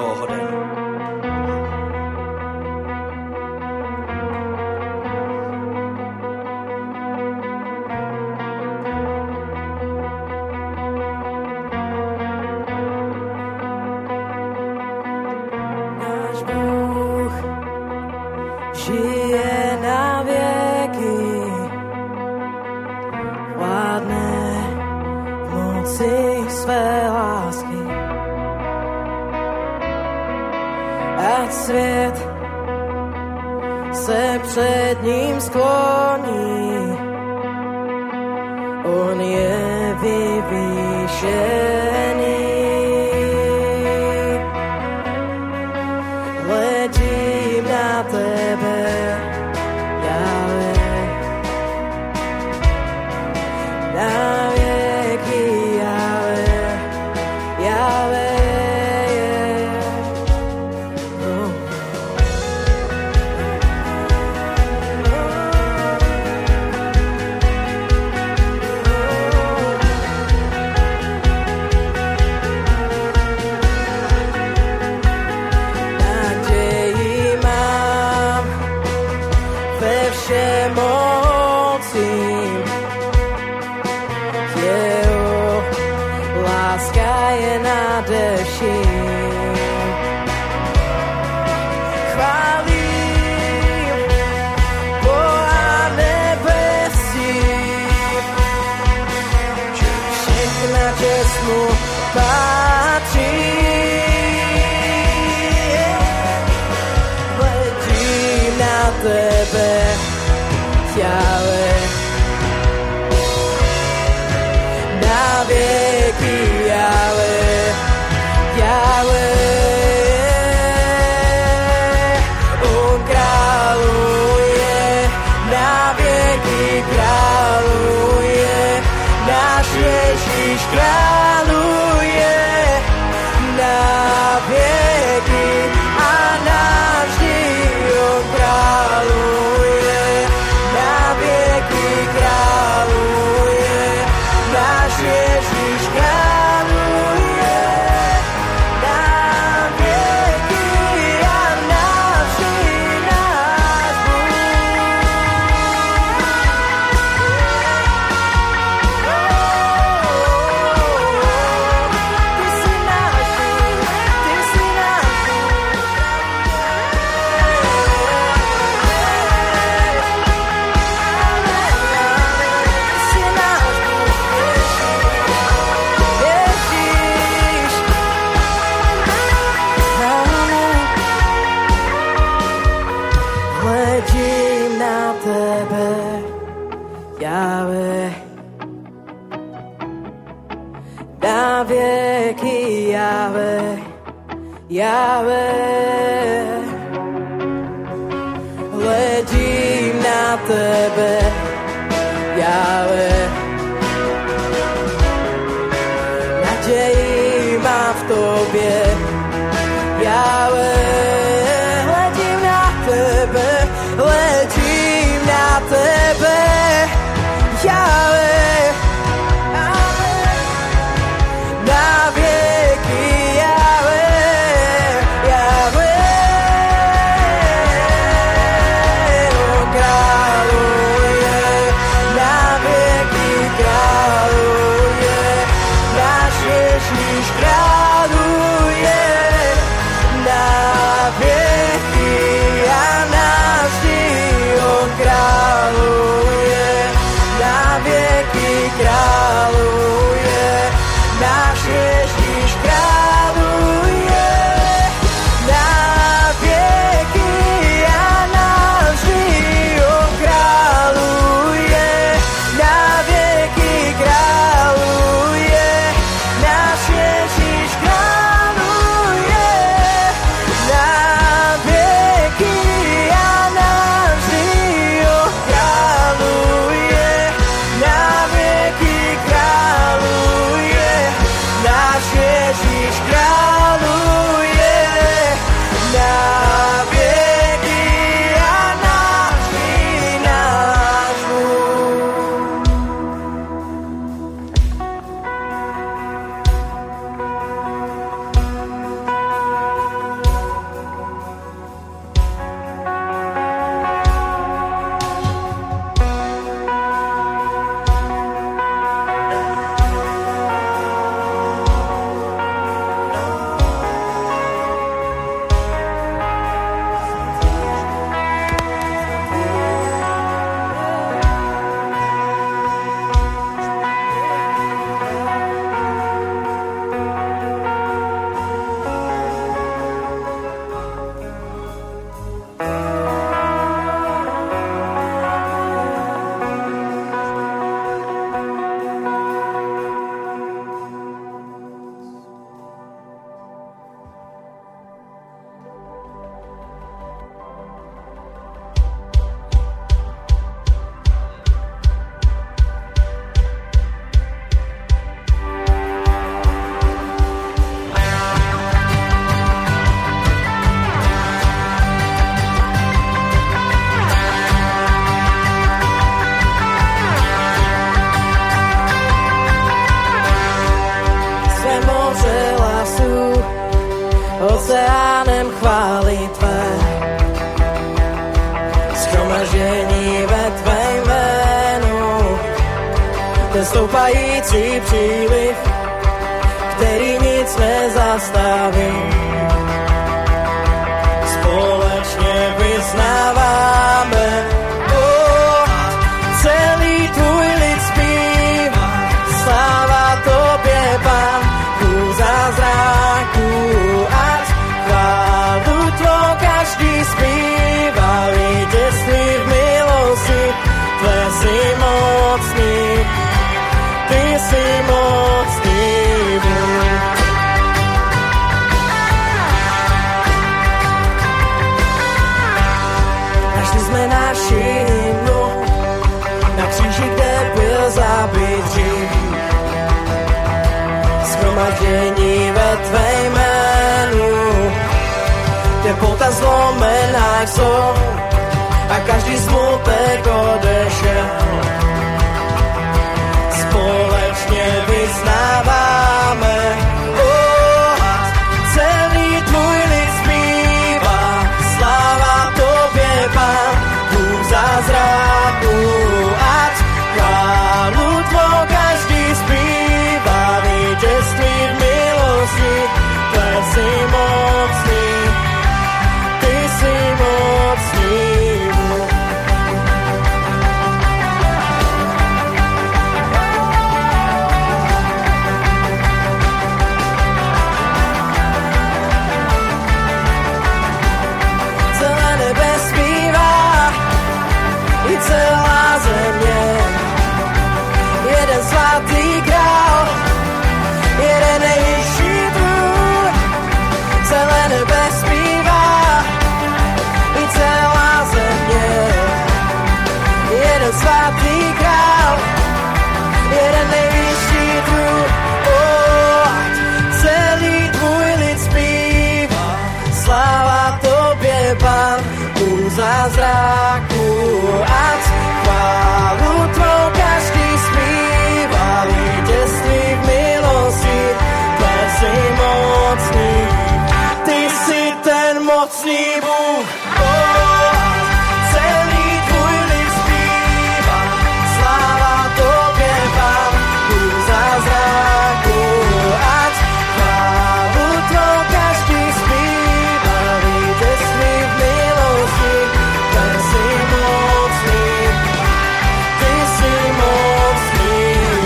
toho hoden. Žije na věky, vládne v moci své lásky. Ať svět se před ním skloní, on je vyvýšený. Hledím na tebe, Jahve, na věky, Jahve, Jahve. Všemocím, jeho láska je nadeším. Chválím Boha nebesí, všechna čest mu patří. Hledím na tebe, Jahve, na věky, Jahve, Jahve. On králuje, na věky králuje, náš Ježíš králuje, na věky a navždy on králuje. Králuje, náš Ježíš králuje, na věky a navždy náš Bůh. Ty jsi náš Bůh, ty jsi náš Bůh. Hledím na tebe, Jahve, na věky, Jahve, Jahve. Hledím na tebe, Jahve, naději mám v tobě, Jahve. Hledím na tebe, hledím na tebe, Jahve, na věky, Jahve, Jahve. On králuje, oceánem chvály tvé. Shromaždění ve tvé jménu, ten stoupající příliv, který nic nezastaví. Společně vyznáváme, celý tvůj lid zpívá, sláva tobě, Pán, Bůh zázraků, ať chválu tvou každý zpívá, vítězství v milosti, tvé jsi mocný, ty jsi mocný Bůh. Našli jsme naši hymnu na kříži, kde byl zabit hřích. Shromaždění ve tvé jménu, kde pota zlomená jsou a každý smutek odešel. Společně vyznáváme, celý tvůj lid zpívá, sláva tobě, Pán, Bůh zázraků, ať chválu tvou každý zpívá, vítězství v milosti, tvé jsi mocný, ty jsi mocný. Celá země, jeden svatý král, jeden nejvyšší trůn, celé nebe zpívá, i celá země, jeden svatý král, jeden nejvyšší trůn, celý tvůj lid zpívá, sláva tobě, Pán, Bůh zázraků, ať chválu tvou každý zpívá, vítězství v milosti, tvé jsi mocný, ty jsi ten mocný Bůh. Celý tvůj lid zpívá, sláva tobě, Pán, Bůh zázraků, ať chválu tvou každý zpívá, vítězství v milosti, tvé jsi mocný, ty jsi mocný.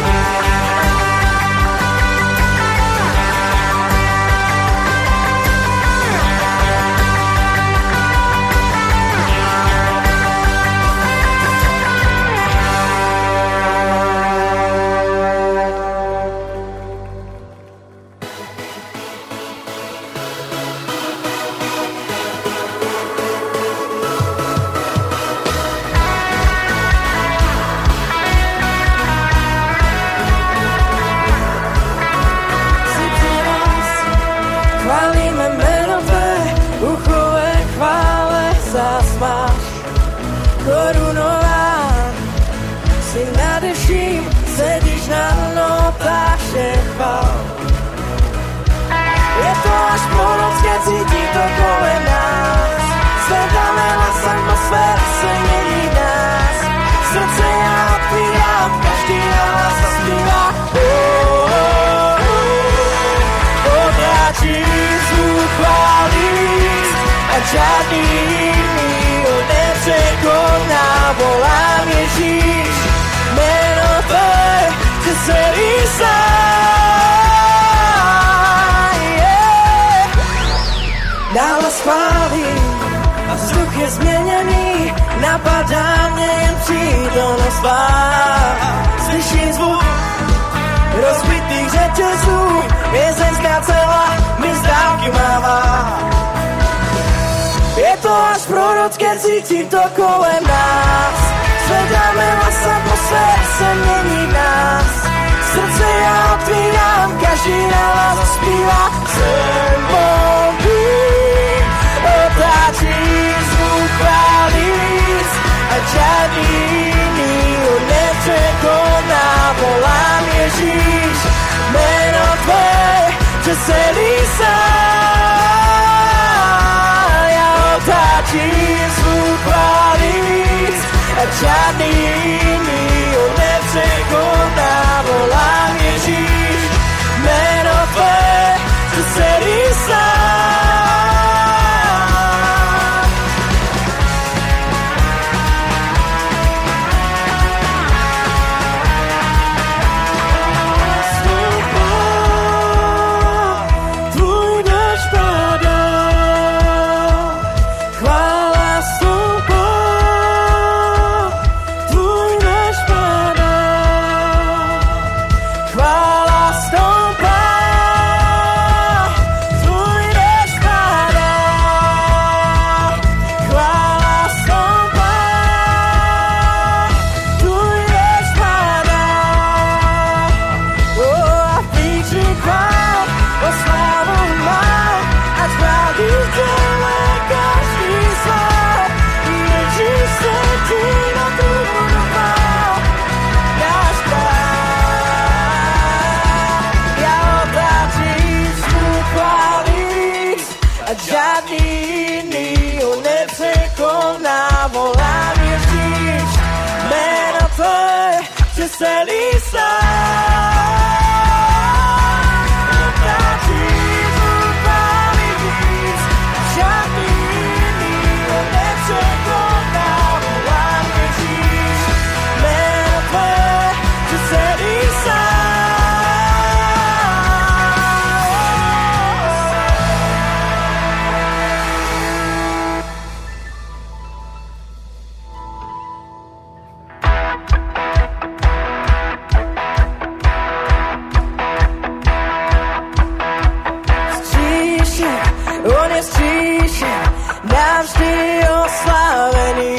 Chválíme jméno tvé, uchové chvále zas máš. Korunován, si nadeším, sedíš na notách všech chvál. Je to až prorocké, cítím to kolem nás. Zvedáme hlas, atmosféra se mění nás. Srdce já otvírám, každý hlas zaspívá. Odráčí zvuk chválí, a žádný jiný ho nepřekoná. Volám Ježíš, jméno tvé, že celý sám, nahlas chválí a vzduch je změněný, napadá mě jen přítomnost tvá. Slyším zvuk rozbitých řetězů, vězeňská cela mi z dálky mává. Je to až prorocké, cítím to kolem nás. Zvedáme hlas, atmosféra se mění nás. Srdce já otvírám, každý hlas zaspívá. Jsem Bůh, otáčí zvuk chválíc a žádný jiný ho nepřekoná. Volám Ježíš, jméno tvé, že celý sám. žádný jiný ho nepřekoná. Volám Ježíš, jméno tvé, že celý sám. Celý sám. Navždy oslavený,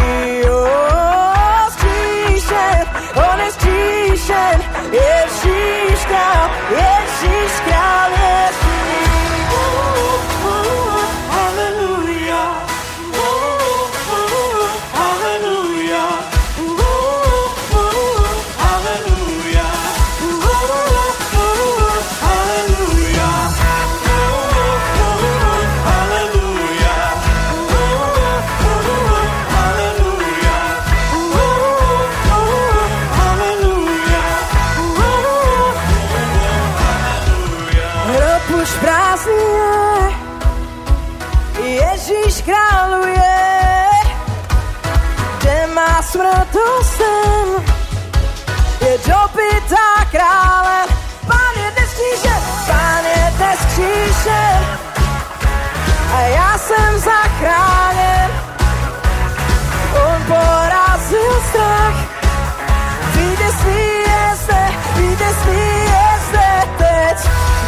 zkříšen, on je zkříšen, Ježíš král, Ježíš král, Ježíš. Haleluja, haleluja, haleluja, Ježíš králuje, kde má smrtosem, je dobytá králem. Pán je dnes křížen, Pán je dnes křížen a já jsem zachráněn. On porazil strach, vítězství je zde, vítězství je zde teď.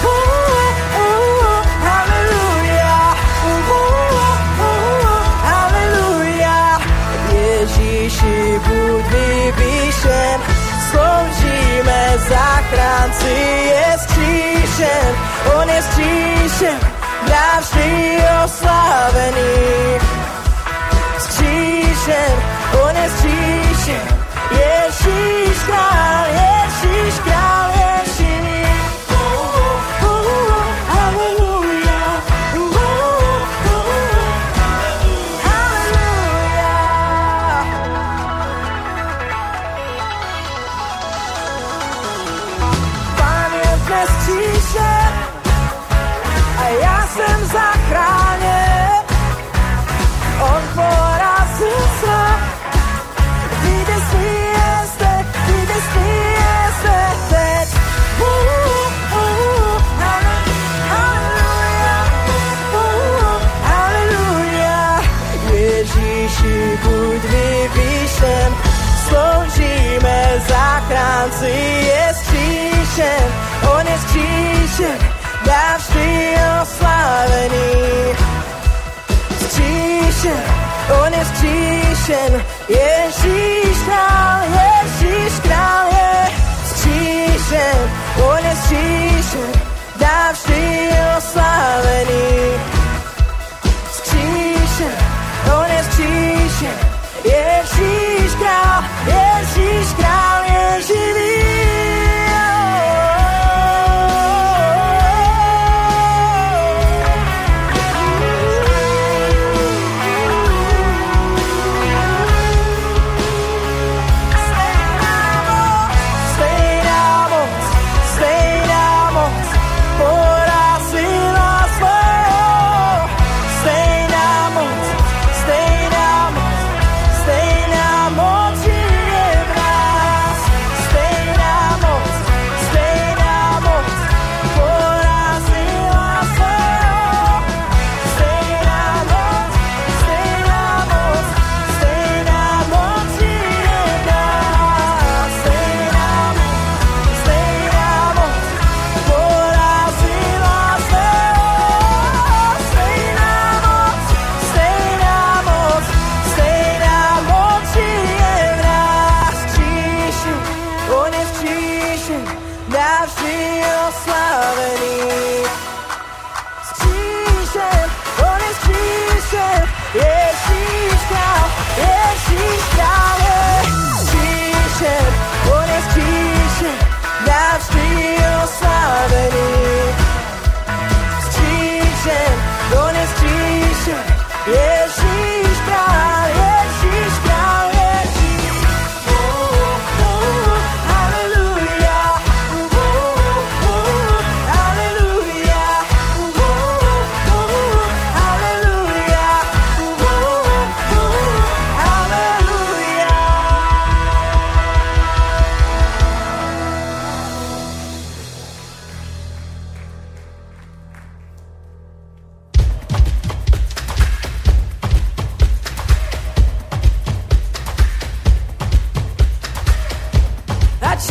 Ježíši, buď vyvýšen, sloužíme zachránci, je zkříšen, on je zkříšen, navždy oslavený. Zkříšen, on je zkříšen, Ježíš král, Ježíš král, Ježíš. A já jsem zachráněn, on porazil strach, vítězství je zde teď. Haleluja, Ježíši, buď vyvýšen, sloužíme zachránci, je zkříšen, on je zkříšen, navždy oslavený. Zkříšen, on je zkříšen, Ježíš král, Ježíš král je zkříšen, on je zkříšen, navždy oslavený. Zkříšen, on je zkříšen, Ježíš král, Ježíš král je živý.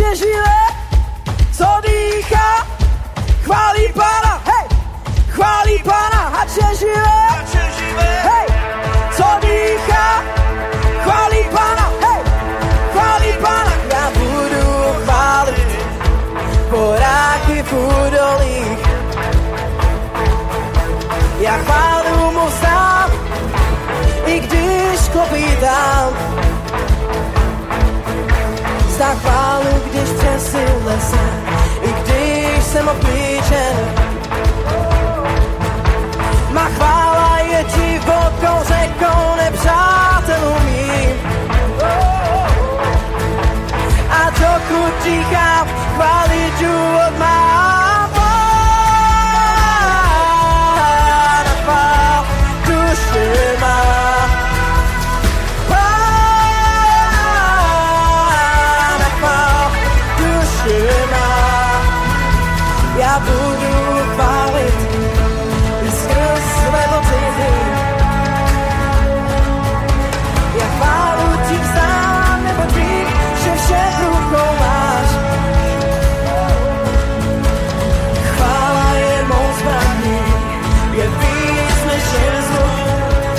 je živé, co dýchá, chválí Pána, hej, chválí Pána, ať je živé, hej, co dýchá, chválí Pána, hej, chválí Pána. Já budu chválit voráky v údolích, já chválu mu sám, i když klopítám. Zdá chválu, když třesy lesa, i když jsem obklíčen. Má chvála je divokou řekou nepřátelům mým. A dokud dýchám, chválit důvod mám. Pána chvál, duše má. Pána chvál, duše má. Já budu chválit i skrz své pocity. Já chválu ti vzdám, nebo vím, že vše v rukou máš. Chvála je mou zbraní, je víc než jen zvuk.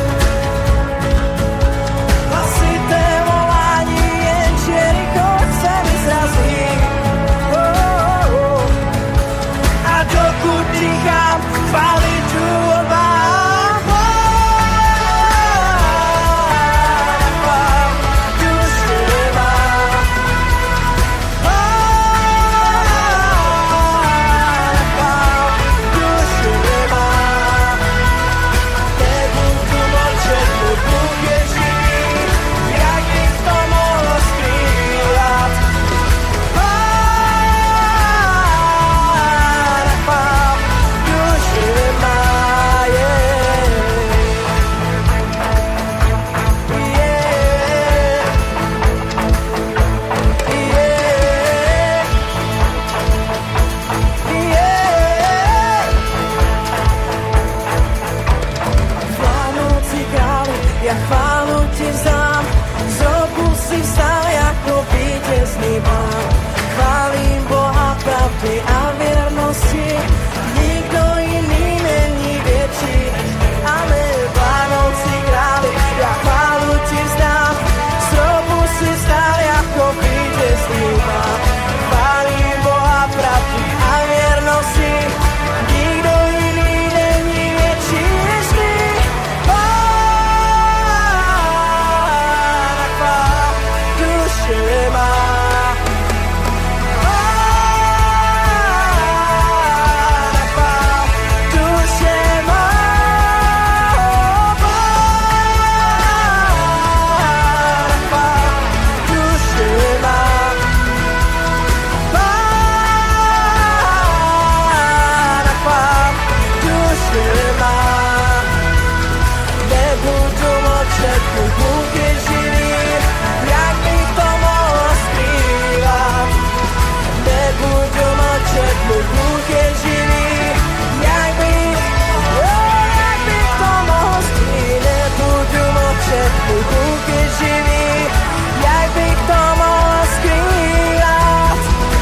Hlasité volání, jen Jericho se mi srazí. A dokud dýchám, chválit důvod mám. Pána duše má. Pána duše má. Nebudu mlčet, můj Bůh je živý, jak bych to mohl skrývat. Pána duše má, Vládnoucí králi, já chválu ti vzdám, z roku si vstal jako vítězný pán. Chválím Boha pravdy a věrnosti, nikdo jiný není větší. Amen. Vládnoucí králi, já chválu ti vzdám, z roku si vstal jako vítězný pán. Chválím Boha pravdy a věrnosti, nikdo jiný není větší než ty. Pána chvál, duše má. Pána chvál, duše má. Pána chvál, duše má. Pána chvál, duše má. Nebudu mlčet, můj Bůh je živý, jak bych to mohl skrývat. Nebudu mlčet, můj Bůh je živý, jak bych to mohl skrývat. Nebudu mlčet, můj Bůh je živý, jak bych to mohl skrývat.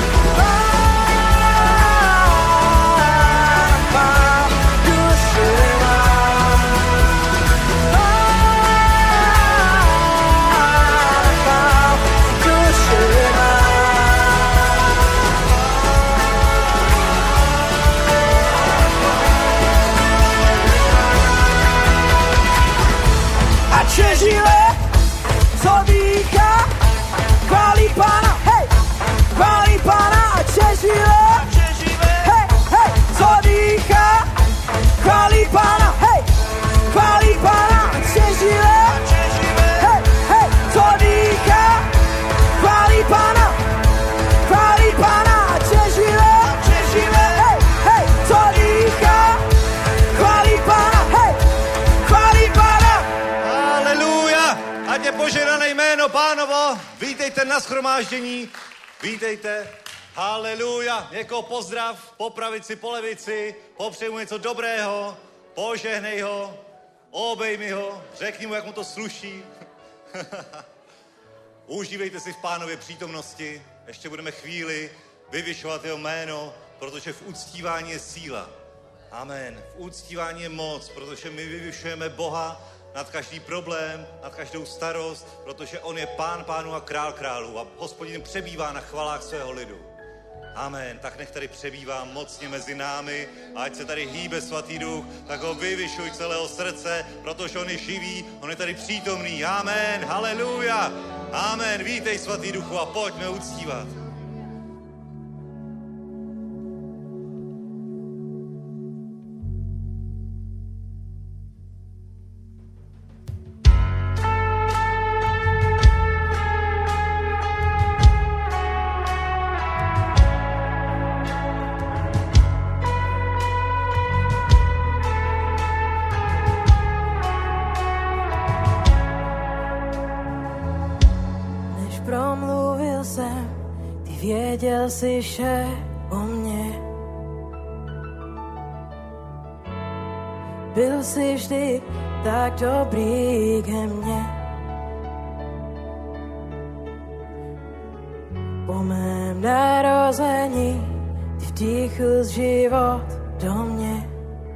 Pána duše má. Ať je živé, co dýchá, chválí Pána, hej, chválí Pána, ať je živé, hej, hej, co dýchá, chválí Pána, hej, chválí Pána, ať je živé, hej, hej, co dýchá, chválí Pána, ať je živé, hej, hej, co dýchá, chválí Pána, hej, chválí Pána. Haleluja! Ať je požehnané jméno Pánovo. Vítejte na shromáždění. Vítejte. Haleluja. Někoho pozdrav, po pravici, po levici. Popřeji mu něco dobrého. Požehnej ho. Obejmi ho. Řekni mu, jak mu to sluší. Užívejte si v Pánově přítomnosti. ještě budeme chvíli vyvyšovat jeho jméno, protože v uctívání je síla. Amen. V uctívání je moc, protože my vyvyšujeme Boha nad každý problém, nad každou starost, protože on je Pán pánů a král králů a Hospodin přebývá na chvalách svého lidu. Amen. Tak nech tady přebývá mocně mezi námi a ať se tady hýbe Svatý Duch, tak ho vyvyšuj celého srdce, protože on je živý, on je tady přítomný. Amen. Haleluja. Amen. Vítej Svatý Duchu a pojďme uctívat. Věděl jsi vše o mně. Byl jsi vždy tak dobrý ke mně. Po mém narození ty vdýchl život do mě.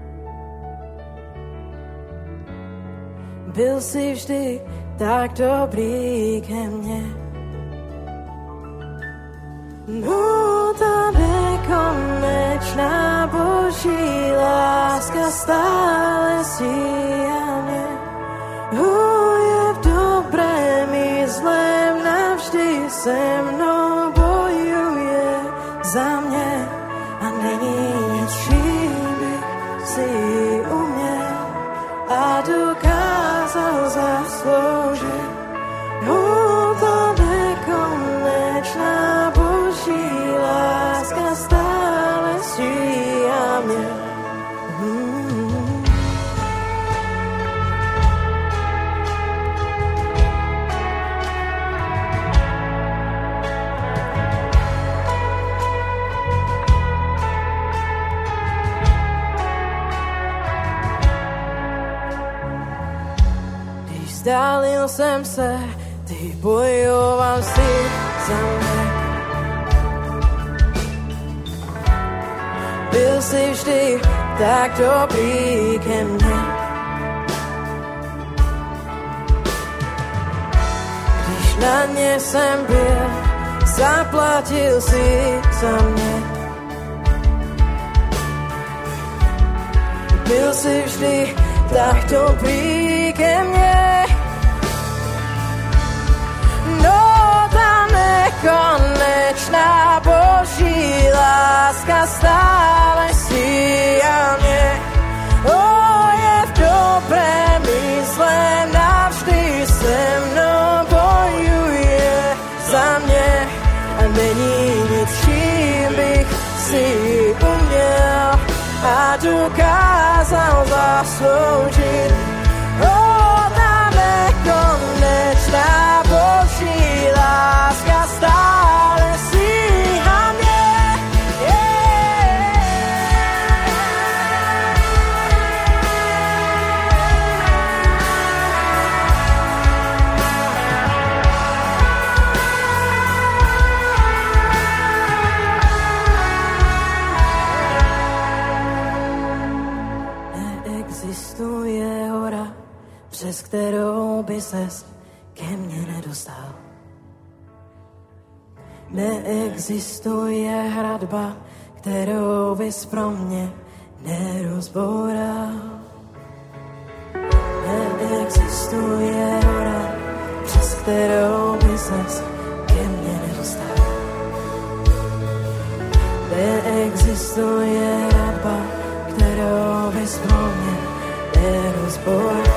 Byl jsi vždy tak dobrý ke mně. No, ta nekonečná Boží láska stále síá mě. Je v dobrém i zlém, navždy se mnou bojuje za mě. A není nic, čím bych si uměl a dokázal zasloužit. Ta nekonečná Boží láska stále síá mě. Když vzdálil jsem se, ty bojoval si za mě. Byl jsi vždy tak dobrý ke mně. Když na ně jsem byl, zaplatil si za mě. Byl jsi vždy tak dobrý ke mně. Konečná Boží láska stále síá mě. Je v dobrém i zlém, navždy se mnou bojuje za mě. A není nic, čím bych si uměl a dokázal zasloužit. Ta nekonečná Boží láska stále síhá mě. Neexistuje hora, přes kterou by ses ke mně nedostal. Neexistuje hradba, kterou bys pro mě nerozboural. Neexistuje hora, přes kterou by ses ke mně nedostal. Neexistuje hradba, kterou bys pro mě nerozboural.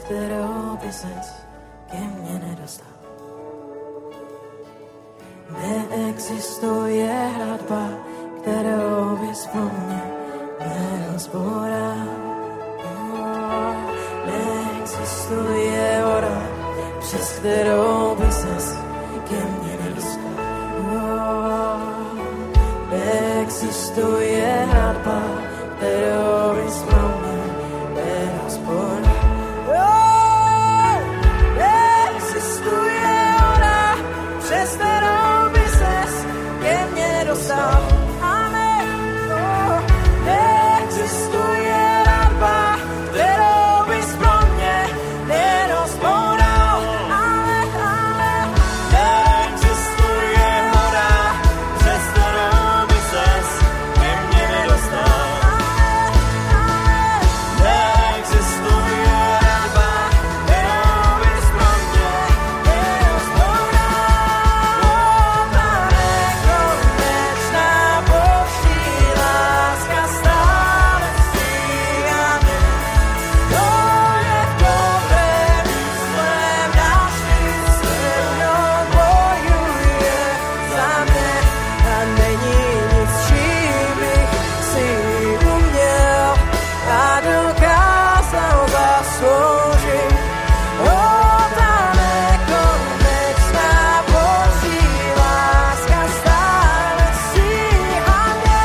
kterou by ses ke mně nedostal. Neexistuje hradba, kterou bys pro mě nerozboral. Neexistuje hora, přes kterou by ses ke mně nedostal. Neexistuje hradba, kterou bys pro mě nerozboral. Neexistuje hora, přes kterou by ses ke mně nedostal. Amen. Neexistuje hradba, kterou bys pro mě nerozboral. Amen, amen. Neexistuje hora, přes kterou by ses ke mně nedostal. Neexistuje hradba, kterou bys pro mě nerozboral. Nekonečná boží láska stále stíhá mě. To je v dobrém i zlém, navždy se mnou bojuje za mě. A není nic, čím bych si uměl a dokázal zasloužit. Ta nekonečná boží láska stále stíhá mě.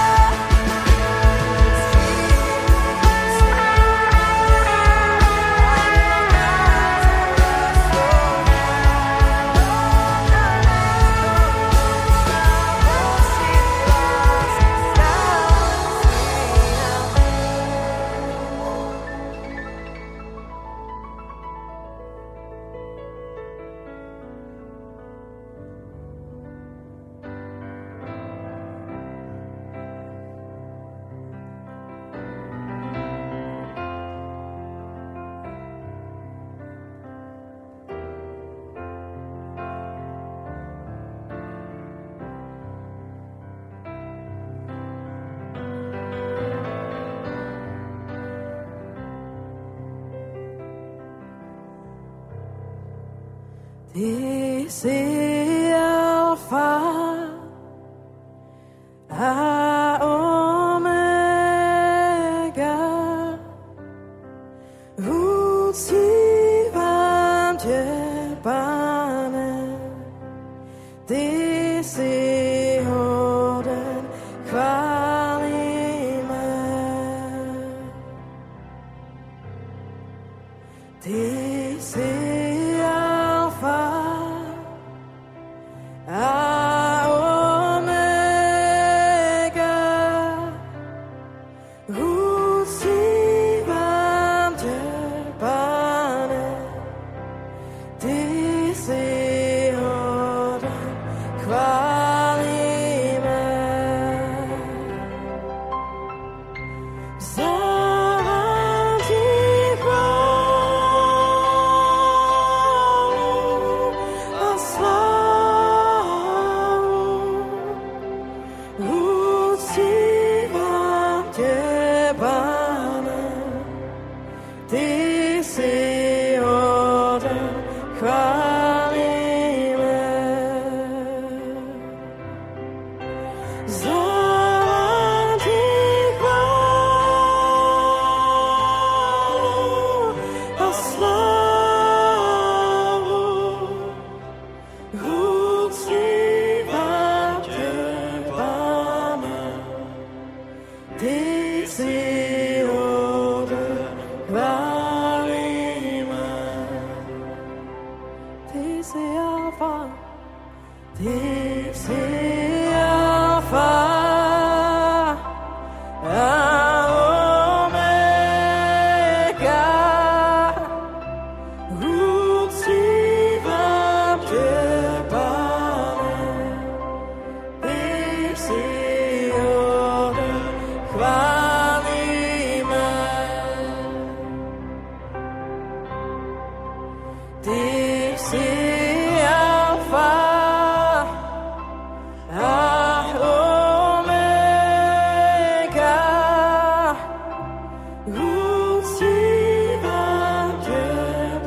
Ty jsi alfa a omega. Uctívám tě, Pane, ty jsi hoden chvály mé. Ty jsi alfa a omega. Uctívám tě, Pane, ty jsi hoden chvály mé. Vzdávám ti chválu a slávu. Uctívám tě, Pane, ty jsi hoden chvály mé. Vzdávám ti chválu a slávu. Uctívám tě, Pane, ty jsi hoden chvály mé. Ty jsi alfa, ty jsi alfa a omega. Uctívám tě, Pane, ty jsi hoden chvály mé. Ty jsi alfa a omega. Uctívám tě,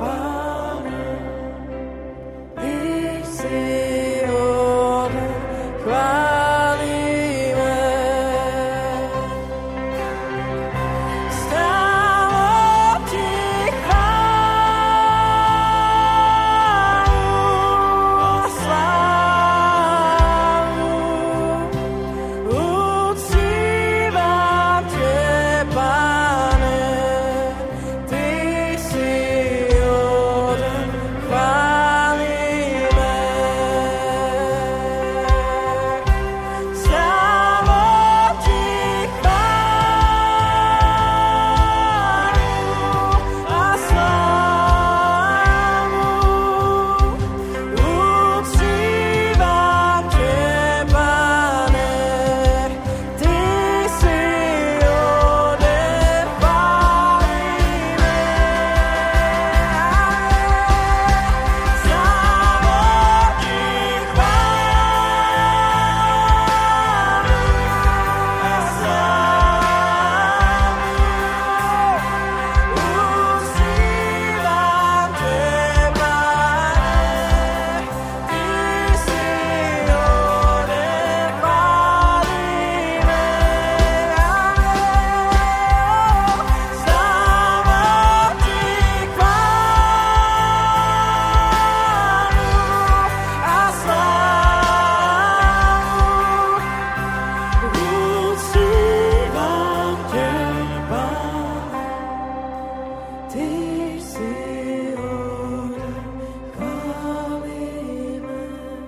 ty jsi hoden chvály mé.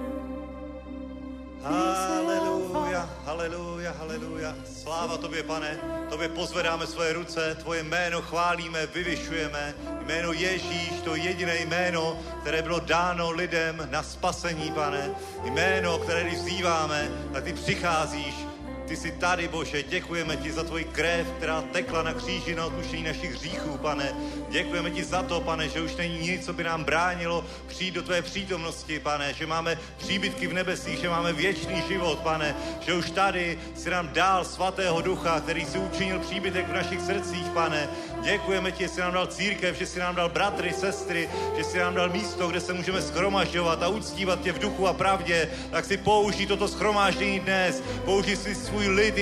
Haleluja, haleluja, haleluja. Sláva tobě, Pane. Tobě pozvedáme svoje ruce, tvoje jméno chválíme, vyvyšujeme. Jméno Ježíš, to jediné jméno, které bylo dáno lidem na spasení, Pane. Jméno, které když vzýváme, tak ty přicházíš. Ty jsi tady, Bože, děkujeme ti za tvoji krev, která tekla na kříži na odpuštění našich hříchů, Pane. Děkujeme ti za to, Pane, že už není nic, co by nám bránilo přijít do tvé přítomnosti, Pane, že máme příbytky v nebesích, že máme věčný život, Pane, že už tady si nám dal svatého ducha, který si učinil příbytek v našich srdcích, Pane. Děkujeme ti, že jsi nám dal církev, že jsi nám dal bratry, sestry, že jsi nám dal místo, kde se můžeme shromažďovat a uctívat tě v duchu a pravdě. Tak si použij toto shromáždění dnes, použij si svůj lid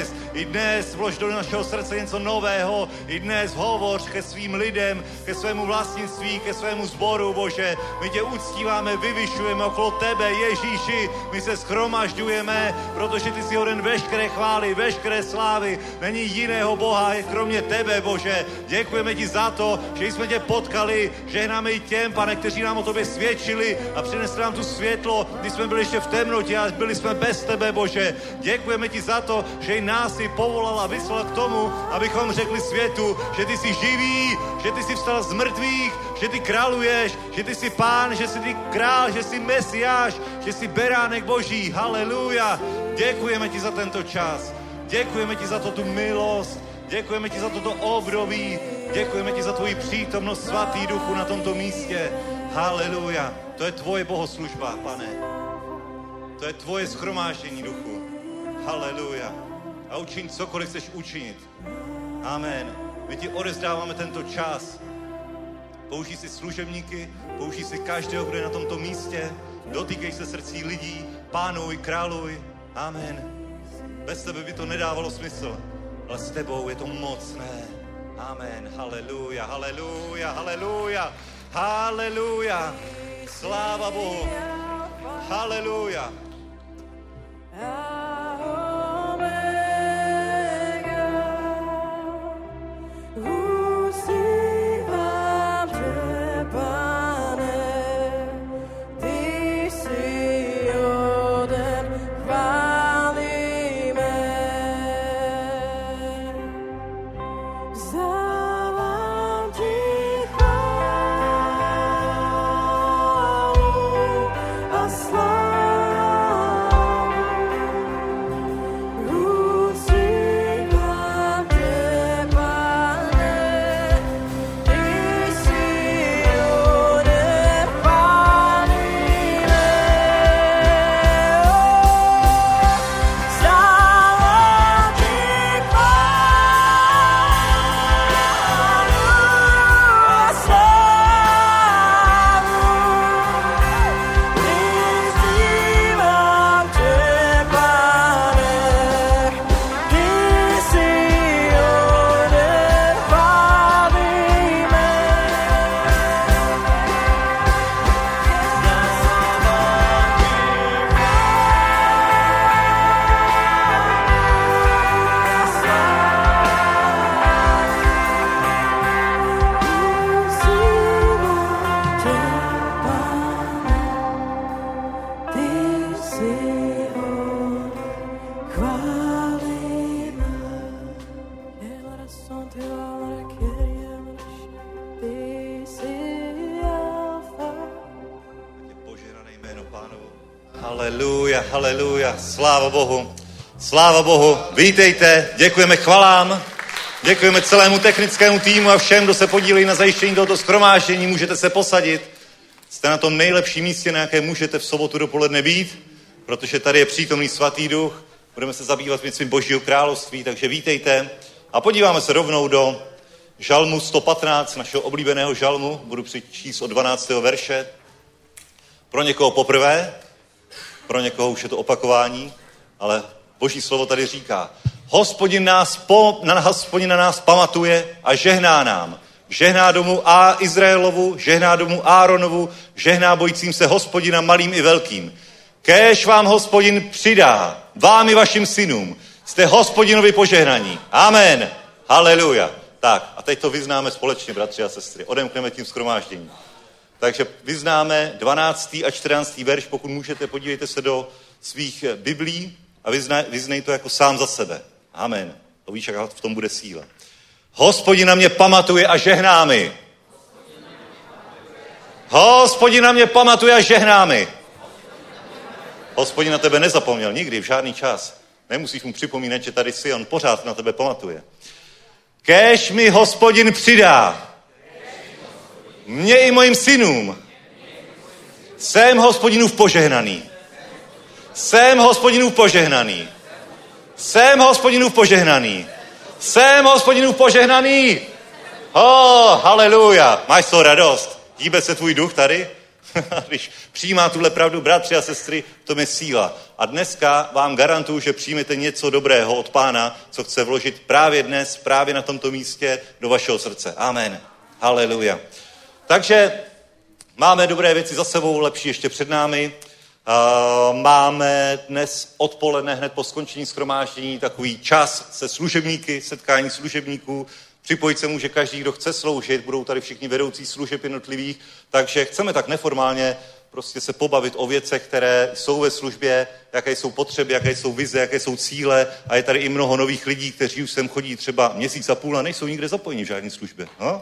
i dnes vlož do našeho srdce něco nového, i dnes hovoř ke svým lidem, ke svému vlastnictví, ke svému sboru, Bože. My tě uctíváme, vyvyšujeme okolo tebe, Ježíši, my se shromažďujeme, protože ty jsi hoden veškeré chvály, veškeré slávy, není jiného Boha, kromě tebe, Bože. Děkujeme ti za to, že jsme tě potkali, žehnáme i těm, Pane, kteří nám o tobě svědčili a přinesli nám tu světlo, když jsme byli ještě v temnotě a byli jsme bez tebe, Bože. Děkujeme ti za to, že i nás si povolal a vyslal k tomu, abychom řekli světu, že ty jsi živý, že ty jsi vstal z mrtvých, že ty králuješ, že ty jsi pán, že jsi ty král, že jsi mesiáš, že jsi beránek Boží. Haleluja. Děkujeme ti za tento čas. Děkujeme ti za to tu milost. Děkujeme ti za toto období. Děkujeme ti za tvoji přítomnost, svatý duchu, na tomto místě. Haleluja. To je tvoje bohoslužba, Pane. To je tvoje shromáždění, duchu. Haleluja. A učiň cokoliv chceš učinit. Amen. My ti odevzdáváme tento čas. Použij si služebníky, použij si každého, kdo je na tomto místě. Dotýkej se srdcí lidí, pánuj, králuj. Amen. Bez tebe by to nedávalo smysl, ale s tebou je to mocné. Amen. Haleluja, haleluja, haleluja, haleluja. Sláva Bohu. Haleluja. Haleluja, haleluja, sláva Bohu, sláva Bohu, vítejte, děkujeme chvalám, děkujeme celému technickému týmu a všem, kdo se podílejí na zajištění tohoto shromáždění, můžete se posadit, jste na tom nejlepším místě, na jaké můžete v sobotu dopoledne být, protože tady je přítomný svatý duch, budeme se zabývat věcmi Božího království, takže vítejte a podíváme se rovnou do žalmu 115, našeho oblíbeného žalmu, budu přečíst od 12. verše, pro někoho poprvé, pro někoho už je to opakování, ale Boží slovo tady říká, Hospodin na nás pamatuje a žehná nám. Žehná domu Izraelovu, žehná domu Áronovu, žehná bojícím se Hospodina malým i velkým. Kéž vám Hospodin přidá, vám i vašim synům. Jste Hospodinovi požehnaní. Amen. Haleluja. Tak, a teď to vyznáme společně, bratři a sestry. Odemkneme tím shromáždění. Takže vyznáme 12. a 14. verš, pokud můžete, podívejte se do svých biblí a vyznej to jako sám za sebe. Amen. To víš, jak v tom bude síla. Hospodin na mě pamatuje a žehná mi. Hospodin na mě pamatuje a žehná mi. Hospodin na tebe nezapomněl nikdy, v žádný čas. Nemusíš mu připomínat, že tady jsi, on pořád na tebe pamatuje. Kéž mi Hospodin přidá. Mně i mojim synům. Jsem Hospodinův požehnaný. Jsem Hospodinův požehnaný. Jsem Hospodinův požehnaný. Jsem Hospodinův požehnaný. Haleluja. Máš to radost? Hýbe se tvůj duch tady? Když přijímá tuhle pravdu, bratři a sestry, to je síla. A dneska vám garantuju, že přijmete něco dobrého od Pána, co chce vložit právě dnes, právě na tomto místě do vašeho srdce. Amen. Haleluja. Takže máme dobré věci za sebou, lepší ještě před námi. Máme dnes odpoledne, hned po skončení shromáždění, takový čas se služebníky, setkání služebníků. Připojit se může každý, kdo chce sloužit, budou tady všichni vedoucí služeb jednotlivých, takže chceme tak neformálně prostě se pobavit o věcech, které jsou ve službě, jaké jsou potřeby, jaké jsou vize, jaké jsou cíle a je tady i mnoho nových lidí, kteří už sem chodí třeba měsíc a půl a nejsou nikde zapojeni v žádné službě. No?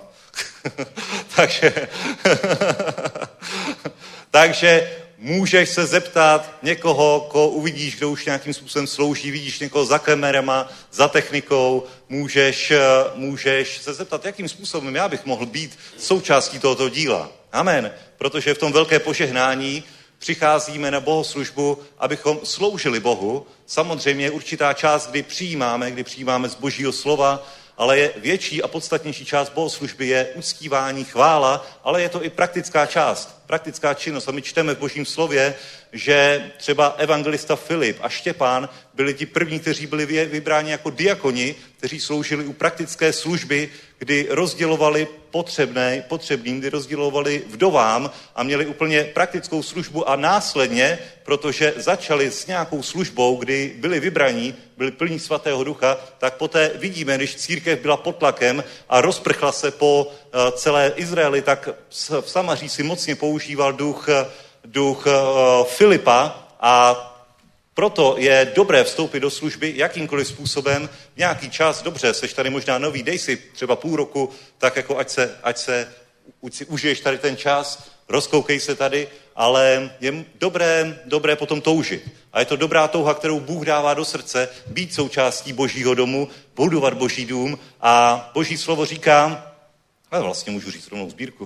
Takže můžeš se zeptat někoho, koho uvidíš, kdo už nějakým způsobem slouží, vidíš někoho za kamerama, za technikou, můžeš se zeptat, jakým způsobem já bych mohl být součástí tohoto díla. Amen. Protože v tom velké požehnání přicházíme na bohoslužbu, abychom sloužili Bohu. Samozřejmě je určitá část, kdy přijímáme z Božího slova, ale je větší a podstatnější část bohoslužby je uctívání, chvála, ale je to i praktická část, praktická činnost. A my čteme v Božím slově, že třeba evangelista Filip a Štěpán byli ti první, kteří byli vybráni jako diakoni, kteří sloužili u praktické služby, kdy rozdělovali potřebným, kdy rozdělovali vdovám a měli úplně praktickou službu a následně, protože začali s nějakou službou, kdy byli vybraní, byli plní Svatého Ducha, tak poté vidíme, když církev byla pod tlakem a rozprchla se po celé Izraeli, tak v Samaří si mocně používal duch Filipa a proto je dobré vstoupit do služby jakýmkoliv způsobem, nějaký čas, dobře, seš tady možná nový, dej si třeba půl roku, tak jako ať si užiješ tady ten čas, rozkoukej se tady, ale je dobré potom toužit. A je to dobrá touha, kterou Bůh dává do srdce, být součástí Božího domu, budovat Boží dům a Boží slovo říká, a vlastně můžu říct rovnou sbírku,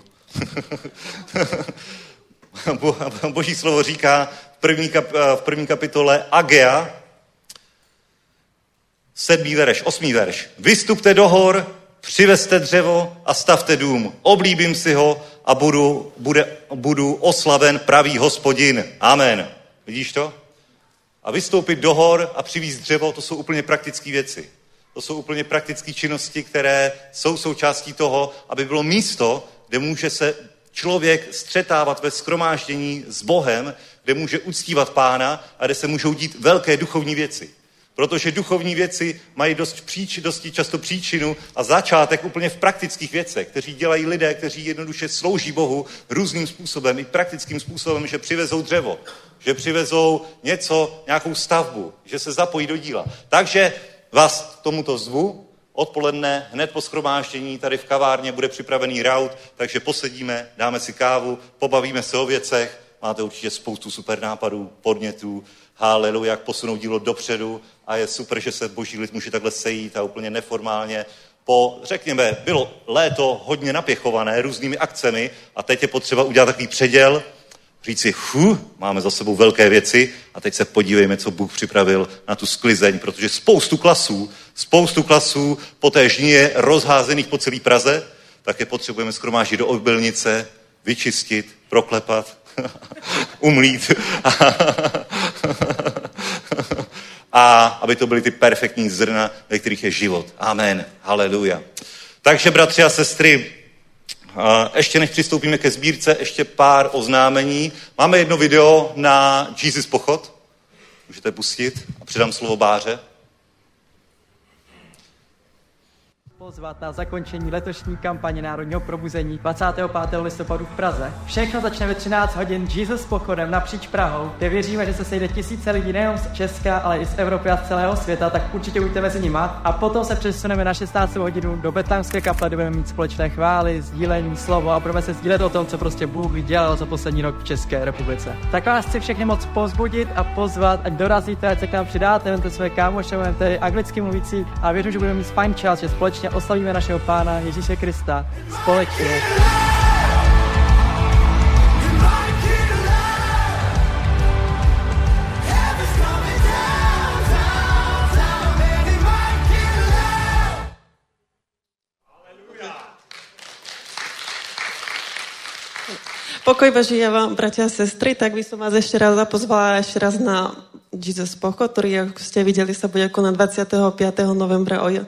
Boží slovo říká v první kapitole Agea, 8. verš. Vystupte do hor, přivezte dřevo a stavte dům. Oblíbím si ho a budu oslaven pravý Hospodin. Amen. Vidíš to? A vystoupit do hor a přivízt dřevo, to jsou úplně praktické věci. To jsou úplně praktické činnosti, které jsou součástí toho, aby bylo místo, kde může se člověk střetávat ve shromáždění s Bohem, kde může uctívat Pána a kde se můžou dít velké duchovní věci. Protože duchovní věci mají dosti často příčinu a začátek úplně v praktických věcech, kteří dělají lidé, kteří jednoduše slouží Bohu různým způsobem, i praktickým způsobem, že přivezou dřevo, že přivezou nějakou stavbu, že se zapojí do díla. Takže vás k tomuto zvu. Odpoledne, hned po shromáždění, tady v kavárně bude připravený raut, takže posedíme, dáme si kávu, pobavíme se o věcech, máte určitě spoustu super nápadů, podnětů, haleluja, jak posunout dílo dopředu a je super, že se Boží lid může takhle sejít a úplně neformálně. Řekněme, bylo léto hodně napěchované různými akcemi a teď je potřeba udělat takový předěl, říci, máme za sebou velké věci a teď se podívejme, co Bůh připravil na tu sklizeň, protože spoustu klasů po té žnině rozházených po celé Praze, tak je potřebujeme shromáždit do obilnice, vyčistit, proklepat, umlít a aby to byly ty perfektní zrna, ve kterých je život. Amen. Haleluja. Takže, bratři a sestry, ještě než přistoupíme ke sbírce, ještě pár oznámení. Máme jedno video na Jesus Pochod. Můžete pustit a předám slovo Báře. pozvat na zakončení letošní kampaně Národního probuzení 25. listopadu v Praze. Všechno začne ve 13 hodin Jesus pochodem napříč Prahou, kde věříme, že se sejde tisíce lidí nejen z Česka, ale i z Evropy a z celého světa, tak určitě buďte mezi nima. A potom se přesuneme na 16. hodinu do Betlémské kaple, kde budeme mít společné chvály, sdílení, slovo a budeme se sdílet o tom, co prostě Bůh dělal za poslední rok v České republice. Tak vás chci všechny moc povzbudit a pozvat, ať dorazíte, ať se k nám přidáte, vemte své kámoše, vemte anglicky mluvící a věřím, že budeme mít fajn čas, že společně oslavíme našeho Pána Ježíše Krista společně. Pokoj Boží, ja vám, bratia a sestry, tak by som vás ešte raz zapozvala na Jesus pochod, ktorý, ako ste videli, sa bude konať 25. novembra o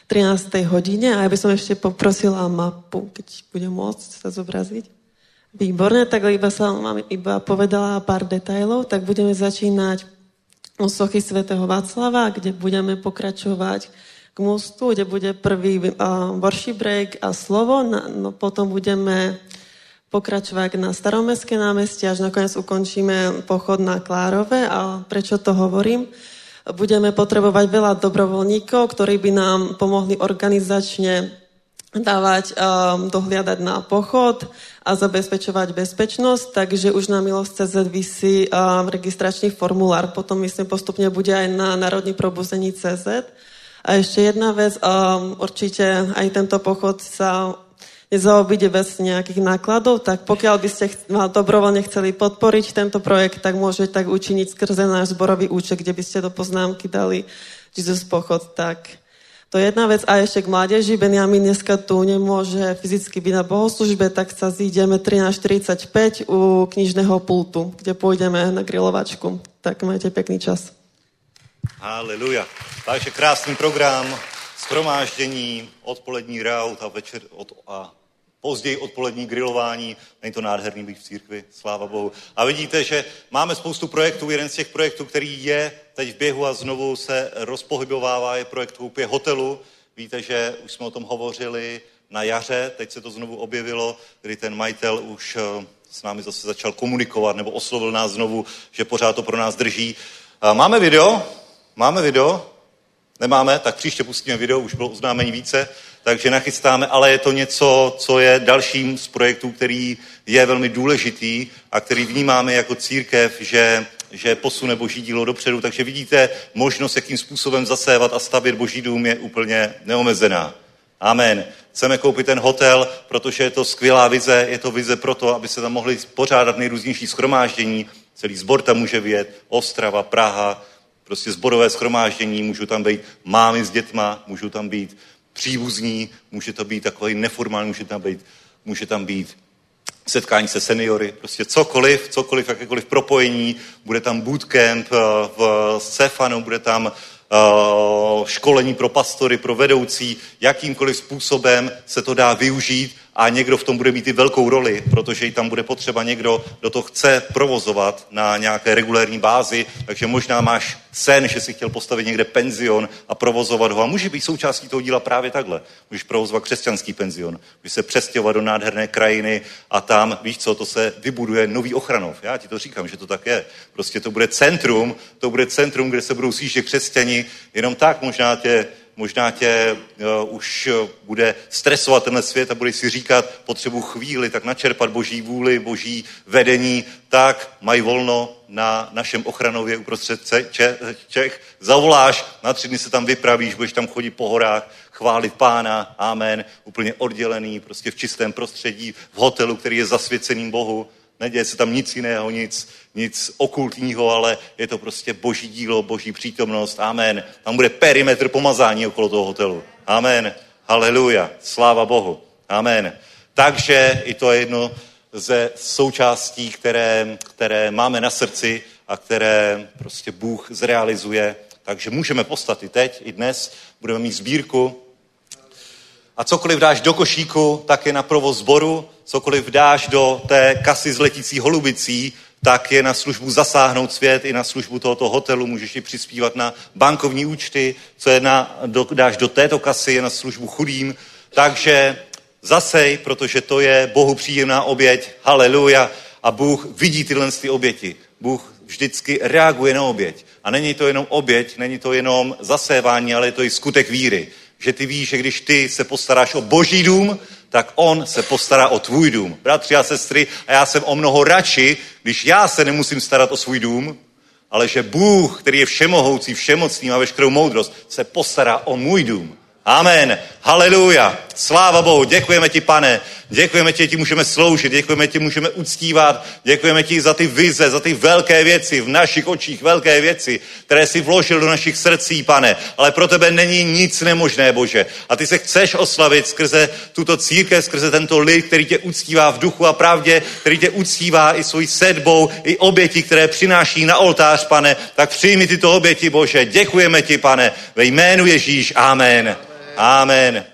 13. hodine. A ja by som ešte poprosila mapu, keď bude môcť sa zobraziť. Výborné, tak vám iba povedala pár detailov, tak budeme začínať od sochy svätého Václava, kde budeme pokračovať k mostu, kde bude prvý worship break a slovo, no potom budeme pokračovať na Staromestské námestie, až nakoniec ukončíme pochod na Klárove. A prečo to hovorím? Budeme potrebovať veľa dobrovoľníkov, ktorí by nám pomohli organizačne dávať, dohliadať na pochod a zabezpečovať bezpečnosť, takže už na Milosť.cz visí registračný formulár. Potom myslím postupne bude aj na Národní probuzení.cz. A ešte jedna vec, určite aj tento pochod sa nezaobíde bez nejakých nákladov, tak pokiaľ by ste dobrovoľne chceli podporiť tento projekt, tak môžete tak učiniť skrze náš zborový účet, kde by ste do poznámky dali Jesus pochod. Tak to je jedna vec. A ešte k mládeži. Benjamin dneska tu nemôže fyzicky byť na bohoslužbe, tak sa zídeme 13:45 u knižného pultu, kde pôjdeme na grilovačku. Tak majte pekný čas. Haleluja. Takže krásný program, shromáždění, odpolední raut a večer a později odpolední grilování. Není to nádherný být v církvi, sláva Bohu. A vidíte, že máme spoustu projektů. Jeden z těch projektů, který je teď v běhu a znovu se rozpohybovává, je projekt koupě hotelu. Víte, že už jsme o tom hovořili na jaře, teď se to znovu objevilo, kdy ten majitel už s námi zase začal komunikovat nebo oslovil nás znovu, že pořád to pro nás drží. Máme video? Máme video? Nemáme? Tak příště pustíme video, už bylo oznámení více, takže nachystáme, ale je to něco, co je dalším z projektů, který je velmi důležitý a který vnímáme jako církev, že posune Boží dílo dopředu, takže vidíte, možnost, jakým způsobem zasévat a stavět Boží dům je úplně neomezená. Amen. Chceme koupit ten hotel, protože je to skvělá vize, je to vize proto, aby se tam mohli pořádat nejrůznější shromáždění, celý sbor tam může vyjet, Ostrava, Praha, prostě sborové shromáždění, můžou tam být mámy s dětma, můžou tam být příbuzní, může to být takový neformální, může tam být setkání se seniory, prostě cokoliv, jakékoliv propojení, bude tam bootcamp v Cefanu, bude tam školení pro pastory, pro vedoucí, jakýmkoliv způsobem se to dá využít a někdo v tom bude mít i velkou roli, protože i tam bude potřeba někdo, kdo to chce provozovat na nějaké regulérní bázi, takže možná máš sen, že si chtěl postavit někde penzion a provozovat ho a může být součástí toho díla právě takhle. Můžeš provozovat křesťanský penzion, můžeš se přestěhovat do nádherné krajiny a tam, víš co, to se vybuduje nový Ochranov. Já ti to říkám, že to tak je. Prostě to bude centrum, kde se budou sjíždět křesťani, jenom tak možná tě už bude stresovat tenhle svět a budeš si říkat, potřebuji chvíli, tak načerpat Boží vůli, Boží vedení, tak mají volno na našem Ochranově uprostřed Čech. Zavoláš, na 3 dny se tam vypravíš, budeš tam chodit po horách, chválit Pána, amen, úplně oddělený, prostě v čistém prostředí, v hotelu, který je zasvěceným Bohu. Neděje se tam nic jiného, nic okultního, ale je to prostě Boží dílo, Boží přítomnost. Amen. Tam bude perimetr pomazání okolo toho hotelu. Amen. Haleluja. Sláva Bohu. Amen. Takže i to je jedno ze součástí, které máme na srdci a které prostě Bůh zrealizuje. Takže můžeme postat i teď, i dnes. Budeme mít sbírku. A cokoliv dáš do košíku, tak je na provoz sboru. Cokoliv dáš do té kasy s letící holubicí, tak je na službu zasáhnout svět, i na službu tohoto hotelu, můžeš ji přispívat na bankovní účty, co je dáš do této kasy, je na službu chudým, takže zasej, protože to je Bohu příjemná oběť, haleluja, a Bůh vidí tyhle ty oběti. Bůh vždycky reaguje na oběť. A není to jenom oběť, není to jenom zasévání, ale je to i skutek víry. Že ty víš, že když ty se postaráš o Boží dům, tak on se postará o tvůj dům. Bratři a sestry, a já jsem o mnoho radši, když já se nemusím starat o svůj dům, ale že Bůh, který je všemohoucí, všemocný, má veškerou moudrost, se postará o můj dům. Amen. Haleluja. Sláva Bohu. Děkujeme ti, Pane. Děkujeme ti, že ti můžeme sloužit. Děkujeme ti, můžeme uctívat. Děkujeme ti za ty vize, za ty velké věci, v našich očích velké věci, které jsi vložil do našich srdcí, Pane. Ale pro tebe není nic nemožné, Bože. A ty se chceš oslavit skrze tuto církev, skrze tento lid, který tě uctívá v duchu a pravdě, který tě uctívá i svojí sedbou, i oběti, které přináší na oltář, Pane. Tak přijmi tyto oběti, Bože. Děkujeme ti, Pane. Ve jménu Ježíš. Amen. Amen.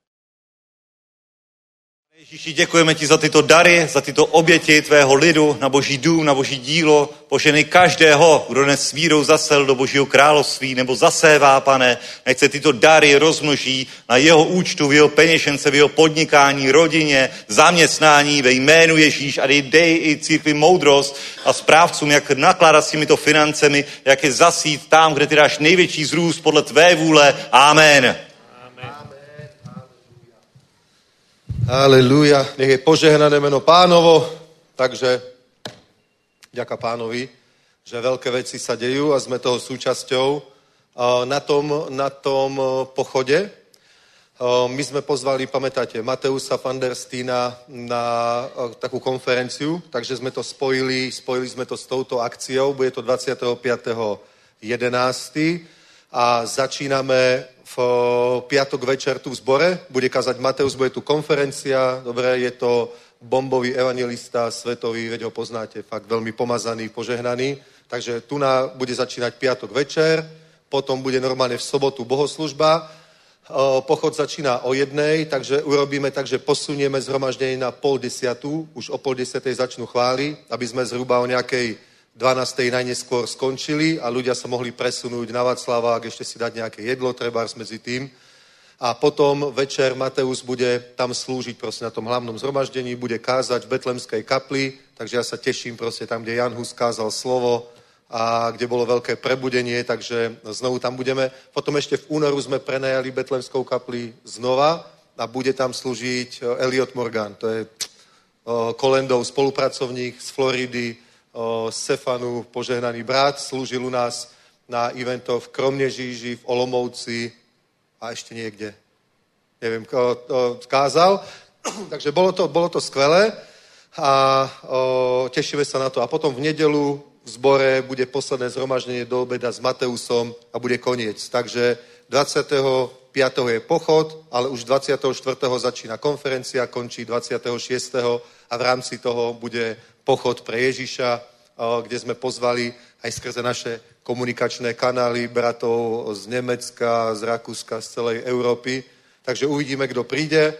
Ježíši, děkujeme ti za tyto dary, za tyto oběti tvého lidu na Boží dům, na Boží dílo. Poženej každého, kdo dnes s vírou zasel do Božího království nebo zasévá, Pane. Nech se tyto dary rozmnoží na jeho účtu, v jeho peněžence, v jeho podnikání, rodině, zaměstnání ve jménu Ježíš a dej i církvi moudrost a správcům, jak nakládat s těmito financemi, jak je zasít tam, kde ty dáš největší zrůst podle tvé vůle. Amen. Halelúja, nech je požehnané meno Pánovo, takže ďaká Pánovi, že veľké veci sa dejú a sme toho súčasťou. Na tom pochode my sme pozvali, pamätáte, Mateusa van der Steena na takú konferenciu, takže sme to spojili sme to s touto akciou, bude to 25.11. a začíname v piatok večer tu v zbore, bude kázať Mateus, bude tu konferencia, dobre, je to bombový evangelista svetový, veď ho poznáte, fakt veľmi pomazaný, požehnaný, takže tu bude začínať piatok večer, potom bude normálne v sobotu bohoslužba, pochod začíná o 1:00, takže urobíme tak, že posunieme zhromaždenie na 9:30, už o 9:30 začnú chvály, aby sme zhruba o nejakej 12. najneskôr skončili a ľudia sa mohli presunúť na Václavák, ešte si dať nejaké jedlo, trebárs medzi tým. A potom večer Mateus bude tam slúžiť proste na tom hlavnom zhromaždení, bude kázať v Betlemskej kapli, takže ja sa teším proste tam, kde Jan Hus kázal slovo a kde bolo veľké prebudenie, takže znovu tam budeme. Potom ešte v únoru sme prenajali Betlemskou kapli znova a bude tam slúžiť Elliot Morgan, to je Kolendov spolupracovník z Floridy, Stefanu, požehnaný brat, slúžil u nás na eventoch v Kromnežíži, v Olomouci a ešte niekde. Neviem, kázal. Takže bolo to skvelé a tešíme sa na to. A potom v nedelu v zbore bude posledné zhromaždenie do obeda s Mateusom a bude koniec. Takže 25. je pochod, ale už 24. začína konferencia, končí 26. a v rámci toho bude pochod pre Ježiša, kde sme pozvali aj skrze naše komunikačné kanály bratov z Nemecka, z Rakúska, z celej Európy. Takže uvidíme, kto príde.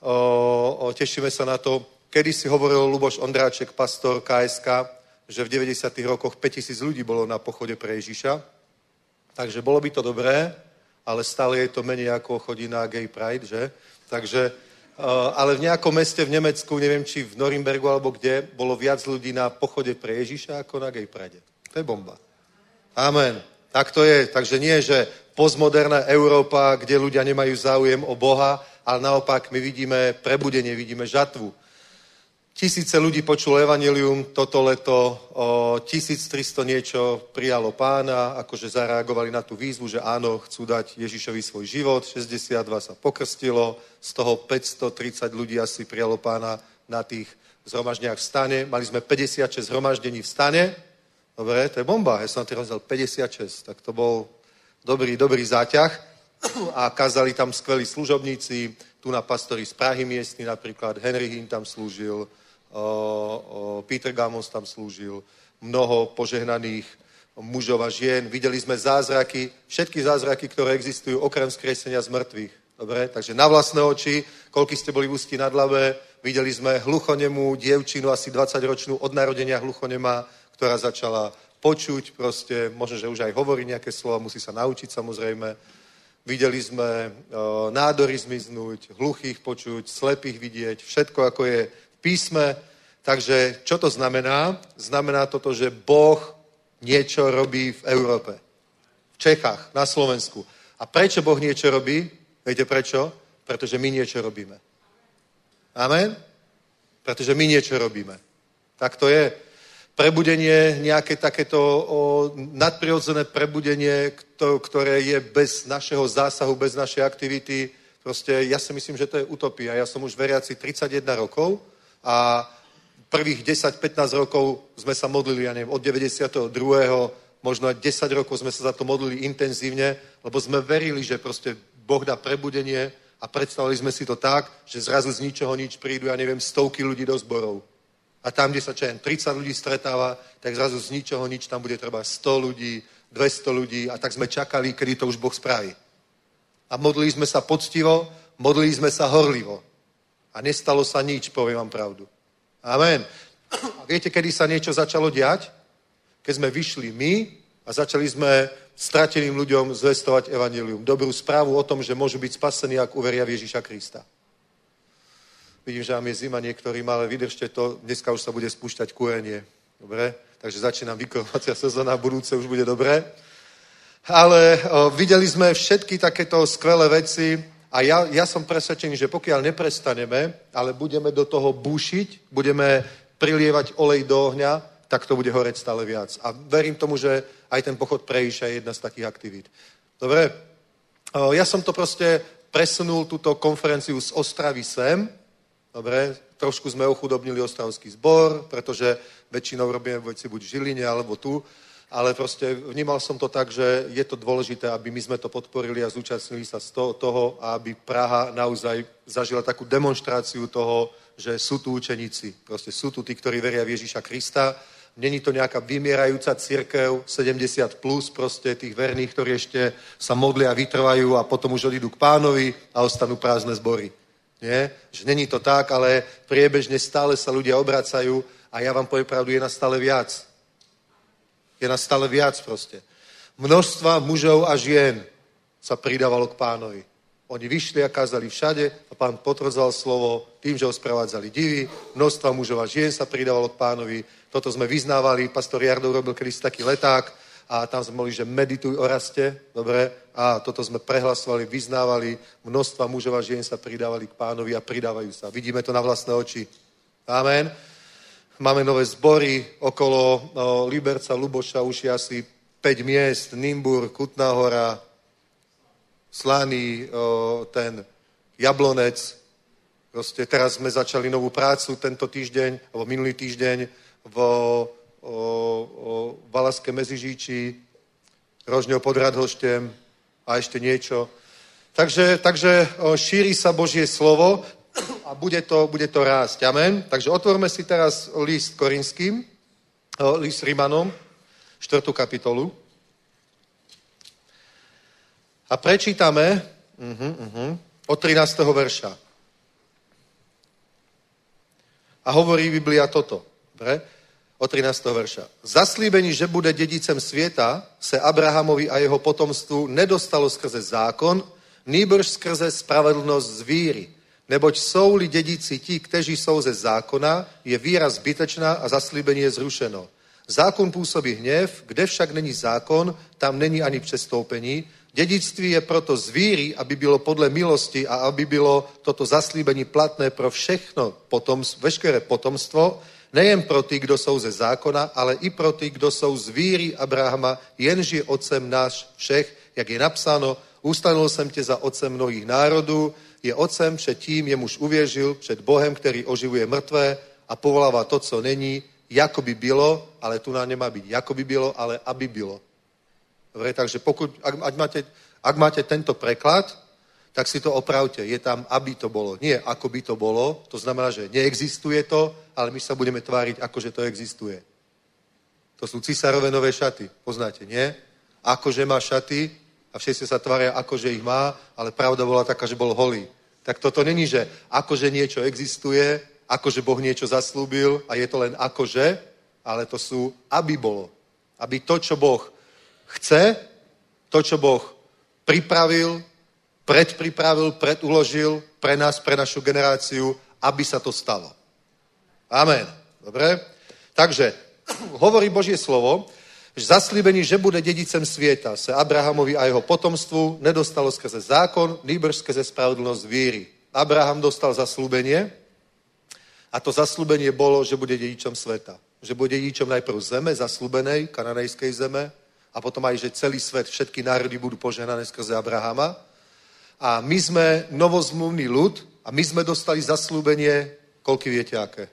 Tešíme sa na to. Kedy si hovoril Luboš Ondráček, pastor KSK, že v 90. rokoch 5000 ľudí bolo na pochode pre Ježiša. Takže bolo by to dobré, ale stále je to menej ako chodí na Gay Pride, že? Takže ale v nejakom meste v Nemecku, neviem, či v Norimbergu alebo kde, bolo viac ľudí na pochode pre Ježiša ako na Gay Pride. To je bomba. Amen. Tak to je. Takže nie, že postmoderná Európa, kde ľudia nemajú záujem o Boha, ale naopak my vidíme prebudenie, vidíme žatvu. 1000 ľudí počulo evanjelium toto leto, 1300 niečo prijalo Pána, akože zareagovali na tú výzvu, že áno, chcú dať Ježišovi svoj život, 62 sa pokrstilo, z toho 530 ľudí asi prijalo Pána na tých zhromaždeniach v stane. Mali sme 56 zhromaždení v stane. Dobre, to je bomba, ja som na tým rozdiel 56, tak to bol dobrý záťah a kázali tam skvelí služobníci, tu na pastori z Prahy miestni, napríklad Henry Hinn tam slúžil, Peter Gamos tam slúžil, mnoho požehnaných mužov a žien. Videli sme zázraky, všetky zázraky, ktoré existujú okrem vzkriesenia z mŕtvych. Dobre, takže na vlastné oči, koľko ste boli v Ústí nad Labé, videli sme hluchonemú dievčinu, asi 20-ročnú od narodenia hluchonemá, ktorá začala počuť proste, možno, že už aj hovorí nejaké slova, musí sa naučiť samozrejme. Videli sme nádory zmiznúť, hluchých počuť, slepých vidieť, všetko ako je v písme. Takže čo to znamená? Znamená toto, že Boh niečo robí v Európe. V Čechách, na Slovensku. A prečo Boh niečo robí? Viete prečo? Pretože my niečo robíme. Amen? Pretože my niečo robíme. Tak to je. Prebudenie, nejaké takéto nadprirodzené prebudenie, ktoré je bez našeho zásahu, bez našej aktivity. Proste ja si myslím, že to je utopia. Ja som už veriaci 31 rokov a prvých 10-15 rokov sme sa modlili, ja neviem, od 92. možno aj 10 rokov sme sa za to modlili intenzívne, lebo sme verili, že proste Boh dá prebudenie a predstavili sme si to tak, že zrazu z ničoho nič prídu, ja neviem, stovky ľudí do zborov. A tam, kde sa 30 ľudí stretáva, tak zrazu z ničoho nič, tam bude treba 100 ľudí, 200 ľudí a tak sme čakali, kedy to už Boh spraví. A modlili sme sa poctivo, modlili sme sa horlivo. A nestalo sa nič, poviem vám pravdu. Amen. A viete, kedy sa niečo začalo diať? Keď sme vyšli my a začali sme strateným ľuďom zvestovať evanjelium. Dobrú správu o tom, že môžu byť spasení, ak uveria v Ježiša Krista. Vidím, že vám je zima niektorým, ale vydržte to, dneska už sa bude spúšťať kúrenie. Dobre? Takže začínam vykurovacia sezóna, budúce už bude dobré. Ale videli sme všetky takéto skvelé veci a ja som presvedčený, že pokiaľ neprestaneme, ale budeme do toho búšiť, budeme prilievať olej do ohňa, tak to bude horeť stále viac. A verím tomu, že aj ten pochod Prejíša je jedna z takých aktivít. Dobre? Ja som to proste presunul, túto konferenciu z Ostravy sem. Dobre? Trošku sme ochudobnili ostravský zbor, pretože väčšinou robíme veci buď v Žiline, alebo tu. Ale proste vnímal som to tak, že je to dôležité, aby my sme to podporili a zúčastnili sa z toho, aby Praha naozaj zažila takú demonštráciu toho, že sú tu učeníci. Proste sú tu tí, ktorí veria v Ježiša Krista. Není to nejaká vymierajúca cirkev, 70 plus proste tých verných, ktorí ešte sa modlia a vytrvajú a potom už odídu k Pánovi a ostanú prázdne zbory. Nie? Že není to tak, ale priebežne stále sa ľudia obracajú a ja vám poviem pravdu, je nás stále viac. Je nás stále viac proste. Množstva mužov a žien sa pridávalo k Pánovi. Oni vyšli a kázali všade a Pán potvrdzal slovo tým, že ho sprevádzali divy. Množstva mužov a žien sa pridávalo k Pánovi. Toto sme vyznávali. Pastor Jardov robil kedysi taký leták a tam sme mohli, že medituj o raste. Dobre? A toto sme prehlasovali, vyznávali. Množstva mužov a žien sa pridávali k Pánovi a pridávajú sa. Vidíme to na vlastné oči. Amen. Máme nové zbory okolo Liberca, Luboša, už je asi 5 miest, Nymburk, Kutná Hora, Slaný, ten Jablonec. Proste teraz sme začali novú prácu tento týždeň, alebo minulý týždeň v Valašské Meziříčí, Rožňov pod Radhoštěm a ešte niečo. Takže šíri sa Božie slovo a bude to rásť. Amen. Takže otvorme si teraz list Korinským, list Rimanom, 4. kapitolu. A prečítame od 13. verša. A hovorí Biblia toto. Dobre? Od 13. verša. Zaslíbení, že bude dedicem světa, se Abrahamovi a jeho potomstvu nedostalo skrze zákon, nýbrž skrze spravedlnost z víry. Neboť jsou-li dědici ti, kteří jsou ze zákona, je víra zbytečná a zaslíbení je zrušeno. Zákon působí hněv, kde však není zákon, tam není ani přestoupení. Dědictví je proto z víry, aby bylo podle milosti a aby bylo toto zaslíbení platné pro všechno veškeré potomstvo, nejen pro ty, kdo jsou ze zákona, ale i pro ty, kdo jsou z víry Abrahama, jenž je otcem náš všech, jak je napsáno, ustanul jsem tě za otcem mnohých národů, je otcem před tím, jemuž uvěřil, před Bohem, který oživuje mrtvé a povolává to, co není, jako by bylo, ale tu nám nemá být jako by bylo, ale aby bylo. Dobre, takže ak máte tento preklad, tak si to opravte. Je tam, aby to bolo. Nie, ako by to bolo. To znamená, že neexistuje to, ale my sa budeme tváriť, ako že to existuje. To sú Cisárove nové šaty. Poznáte, nie? Akože má šaty a všetci sa tvária, akože ich má, ale pravda bola taká, že bol holý. Tak toto není, že akože niečo existuje, akože Boh niečo zaslúbil a je to len akože, ale to sú, aby bolo. Aby to, čo Boh chce, to, čo Boh pripravil, predpripravil, preduložil pre nás, pre našu generáciu, aby sa to stalo. Amen. Dobre? Takže hovorí Božie slovo, že zaslíbení, že bude dedicem svieta, se Abrahamovi a jeho potomstvu nedostalo skrze zákon, nýbrž skrze spravodlnosť víry. Abraham dostal zaslúbenie a to zaslúbenie bolo, že bude dedičom sveta. Že bude dedičom najprv zeme, zaslúbenej, kananejskej zeme, a potom aj, že celý svet, všetky národy budú požehnané skrze Abrahama. A my sme novozmluvný ľud a my sme dostali zaslúbenie, koľky viete aké?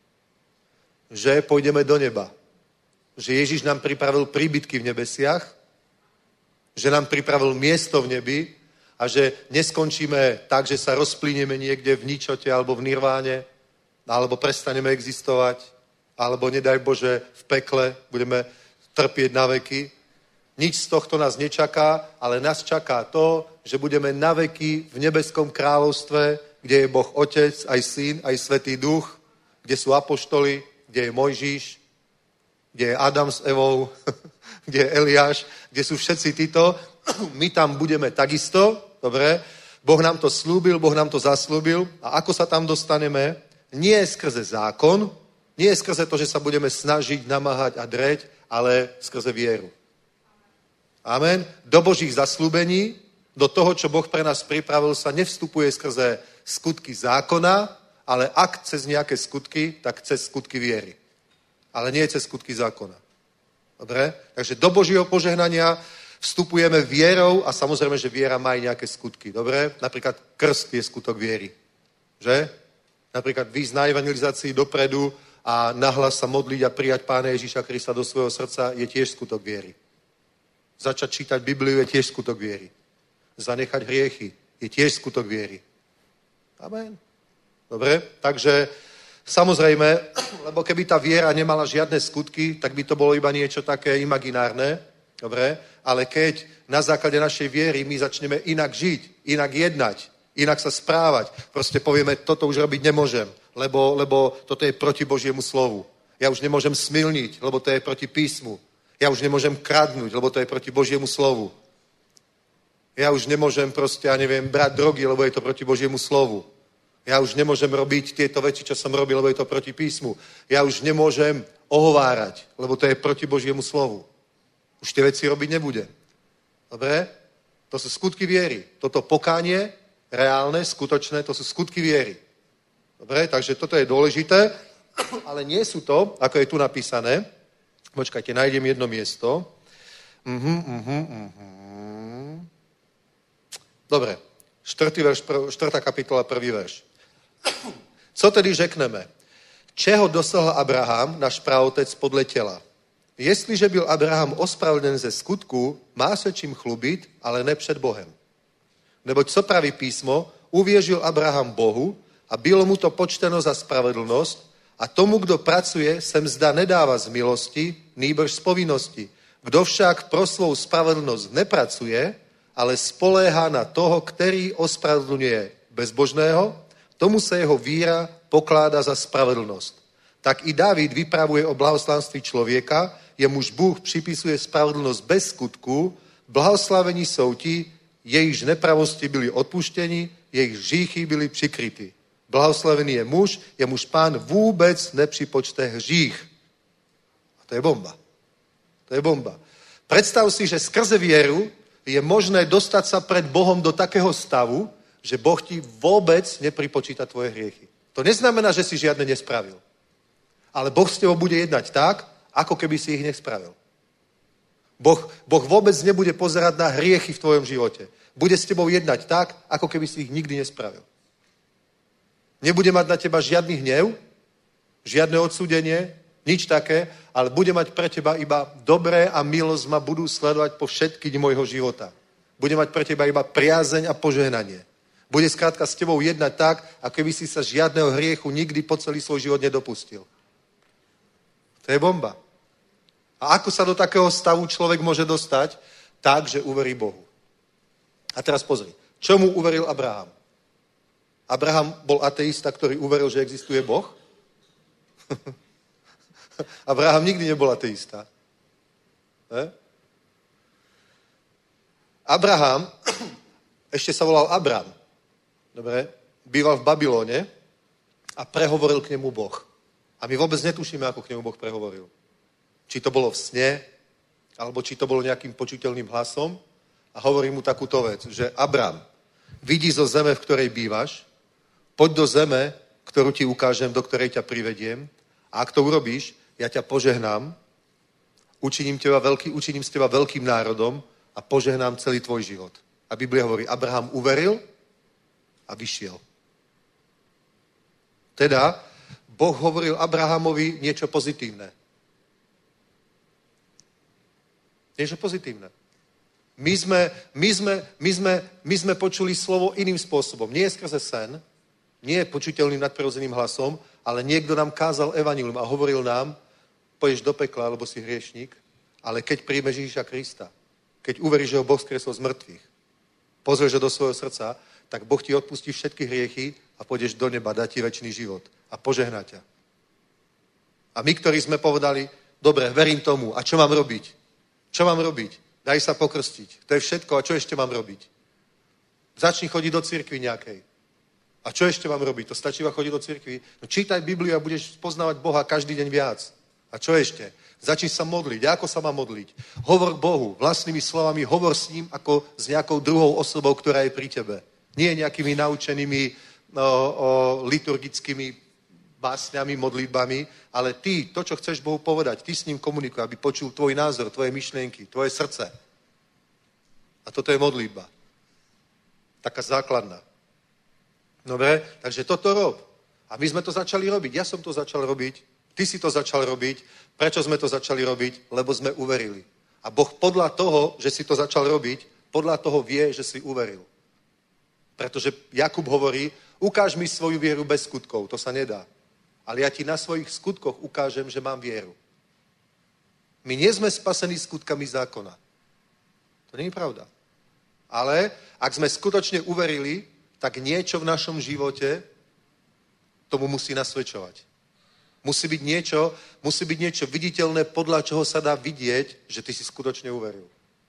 Že pôjdeme do neba. Že Ježiš nám pripravil príbytky v nebesiach, že nám pripravil miesto v nebi a že neskončíme tak, že sa rozplínieme niekde v ničote alebo v nirváne, alebo prestaneme existovať, alebo nedaj Bože v pekle budeme trpieť na veky. Nič z tohto nás nečaká, ale nás čaká to, že budeme na veky v nebeskom kráľovstve, kde je Boh Otec, aj Syn, aj Svätý Duch, kde sú apoštoli, kde je Mojžiš, kde je Adam s Evou, kde je Eliáš, kde sú všetci títo. My tam budeme takisto, dobre? Boh nám to slúbil, Boh nám to zaslúbil. A ako sa tam dostaneme? Nie skrze zákon, nie skrze to, že sa budeme snažiť, namáhať a dreť, ale skrze vieru. Amen. Do Božích zaslúbení, do toho, čo Boh pre nás pripravil, sa nevstupuje skrze skutky zákona, ale ak cez nejaké skutky, tak cez skutky viery. Ale nie cez skutky zákona. Dobre? Takže do Božího požehnania vstupujeme vierou a samozrejme, že viera má aj nejaké skutky. Dobre? Napríklad krst je skutok viery. Že? Napríklad výjsť na evangelizácii dopredu a nahlas sa modliť a prijať Pána Ježíša Krista do svojho srdca je tiež skutok viery. Začať čítať Bibliu je tiež skutok viery. Zanechať hriechy je tiež skutok viery. Amen. Dobre? Takže samozrejme, lebo keby tá viera nemala žiadne skutky, tak by to bolo iba niečo také imaginárne. Dobre? Ale keď na základe našej viery my začneme inak žiť, inak jednať, inak sa správať, proste povieme, toto už robiť nemôžem, lebo toto je proti Božiemu slovu. Ja už nemôžem smilniť, lebo to je proti písmu. Ja už nemôžem kradnúť, lebo to je proti Božiemu slovu. Ja už nemôžem proste, ja neviem, brať drogy, lebo je to proti Božiemu slovu. Ja už nemôžem robiť tieto veci, čo som robil, lebo je to proti písmu. Ja už nemôžem ohovárať, lebo to je proti Božiemu slovu. Už tie veci robiť nebudem. Dobre? To sú skutky viery. Toto pokánie, reálne, skutočné, to sú skutky viery. Dobre? Takže toto je dôležité, ale nie sú to, ako je tu napísané. Počkajte, nájdem jedno miesto. Dobre. 4. kapitola, 1. verš. Co tedy řekneme? Čeho dosahl Abraham, náš praotec, podle těla? Jestliže byl Abraham ospravedlněn ze skutku, má se čím chlubit, ale ne před Bohem. Neboť co praví písmo, uvěřil Abraham Bohu a bylo mu to počteno za spravedlnost a tomu, kdo pracuje, se mzda nedává z milosti, nýbrž z povinnosti. Kdo však pro svou spravedlnost nepracuje, ale spoléhá na toho, který ospravedlňuje bezbožného, tomu se jeho víra pokládá za spravedlnost. Tak i Dávid vypravuje o blahoslavenství člověka, jemuž Bůh připisuje spravedlnost bez skutku, blahoslavení jsou ti, jejichž nepravosti byli odpuštěni, jejich hříchy byli přikryty. Blahoslavený je muž, jemuž Pán vůbec nepřipočte hřích. A to je bomba. To je bomba. Predstav si, že skrze vieru je možné dostať sa pred Bohom do takého stavu, že Boh ti vôbec nepripočíta tvoje hriechy. To neznamená, že si žiadne nespravil. Ale Boh s tebou bude jednať tak, ako keby si ich nespravil. Boh vôbec nebude pozerať na hriechy v tvojom živote. Bude s tebou jednať tak, ako keby si ich nikdy nespravil. Nebude mať na teba žiadny hnev, žiadne odsúdenie, nič také, ale bude mať pre teba iba dobré a milosť ma budú sledovať po všetky dni môjho života. Bude mať pre teba iba priazeň a požehnanie. Bude skrátka s tebou jednať tak, ako keby si sa žiadneho hriechu nikdy po celý svoj život nedopustil. To je bomba. A ako sa do takého stavu človek môže dostať? Tak, že uverí Bohu. A teraz pozri. Čomu uveril Abraham? Abraham bol ateista, ktorý uveril, že existuje Boh? Abraham nikdy nebol ateista. Ne? Abraham, ešte sa volal Abram, dobre, býval v Babylone a prehovoril k nemu Boh. A my vôbec netušíme, ako k nemu Boh prehovoril. Či to bolo v sne, alebo či to bolo nejakým počuteľným hlasom. A hovorí mu takúto vec, že Abram, vidí zo zeme, v ktorej bývaš, poď do zeme, ktorú ti ukážem, do ktorej ťa privediem. A ak to urobíš, ja ťa požehnám, učiním z teba veľkým národom a požehnám celý tvoj život. A Biblia hovorí, Abraham uveril a vyšiel. Teda, Boh hovoril Abrahamovi niečo pozitívne. Niečo pozitívne. My sme počuli slovo iným spôsobom. Nie skrze sen, nie počuteľným nadprirodzeným hlasom, ale niekto nám kázal evanjelium a hovoril nám, pôjdeš do pekla, lebo si hriešnik, ale keď príjmeš Ježiša Krista, keď uveríš, že ho Boh skresol z mŕtvych, pozrieš ho do svojho srdca, tak Boh ti odpustí všetky hriechy a pôjdeš do neba, dá ti večný život a požehná ťa. A my, ktorí sme povedali, dobre, verím tomu, a čo mám robiť? Čo mám robiť? Daj sa pokrstiť. To je všetko, a čo ešte mám robiť? Začni chodiť do cirkvi nejakej. A čo ešte mám robiť? To stačí iba chodiť do cirkvi? No čítaj Bibliu a budeš poznávať Boha každý deň viac. A čo ešte? Začni sa modliť. Ako sa má modliť? Hovor k Bohu vlastnými slovami, hovor s ním ako s nejakou druhou osobou, ktorá je pri tebe. Nie nejakými naučenými liturgickými básňami, modlitbami, ale ty, to, čo chceš Bohu povedať, ty s ním komunikuj, aby počul tvoj názor, tvoje myšlienky, tvoje srdce. A toto je modlitba. Taká základná. Dobre? Takže toto rob. A my sme to začali robiť. Ja som to začal robiť. Ty si to začal robiť. Prečo sme to začali robiť? Lebo sme uverili. A Boh podľa toho, že si to začal robiť, podľa toho vie, že si uveril. Pretože Jakub hovorí, ukáž mi svoju vieru bez skutkov. To sa nedá. Ale ja ti na svojich skutkoch ukážem, že mám vieru. My nie sme spasení skutkami zákona. To nie je pravda. Ale ak sme skutočne uverili, tak niečo v našom živote tomu musí nasvedčovať. Musí byť niečo viditeľné, podľa čoho sa dá vidieť, že ty si skutočne uveril.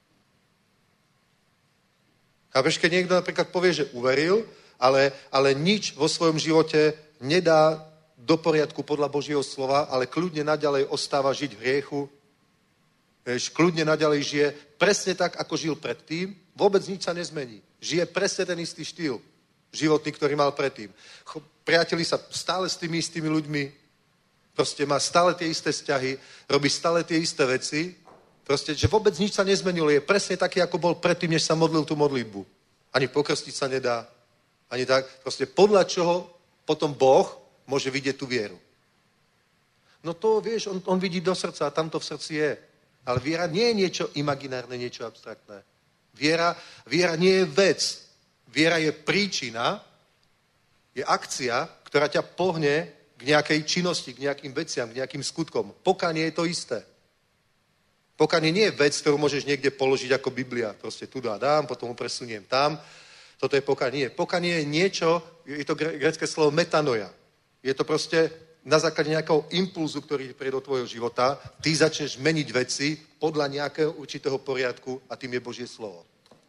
Chápeš, keď niekto napríklad povie, že uveril, ale nič vo svojom živote nedá do poriadku podľa Božieho slova, ale kľudne naďalej ostáva žiť v hriechu, kľudne naďalej žije presne tak, ako žil predtým, vôbec nič sa nezmení. Žije presne ten istý štýl životný, ktorý mal predtým. Priateli sa stále s tými istými ľuďmi, proste má stále tie isté vzťahy, robí stále tie isté veci, proste, že vôbec nič sa nezmenilo, je presne taký, ako bol predtým, než sa modlil tú modlitbu. Ani pokrstiť sa nedá, ani tak. Proste podľa čoho potom Boh môže vidieť tú vieru. No to, vieš, on vidí do srdca a tam to v srdci je. Ale viera nie je niečo imaginárne, niečo abstraktné. Viera nie je vec. Viera je príčina, je akcia, ktorá ťa pohne k nejakej činnosti, k nejakým veciam, k nejakým skutkom. Pokánie je to isté. Pokánie nie je vec, ktorú môžeš niekde položiť ako Biblia. Proste tu dám, potom ho presuniem tam. Toto je pokánie. Nie. Pokánie je niečo, je to grécke slovo metanoia. Je to proste na základe nejakého impulzu, ktorý príde do tvojho života, ty začneš meniť veci podľa nejakého určitého poriadku a tým je Božie slovo.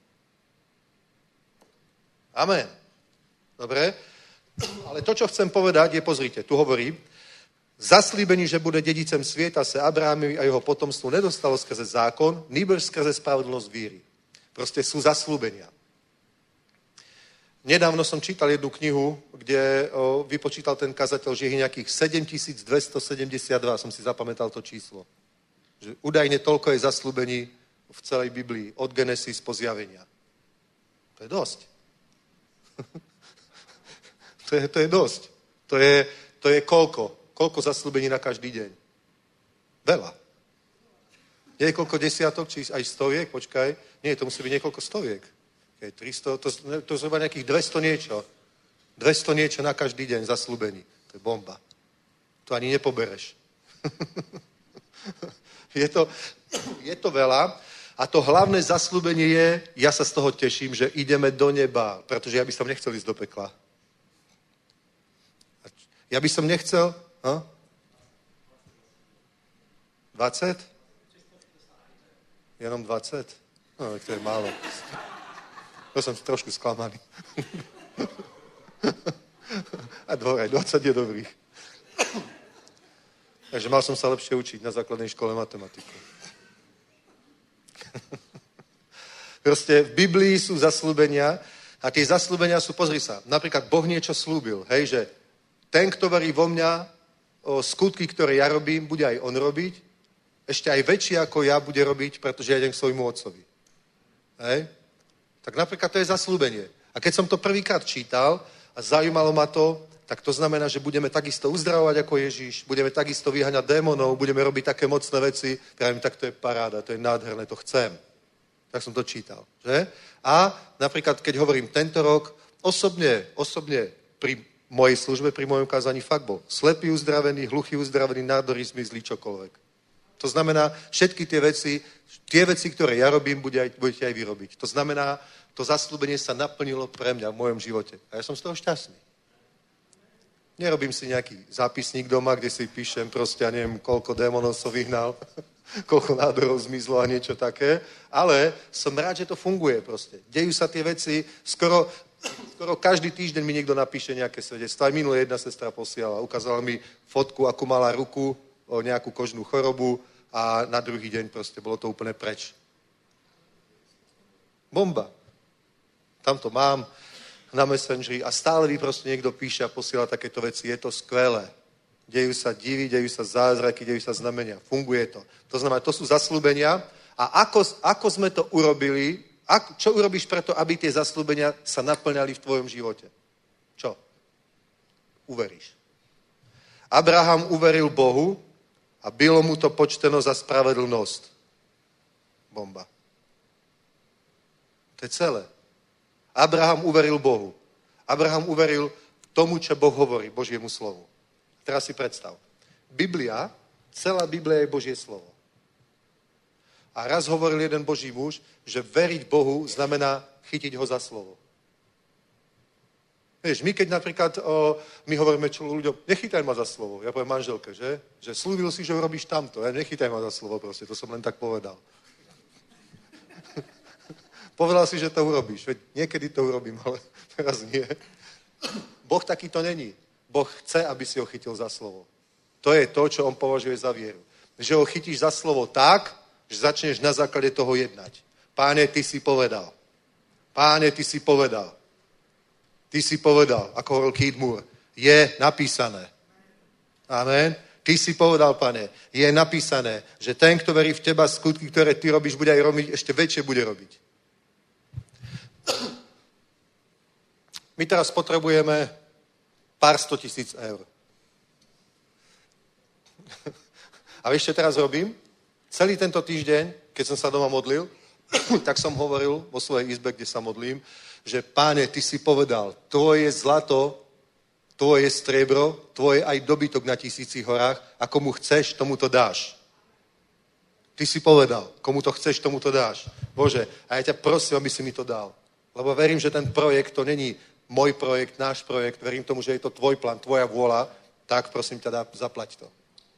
Amen. Dobre? Ale to, čo chcem povedať, je, pozrite, tu hovorí, zaslíbení, že bude dedicem svieta, sa Abrahamovi a jeho potomstvu nedostalo skrze zákon, nýbrž skrze spravodlnosť víry. Proste sú zaslúbenia. Nedávno som čítal jednu knihu, kde vypočítal ten kazateľ, že je nejakých 7272, som si zapamätal to číslo. Že údajne toľko je zaslúbení v celej Biblii, od Genesis po zjavenia. To je dosť. to je dosť. To je koľko? Koľko zaslúbení na každý deň? Veľa. Nie je koľko desiatok, či aj stoviek? Počkaj. Nie, to musí byť niekoľko stoviek. 300, to zhruba nejakých 200 niečo. 200 niečo na každý deň zaslúbení. To je bomba. To ani nepobereš. je to veľa. A to hlavné zaslúbenie je, ja sa z toho teším, že ideme do neba, pretože ja by som nechcel ísť do pekla. Ja by som nechcel... 20? Jenom 20? No, to je málo. To som trošku sklamaný. A aj 20 je dobrých. Takže mal som sa lepšie učiť na základnej škole matematiku. Proste v Biblii sú zasľúbenia a tie zasľúbenia sú, pozri sa, napríklad Boh niečo slúbil, hej, že ten, kto verí vo mňa, o skutky, ktoré ja robím, bude aj on robiť, ešte aj väčšie ako ja bude robiť, pretože ja idem k svojmu otcovi. Hej? Tak napríklad to je zasľúbenie. A keď som to prvýkrát čítal a zaujímalo ma to, tak to znamená, že budeme takisto uzdravovať ako Ježíš, budeme takisto vyháňať démonov, budeme robiť také mocné veci. Pravím, tak to je paráda, to je nádherné, to chcem. Tak som to čítal. Že? A napríklad, keď hovorím tento rok, osobne pri mojej službe, pri mojom kázaní fakt bol slepý uzdravený, hluchý uzdravený, nádory zmizli, čokoľvek. To znamená, všetky tie veci, ktoré ja robím, budete aj vy robiť. To znamená, to zasľúbenie sa naplnilo pre mňa v mojom živote. A ja som z toho šťastný. Nerobím si nejaký zápisník doma, kde si píšem proste, ja neviem, koľko démonov som vyhnal, koľko nádorov zmizlo a niečo také, ale som rád, že to funguje proste. Dejú sa tie veci, skoro každý týždeň mi niekto napíše nejaké svedectvo. Aj minulé jedna sestra posiela, ukázala mi fotku, akú mala ruku, o nejakú kožnú chorobu a na druhý deň proste bolo to úplne preč. Bomba. Tam to mám na Messengeri a stále mi proste niekto píše a posiela takéto veci. Je to skvelé. Dejú sa divy, dejú sa zázraky, dejú sa znamenia. Funguje to. To znamená, to sú zasľúbenia a ako sme to urobili, čo urobíš preto, aby tie zasľúbenia sa naplňali v tvojom živote? Čo? Uveríš. Abraham uveril Bohu a bylo mu to počteno za spravedlnosť. Bomba. To je celé. Abraham uveril Bohu. Abraham uveril tomu, čo Boh hovorí, Božiemu slovu. Teraz si predstav. Biblia, celá Biblia je Božie slovo. A raz hovoril jeden Boží muž, že veriť Bohu znamená chytiť ho za slovo. Vieš, my keď napríklad, my hovoríme ľuďom, nechytaj ma za slovo. Ja poviem manželke, že slúbil si, že urobíš tamto. Ja nechytaj ma za slovo proste, to som len tak povedal. Povedal si, že to urobíš. Veď niekedy to urobím, ale teraz nie. Boh taký to není. Boh chce, aby si ho chytil za slovo. To je to, čo on považuje za vieru. Že ho chytíš za slovo tak, že začneš na základe toho jednať. Páne, ty si povedal. Páne, ty si povedal. Ty si povedal, ako hovoril Keith Moore, je napísané. Amen. Ty si povedal, Pane, je napísané, že ten, kto verí v teba, skutky, ktoré ty robíš, bude aj robiť, ešte väčšie bude robiť. My teraz potrebujeme pár 100 000 eur. A vieš, čo teraz robím? Celý tento týždeň, keď som sa doma modlil, tak som hovoril vo svojej izbe, kde sa modlím, že Páne, ty si povedal, tvoje zlato, tvoje striebro, tvoje aj dobytok na 1000 horách a komu chceš, tomu to dáš. Ty si povedal, komu to chceš, tomu to dáš. Bože, a ja ťa prosím, aby si mi to dal. Lebo verím, že ten projekt, to není môj projekt, náš projekt, verím tomu, že je to tvoj plán, tvoja vôľa, tak prosím ťa, zaplať to.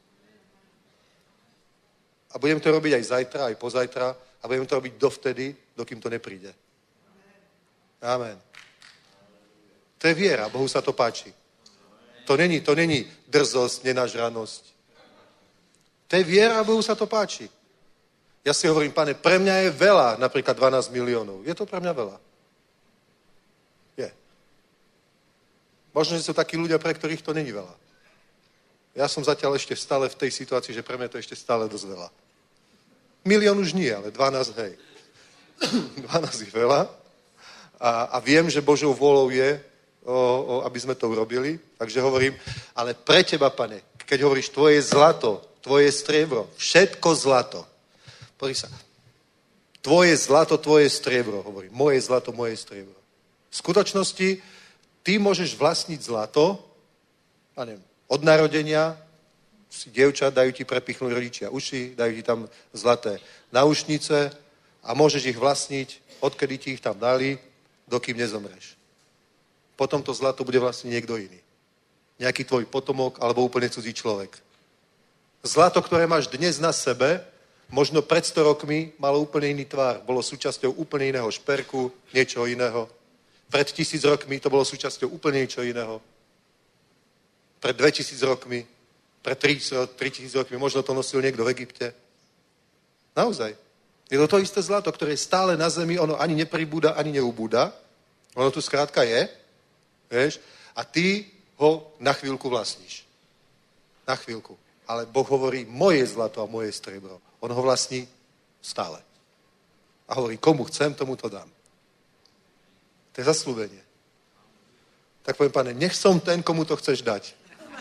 A budem to robiť aj zajtra, aj pozajtra a budem to robiť dovtedy, dokým to nepríde. Amen. To je viera, Bohu sa to páči. To není drzosť, nenažranosť. To je viera a Bohu sa to páči. Ja si hovorím, Pane, pre mňa je veľa, napríklad 12 miliónov. Je to pre mňa veľa? Je. Možno, že sú takí ľudia, pre ktorých to není veľa. Ja som zatiaľ ešte stále v tej situácii, že pre mňa to ešte stále dosť veľa. 1 milión už nie, ale 12, hej. 12 je veľa. A viem, že Božou vôľou je, aby sme to urobili. Takže hovorím, ale pre teba, Pane, keď hovoríš tvoje zlato, tvoje striebro, všetko zlato. Pozri sa. Tvoje zlato, tvoje striebro, hovorím. Moje zlato, moje striebro. V skutočnosti ty môžeš vlastniť zlato, a neviem, od narodenia si dievča, dajú ti prepichnúť rodičia uši, dajú ti tam zlaté náušnice a môžeš ich vlastniť, odkedy ti ich tam dali, dokým nezomreš. Potom to zlato bude vlastniť niekto iný. nejaký tvoj potomok alebo úplne cudzí človek. Zlato, ktoré máš dnes na sebe, možno pred 100 rokmi malo úplne iný tvár. Bolo súčasťou úplne iného šperku, niečo iného. Pred 1000 rokmi to bolo súčasťou úplne niečo iného. Pred 2000 rokmi, pred 3000 rokmi, možno to nosil niekto v Egypte. Naozaj. Je to isté zlato, ktoré je stále na zemi, ono ani nepribúda, ani neubúda. Ono tu skrátka je, vieš, a ty ho na chvíľku vlastníš. Na chvíľku. Ale Boh hovorí, moje zlato a moje striebro. On ho vlastní stále. A hovorí, komu chcem, tomu to dám. To je zasľúbenie. Tak poviem, Pane, nech som ten, komu to chceš dať.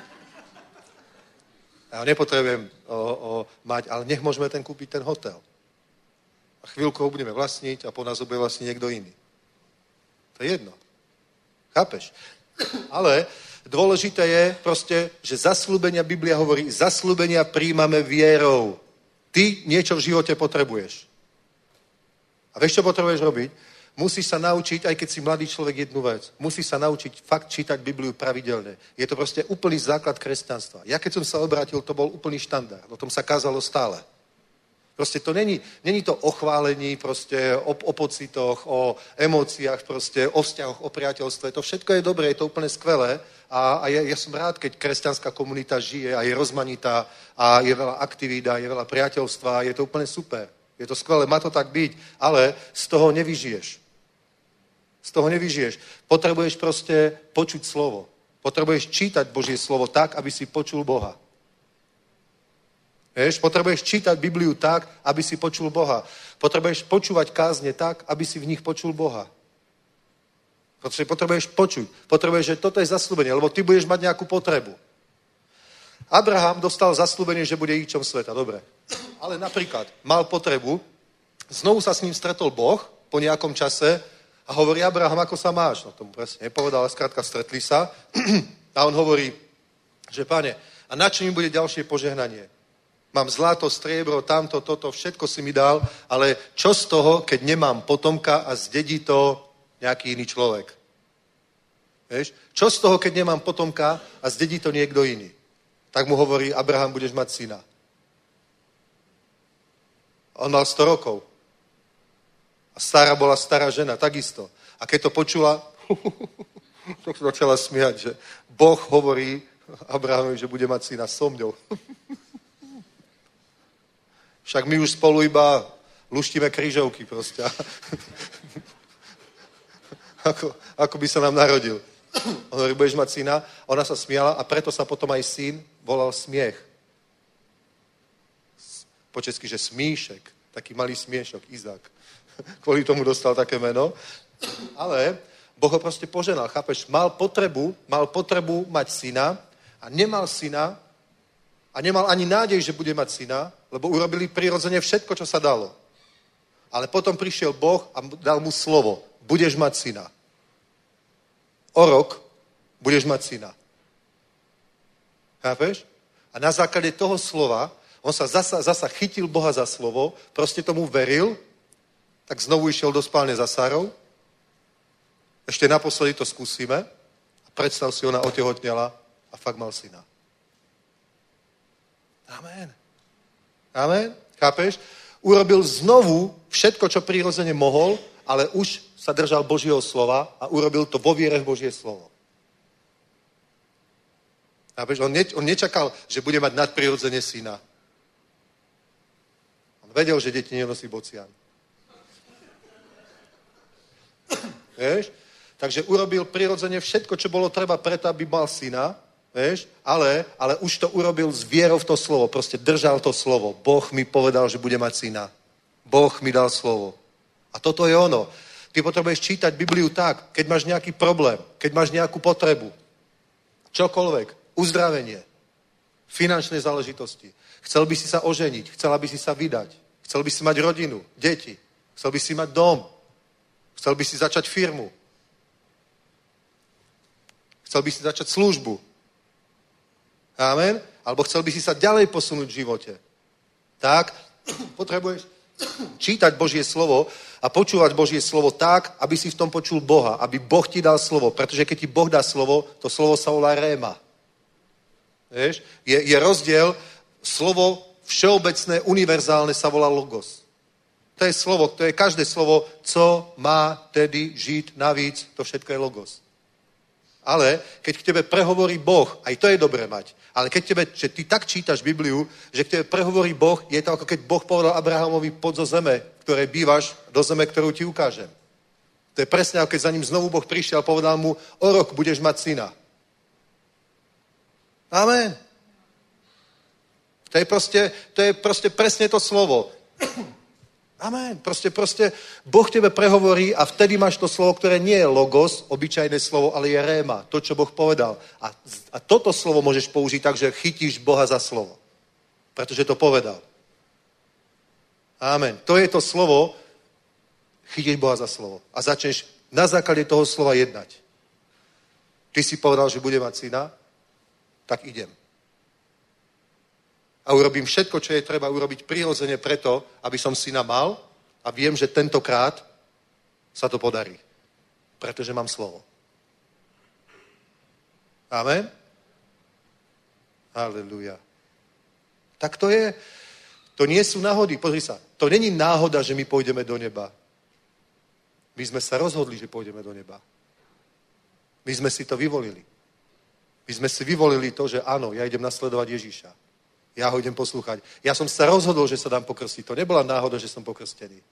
Ja ho nepotrebujem mať, ale nech môžeme kúpiť ten hotel. A chvíľku ho budeme vlastniť a po nás ho bude vlastniť niekto iný. To je jedno. Chápeš? Ale dôležité je proste, že zasľúbenia, Biblia hovorí, zasľúbenia príjmame vierou. Ty niečo v živote potrebuješ. A vieš, čo potrebuješ robiť? Musíš sa naučiť, aj keď si mladý človek, jednu vec. Musíš sa naučiť fakt čítať Bibliu pravidelne. Je to proste úplný základ kresťanstva. Ja keď som sa obrátil, to bol úplný štandard. O tom sa kázalo stále. Proste to není to o chválení, proste o pocitoch, o emóciách, proste o vzťahoch, o priateľstve. To všetko je dobré, je to úplne skvelé. A ja som rád, keď kresťanská komunita žije a je rozmanitá a je veľa aktivít a je veľa priateľstva. Je to úplne super. Je to skvelé, má to tak byť, ale z toho nevyžiješ. Z toho nevyžiješ. Potrebuješ proste počuť slovo. Potrebuješ čítať Božie slovo tak, aby si počul Boha. Vieš, potrebuješ čítať Bibliu tak, aby si počul Boha. Potrebuješ počúvať kázne tak, aby si v nich počul Boha. Pretože potrebuješ počuť. Potrebuješ, že toto je zasľúbenie, lebo ty budeš mať nejakú potrebu. Abraham dostal zasľúbenie, že bude ničom sveta, dobre. Ale napríklad mal potrebu, znovu sa s ním stretol Boh po nejakom čase a hovorí, Abraham, ako sa máš? No tomu presne nepovedal, ale skrátka stretli sa. A on hovorí, že Pane, a na čo mi bude ďalšie požehnanie? Mám zlato, striebro, tamto, toto, všetko si mi dal, ale čo z toho, keď nemám potomka a zdedí to nejaký iný človek? Vieš? Čo z toho, keď nemám potomka a zdedí to niekto iný? Tak mu hovorí, Abraham, budeš mať syna. On mal 100 rokov. A Sára bola stará žena, takisto. A keď to počula, tak sa začala smiať, že Boh hovorí Abrahamovi, že bude mať syna so mňou. Však my už spolu iba luštíme krížovky proste. ako by sa nám narodil. On hovorí, budeš mať syna. Ona sa smiala a preto sa potom aj syn volal Smiech. Po česky, že Smíšek. Taký malý smiešok, Izák. Kvôli tomu dostal také meno. Ale Boh ho proste poženal, chápeš? Mal potrebu mať syna a nemal syna a nemal ani nádej, že bude mať syna, lebo urobili prirodzene všetko, čo sa dalo. Ale potom prišiel Boh a dal mu slovo. Budeš mať syna. O rok budeš mať syna. Chápeš? A na základe toho slova on sa zasa chytil Boha za slovo, proste tomu veril, tak znovu išiel do spálne za Sárou. Ešte naposledy to skúsime. A predstav si, ona otehotnela a fakt mal syna. Amen. Amen. Chápeš? Urobil znovu všetko, čo prirodzene mohol, ale už sa držal Božieho slova a urobil to vo viere v Božie slovo. Chápeš? On nečakal, že bude mať nadprirodzene syna. On vedel, že deti nenosí bocian. Vieš? Takže urobil prirodzene všetko, čo bolo treba preto, aby mal syna, vieš? Ale už to urobil s vierou v to slovo. Proste držal to slovo. Boh mi povedal, že bude mať syna. Boh mi dal slovo. A toto je ono. Ty potrebuješ čítať Bibliu tak, keď máš nejaký problém, keď máš nejakú potrebu. Čokoľvek. Uzdravenie. Finančné záležitosti. Chcel by si sa oženiť. Chcela by si sa vydať. Chcel by si mať rodinu, deti. Chcel by si mať dom. Chcel by si začať firmu. Chcel by si začať službu. Amen? Alebo chcel by si sa ďalej posunúť v živote. Tak potrebuješ čítať Božie slovo a počúvať Božie slovo tak, aby si v tom počul Boha. Aby Boh ti dal slovo. Pretože keď ti Boh dá slovo, to slovo sa volá réma. Vieš? Je rozdiel, slovo všeobecné, univerzálne sa volá logos. To je slovo, to je každé slovo, co má tedy žít navíc, to všetko je logos. Ale keď k tebe prehovorí Boh, aj to je dobré mať, ale keď tebe, že ty tak čítaš Bibliu, že k tebe prehovorí Boh, je to ako keď Boh povedal Abrahamovi, poď zo zeme, v ktorej bývaš, do zeme, ktorú ti ukážem. To je presne ako keď za ním znovu Boh prišiel a povedal mu, o rok budeš mať syna. Amen. To je proste presne to slovo. Amen. Proste Boh tebe prehovorí a vtedy máš to slovo, ktoré nie je logos, obyčajné slovo, ale je réma, to, čo Boh povedal. A toto slovo môžeš použiť tak, že chytíš Boha za slovo. Pretože to povedal. Amen. To je to slovo, chytíš Boha za slovo. A začneš na základe toho slova jednať. Ty si povedal, že bude mať syna, tak idem. A urobím všetko, čo je treba urobiť prirodzene preto, aby som syna mal a viem, že tentokrát sa to podarí. Pretože mám slovo. Amen? Halleluja. Tak to je. To nie sú náhody. Pozri sa. To není náhoda, že my pôjdeme do neba. My sme sa rozhodli, že pôjdeme do neba. My sme si to vyvolili. My sme si vyvolili to, že áno, ja idem nasledovať Ježíša. Ja ho idem poslúchať. Ja som sa rozhodol, že sa dám pokrstiť. To nebola náhoda, že som pokrstený.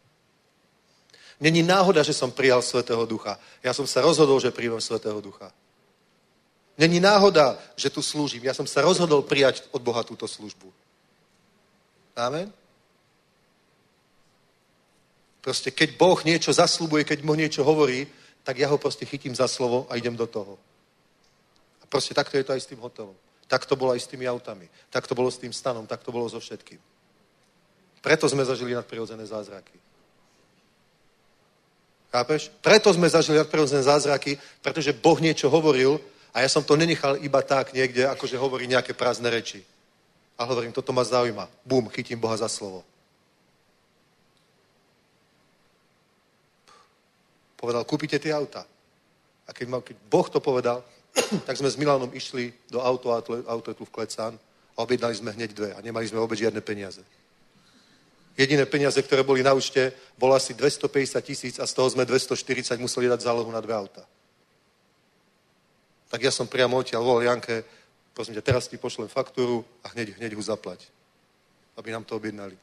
Není náhoda, že som prijal Svätého Ducha. Ja som sa rozhodol, že príjmem Svätého Ducha. Není náhoda, že tu slúžim. Ja som sa rozhodol prijať od Boha túto službu. Amen? Proste, keď Boh niečo zasľubuje, keď Boh niečo hovorí, tak ja ho proste chytím za slovo a idem do toho. A proste takto je to aj s tým hotelom. Tak to bolo aj s tými autami. Tak to bolo s tým stanom. Tak to bolo so všetkým. Preto sme zažili nadprirodzené zázraky. Chápeš? Preto sme zažili nadprirodzené zázraky, pretože Boh niečo hovoril a ja som to nenechal iba tak niekde, akože hovorí nejaké prázdne reči. A hovorím, toto ma zaujíma. Bum, chytím Boha za slovo. Povedal, kúpite tie auta. A keď Boh to povedal, tak sme s Milanom išli do autotu v Klecán a objednali sme hneď 2 a nemali sme vôbec žiadne peniaze. Jediné peniaze, ktoré boli na účte, bolo asi 250 000 a z toho sme 240 museli dať zálohu na 2 auta. Tak ja som priamo odtiaľ volal Janke, prosím ťa, teraz ti pošlem faktúru a hneď ho zaplať, aby nám to objednali.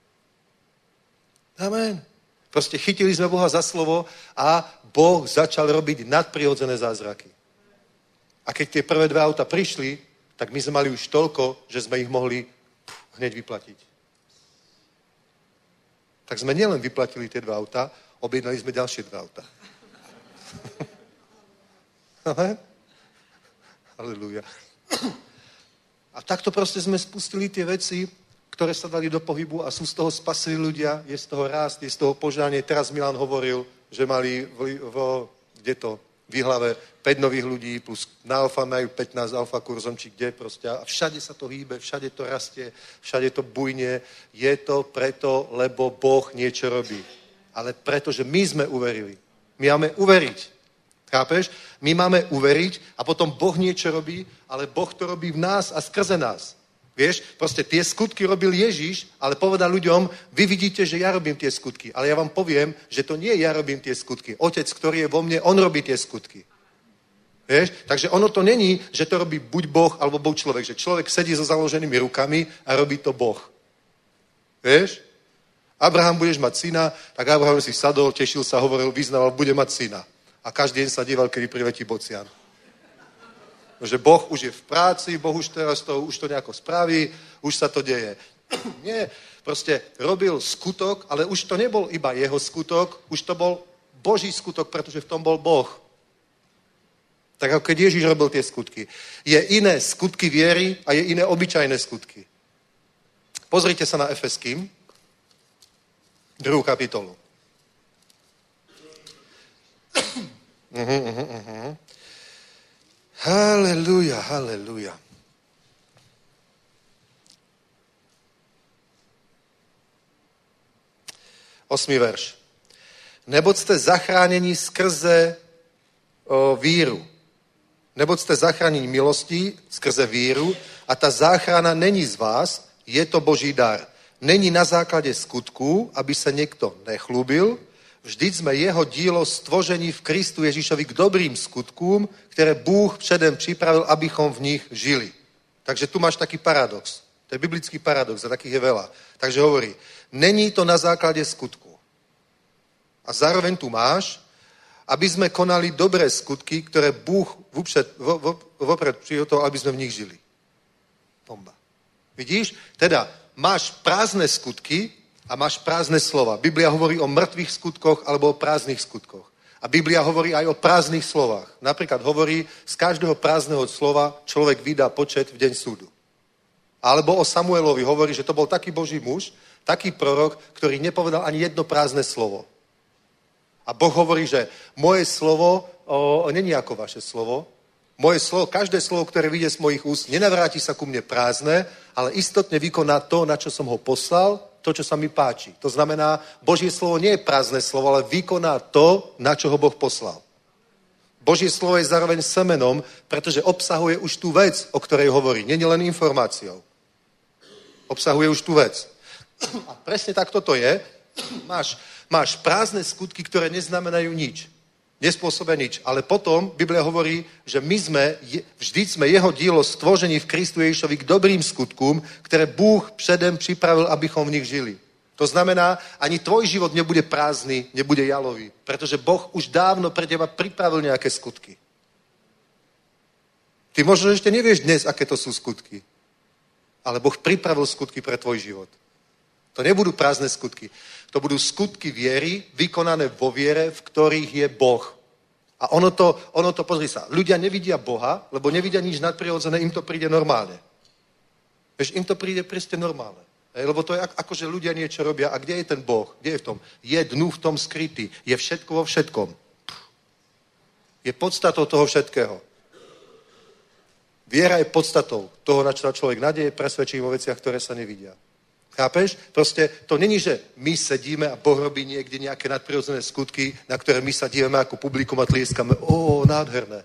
Amen. Proste chytili sme Boha za slovo a Boh začal robiť nadprirodzené zázraky. A keď tie prvé 2 auta prišli, tak my sme mali už toľko, že sme ich mohli hneď vyplatiť. Tak sme nielen vyplatili tie 2 auta, objednali sme ďalšie 2 auta. Halleluja. A takto proste sme spustili tie veci, ktoré sa dali do pohybu a sú z toho spasili ľudia, je z toho rást, je z toho požanie. Teraz Milan hovoril, že mali v Jihlave 5 nových ľudí, plus na Alfa majú 15 Alfa kurzom, či kde proste. A všade sa to hýbe, všade to rastie, všade to bujne. Je to preto, lebo Boh niečo robí. Ale preto, že my sme uverili. My máme uveriť. Chápeš? My máme uveriť a potom Boh niečo robí, ale Boh to robí v nás a skrze nás. Vieš, proste tie skutky robil Ježíš, ale povedal ľuďom, vy vidíte, že ja robím tie skutky, ale ja vám poviem, že to nie ja robím tie skutky. Otec, ktorý je vo mne, on robí tie skutky. Vieš, takže ono to není, že to robí buď Boh, alebo Boh človek, že človek sedí so založenými rukami a robí to Boh. Vieš? Abraham, budeš mať syna, tak Abraham si sadol, tešil sa, hovoril, vyznával, bude mať syna. A každý deň sa díval, kedy priletí bocian. Že Boh už je v práci, Boh už teraz už to nejako spraví, už sa to deje. Nie, proste robil skutok, ale už to nebol iba jeho skutok, už to bol Boží skutok, pretože v tom bol Boh. Tak ako keď Ježíš robil tie skutky. Je iné skutky viery a je iné obyčajné skutky. Pozrite sa na Efeským, 2. kapitolu. Halleluja, halleluja. Osmý verš. Neboť jste zachráněni skrze víru. Neboť ste zachránení milostí skrze víru a ta záchrana není z vás, je to Boží dar. Není na základě skutků, aby se někdo nechlúbil. Vždyť jsme jeho dílo stvoření v Kristu Ježíšovi k dobrým skutkům, které Bůh předem připravil, abychom v nich žili. Takže tu máš taký paradox. To je biblický paradox a takých je veľa. Takže hovorí, není to na základě skutku. A zároveň tu máš, aby jsme konali dobré skutky, které Bůh vopred přihotoval, aby jsme v nich žili. Bomba. Vidíš? Teda máš prázdné skutky a máš prázdné slova. Biblia hovorí o mŕtvych skutkoch alebo o prázdnych skutkoch. A Biblia hovorí aj o prázdnych slovách. Napríklad hovorí, z každého prázdneho slova človek vydá počet v deň súdu. Alebo o Samuelovi hovorí, že to bol taký Boží muž, taký prorok, ktorý nepovedal ani jedno prázdne slovo. A Boh hovorí, že moje slovo není ako vaše slovo. Moje slovo, každé slovo, ktoré vyjde z mojich úst, nenavráti sa ku mne prázdne, ale istotne vykoná to, na čo som ho poslal, to, čo sa mi páči. To znamená, Božie slovo nie je prázdne slovo, ale vykoná to, na čo ho Boh poslal. Božie slovo je zároveň semenom, pretože obsahuje už tú vec, o ktorej hovorí. Nie je len informáciou. Obsahuje už tú vec. A presne tak toto je. Máš prázdne skutky, ktoré neznamenajú nič. Nespôsobia nič. Ale potom Biblia hovorí, že vždy sme jeho dílo stvoření v Kristu Ježišovi k dobrým skutkům, které Bůh předem připravil, abychom v nich žili. To znamená, ani tvoj život nebude prázdny, nebude jalový, pretože Boh už dávno pre teba pripravil nejaké skutky. Ty možno ešte nevieš dnes, aké to sú skutky, ale Boh pripravil skutky pre tvoj život. To nebudú prázdne skutky. To budú skutky viery, vykonané vo viere, v ktorých je Boh. A ono to, pozri sa, ľudia nevidia Boha, lebo nevidia nič nadprirodzené, im to príde normálne. Vieš, im to príde proste normálne. Lebo to je ako, že ľudia niečo robia. A kde je ten Boh? Kde je v tom? Je dnu v tom skrytý. Je všetko vo všetkom. Je podstatou toho všetkého. Viera je podstatou toho, na čo sa človek nadeje, presvedčí vo veciach, ktoré sa nevidia. Chápeš? Proste to není, že my sedíme a Boh robí niekde nejaké nadprirodzené skutky, na ktoré my sa dívame ako publikum a tlieskame. Nádherné.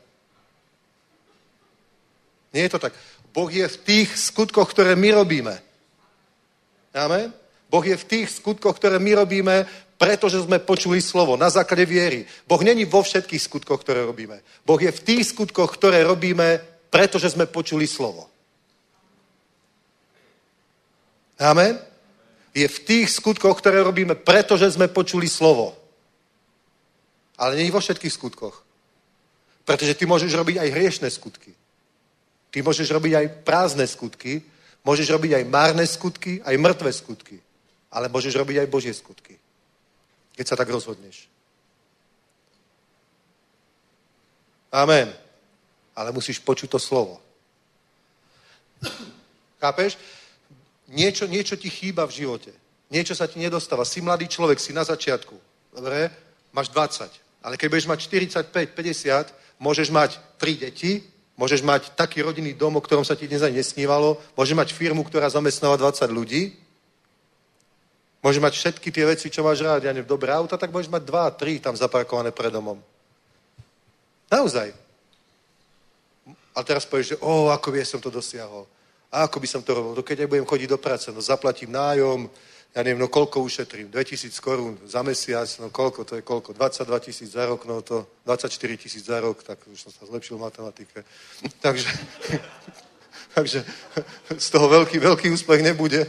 Nie je to tak. Boh je v tých skutkoch, ktoré my robíme. Amen? Boh je v tých skutkoch, ktoré my robíme, pretože sme počuli slovo, na základe viery. Boh není vo všetkých skutkoch, ktoré robíme. Boh je v tých skutkoch, ktoré robíme, pretože sme počuli slovo. Amen? Je v tých skutkoch, ktoré robíme, pretože sme počuli slovo. Ale nie vo všetkých skutkoch. Pretože ty môžeš robiť aj hriešne skutky. Ty môžeš robiť aj prázdne skutky, môžeš robiť aj márne skutky, aj mŕtve skutky. Ale môžeš robiť aj Božie skutky. Keď sa tak rozhodneš. Amen. Ale musíš počuť to slovo. Chápeš? Niečo ti chýba v živote. Niečo sa ti nedostáva. Si mladý človek, si na začiatku. Dobre? Máš 20. Ale keď budeš mať 45, 50, môžeš mať 3 deti, môžeš mať taký rodinný dom, o ktorom sa ti dnes ani nesnívalo, môžeš mať firmu, ktorá zamestnáva 20 ľudí, môžeš mať všetky tie veci, čo máš rád, ja neviem, dobré auta, tak môžeš mať 2, 3 tam zaparkované pred domom. Naozaj. A teraz povieš, že ako by som to dosiahol. A ako by som to robil? Keď ja budem chodiť do práce, zaplatím nájom, ja neviem, koľko ušetrím? 2000 korún za mesiac, koľko, to je koľko? 22 000 za rok, to 24 000 za rok, tak už som sa zlepšil v matematike. takže z toho veľký úspech nebude.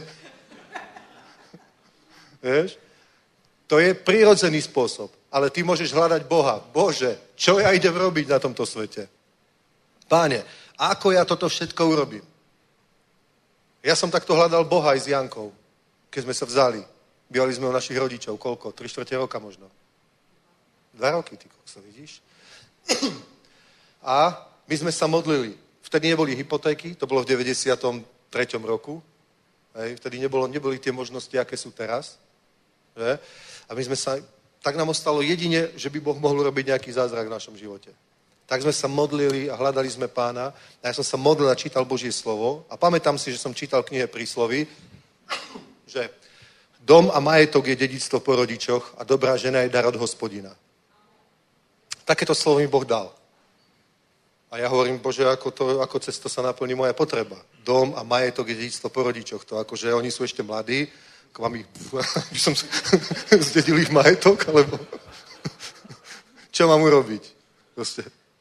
Vieš? To je prirodzený spôsob, ale ty môžeš hľadať Boha. Bože, čo ja idem robiť na tomto svete? Páne, ako ja toto všetko urobím? Ja som takto hľadal Boha aj s Jankou, keď sme sa vzali. Bývali sme u našich rodičov, koľko? 3/4 roka možno. 2 roky, ty kokso, vidíš? A my sme sa modlili. Vtedy neboli hypotéky, to bolo v 93. roku. Vtedy neboli tie možnosti, aké sú teraz. Že? A my sme sa, tak nám ostalo jedine, že by Boh mohol robiť nejaký zázrak v našom živote. Tak sme sa modlili a hľadali sme Pána. A ja som sa modlil a čítal Božie slovo. A pamätám si, že som čítal knihe Prísloví, že dom a majetok je dedičstvo po rodičoch a dobrá žena je dar od Hospodina. Takéto slovo mi Boh dal. A A ja hovorím, Bože, ako cez to sa naplní moja potreba. Dom a majetok je dedičstvo po rodičoch. To akože oni sú ešte mladí, ako mám ich, by som zdedil ich majetok, alebo čo mám urobiť? Proste.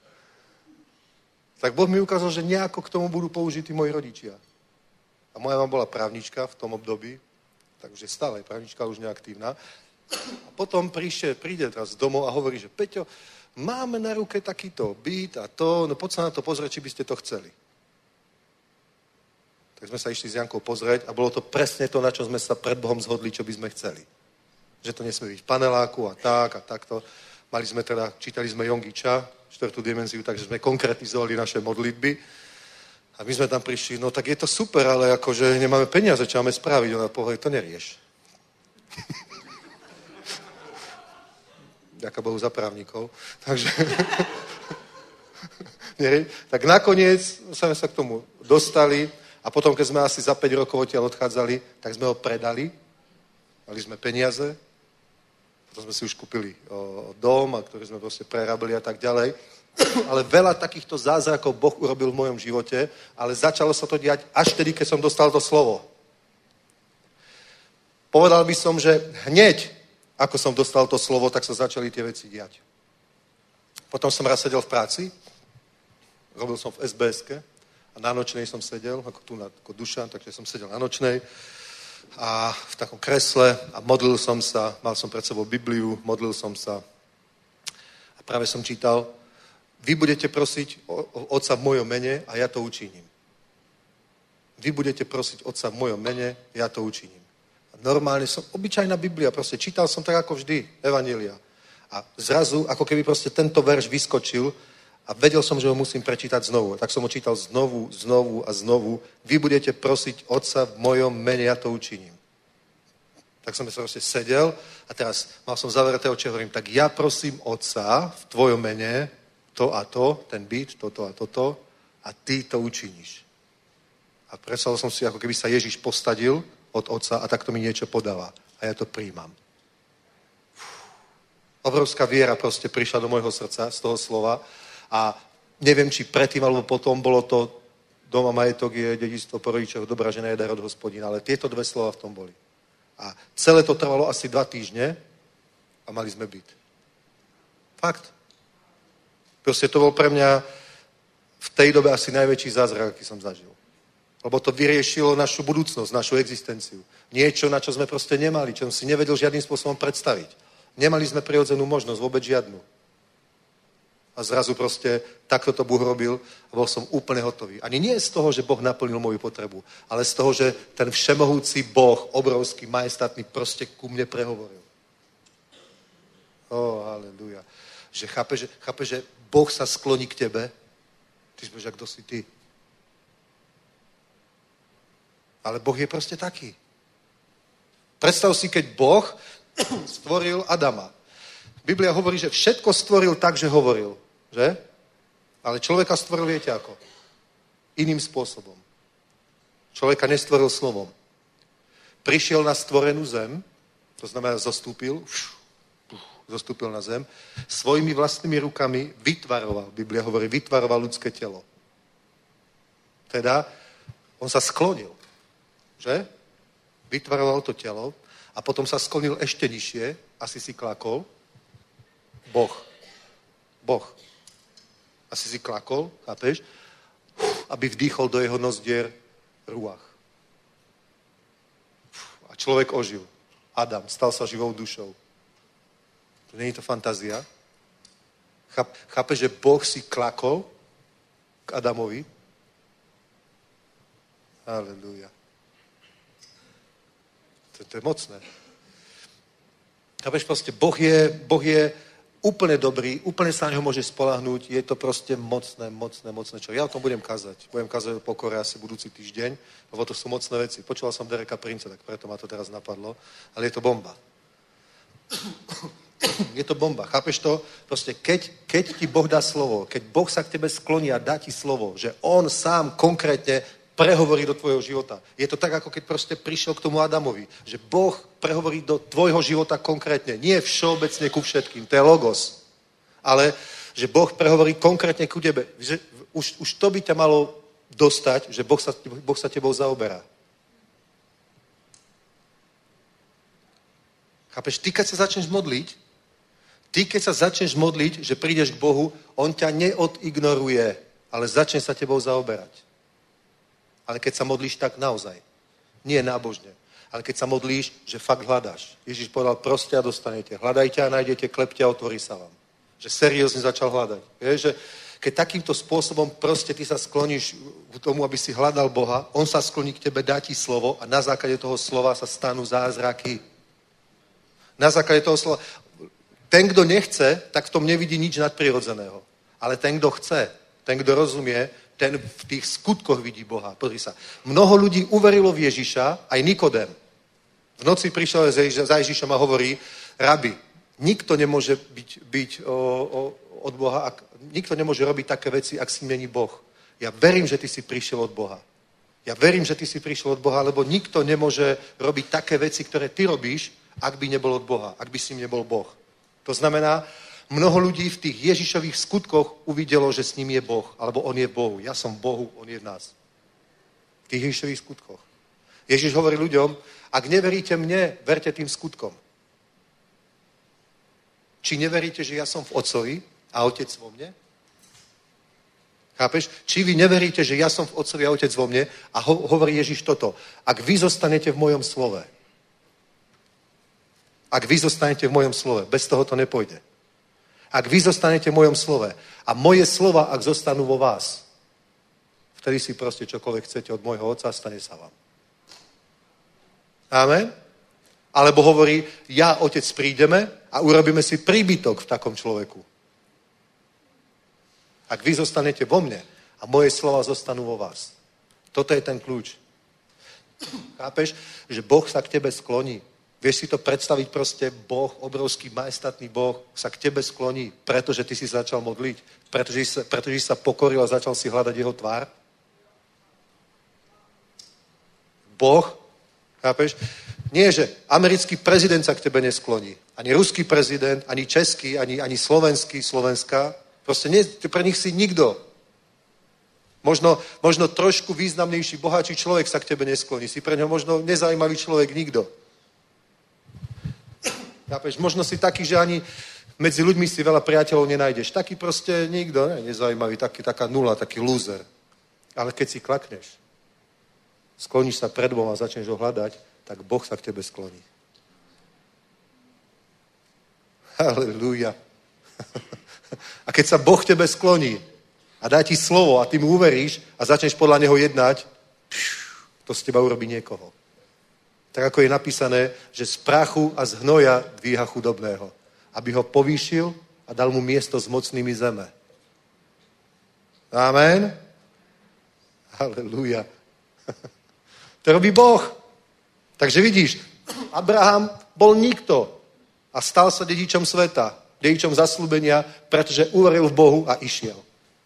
Tak Boh mi ukázal, že nejako k tomu budú použití moji rodičia. A moja mama bola právnička v tom období, takže stále je právnička, už neaktívna. A potom príde teraz domov a hovorí, že Peťo, máme na ruke takýto byt a to, no poď sa na to pozrieť, či by ste to chceli. Tak sme sa išli s Jankou pozrieť a bolo to presne to, na čo sme sa pred Bohom zhodli, čo by sme chceli. Že to nesmie byť v paneláku a takto. Čítali sme Jongiča, 4. dimenziu, takže sme konkretizovali naše modlitby. A my sme tam prišli, no tak je to super, ale akože nemáme peniaze, čo máme spraviť. Ona povedala, to nerieš. Ďaká Bohu za právnikov. Takže tak nakoniec sme sa k tomu dostali a potom, keď sme asi za 5 rokov odtiaľ odchádzali, tak sme ho predali. Mali sme peniaze. Potom sme si už kúpili dom, a ktorý sme proste prerabili a tak ďalej. Ale veľa takýchto zázrakov Boh urobil v mojom živote, ale začalo sa to diať až vtedy, keď som dostal to slovo. Povedal by som, že hneď, ako som dostal to slovo, tak sa začali tie veci diať. Potom som raz sedel v práci, robil som v SBS-ke a na nočnej som sedel, ako tu ako Dušan, takže som sedel na nočnej a v takom kresle a modlil som sa, mal som pred sebou Bibliu, modlil som sa a práve som čítal, vy budete prosiť Otca v mojom mene a ja to učiním. Vy budete prosiť Otca v mojom mene, ja to učiním. Normálne som, obyčajná Biblia, proste čítal som tak ako vždy, Evanjelia. A zrazu, ako keby proste tento verš vyskočil a vedel som, že ho musím prečítať znovu. Tak som ho čítal znovu a znovu. Vy budete prosiť Otca v mojom mene, ja to učiním. Tak som sa proste sedel a teraz mal som zavreté oči a hovorím, tak ja prosím Otca v tvojom mene, to a to, ten byt, toto a toto a ty to učiníš. A predstavil som si, ako keby sa Ježiš posadil od Otca a takto mi niečo podáva. A ja to príjmam. Obrovská viera proste prišla do môjho srdca z toho slova a neviem, či predtým alebo potom bolo to dom a majetok je dedičstvo po rodičoch, dobrá žena je dar od Hospodina, ale tieto dve slova v tom boli. A celé to trvalo asi 2 týždne a mali sme byt. Fakt. Proste to bol pre mňa v tej dobe asi najväčší zázrak, aký som zažil. Lebo to vyriešilo našu budúcnosť, našu existenciu. Niečo, na čo sme proste nemali, čo som si nevedel žiadnym spôsobom predstaviť. Nemali sme prirodzenú možnosť, vôbec žiadnu. A zrazu proste takto to Boh robil a bol som úplne hotový. Ani nie z toho, že Boh naplnil moju potrebu, ale z toho, že ten všemohúci Boh, obrovský, majestátny, proste ku mne prehovoril. Haleluja. Že chápe, že Boh sa skloní k tebe. Ty si povieš, kto si ty? Ale Boh je proste taký. Predstav si, keď Boh stvoril Adama. Biblia hovorí, že všetko stvoril tak, že hovoril. Že? Ale človeka stvoril, viete ako? Iným spôsobom. Človeka nestvoril slovom. Prišiel na stvorenú zem, to znamená zostúpil na zem, svojimi vlastnými rukami vytvaroval, Biblia hovorí, vytvaroval ľudské telo. Teda, on sa sklonil. Že? Vytvaroval to telo a potom sa sklonil ešte nižšie, asi si klakol. Boh. Asi si klakol, chápeš? Aby vdýchol do jeho nozdier ruach. A človek ožil. Adam stal sa živou dušou. Není to fantázia? Chápeš, že Boh si klakol k Adamovi? Halelúja. To je mocné. Chápeš, proste Boh je úplne dobrý, úplne sa na neho môže spoľahnúť, je to proste mocné. Čo? Ja o tom budem kázať. Budem kázať o pokore asi budúci týždeň, lebo to sú mocné veci. Počúval som Dereka Princa, tak preto ma to teraz napadlo, ale je to bomba. Je to bomba, chápeš to? Proste keď ti Boh dá slovo, keď Boh sa k tebe skloní a dá ti slovo, že on sám konkrétne prehovorí do tvojho života. Je to tak, ako keď proste prišiel k tomu Adamovi, že Boh prehovorí do tvojho života konkrétne, nie všeobecne ku všetkým, to je logos, ale že Boh prehovorí konkrétne ku tebe. Už to by ťa malo dostať, že Boh sa tebou zaoberá. Chápeš? Ty, keď sa začneš modliť, že prídeš k Bohu, on ťa neodignoruje, ale začne sa tebou zaoberať. Ale keď sa modlíš tak naozaj, nie nábožne, ale keď sa modlíš, že fakt hľadáš. Ježiš povedal, proste a dostanete. Hľadajte a nájdete, klepte a otvorí sa vám. Že seriózne začal hľadať. Vieš, že keď takýmto spôsobom proste ty sa skloníš k tomu, aby si hľadal Boha, on sa skloní k tebe, dá ti slovo a na základe toho slova sa stanú zázraky. Na základe toho slova. Ten, kto nechce, tak v tom nevidí nič nadprirodzeného. Ale ten, kto chce, ten, kto rozumie, ten v tých skutkoch vidí Boha. Pozri sa. Mnoho ľudí uverilo v Ježiša, aj Nikodém. V noci prišiel za Ježišom a hovorí, rabi, nikto nemôže byť od Boha, nikto nemôže robiť také veci, ak s ním není Boh. Ja verím, že ty si prišiel od Boha. Ja verím, že ty si prišiel od Boha, lebo nikto nemôže robiť také veci, ktoré ty robíš, ak by nebol od Boha, ak by s ním nebol Boh. To znamená, mnoho ľudí v tých Ježišových skutkoch uvidelo, že s ním je Boh, alebo on je v Bohu. Ja som v Bohu, on je v nás. V tých Ježišových skutkoch. Ježiš hovorí ľuďom, ak neveríte mne, verte tým skutkom. Či neveríte, že ja som v Otcovi a Otec vo mne? Chápeš? Či vy neveríte, že ja som v Otcovi a Otec vo mne? A hovorí Ježiš toto. Ak vy zostanete v mojom slove, bez toho to nepôjde. Ak vy zostanete v mojom slove a moje slova, ak zostanú vo vás, vtedy si proste čokoľvek chcete od môjho Otca, stane sa vám. Amen? Alebo hovorí, ja, Otec, prídeme a urobíme si príbytok v takom človeku. Ak vy zostanete vo mne a moje slova zostanú vo vás. Toto je ten kľúč. Chápeš? Že Boh sa k tebe skloní. Vieš si to predstaviť proste, Boh, obrovský, majestátny Boh sa k tebe skloní, pretože ty si začal modliť, pretože sa pokoril a začal si hľadať jeho tvár? Boh, chápeš? Nie, že americký prezident sa k tebe neskloní. Ani ruský prezident, ani český, ani slovenský, Slovenská. Proste nie, pre nich si nikto. Možno trošku významnejší, bohatší človek sa k tebe neskloní. Si pre neho možno nezaujímavý človek nikto. Chápeš? Možno si taký, že ani medzi ľuďmi si veľa priateľov nenájdeš. Taký proste nikto, nezaujímavý, taká nula, taký lúzer. Ale keď si klakneš, skloníš sa pred Bohom a začneš ho hľadať, tak Boh sa k tebe skloní. Halelúja. A keď sa Boh k tebe skloní a dá ti slovo a ty mu uveríš a začneš podľa neho jednať, to z teba urobí niekoho. Tak ako je napísané, že z prachu a z hnoja dvíha chudobného. Aby ho povýšil a dal mu miesto s mocnými zeme. Amen. Halelúja. To robí Boh. Takže vidíš, Abraham bol nikto a stal sa dedičom sveta, dedičom zasľúbenia, pretože uveril v Bohu a išiel.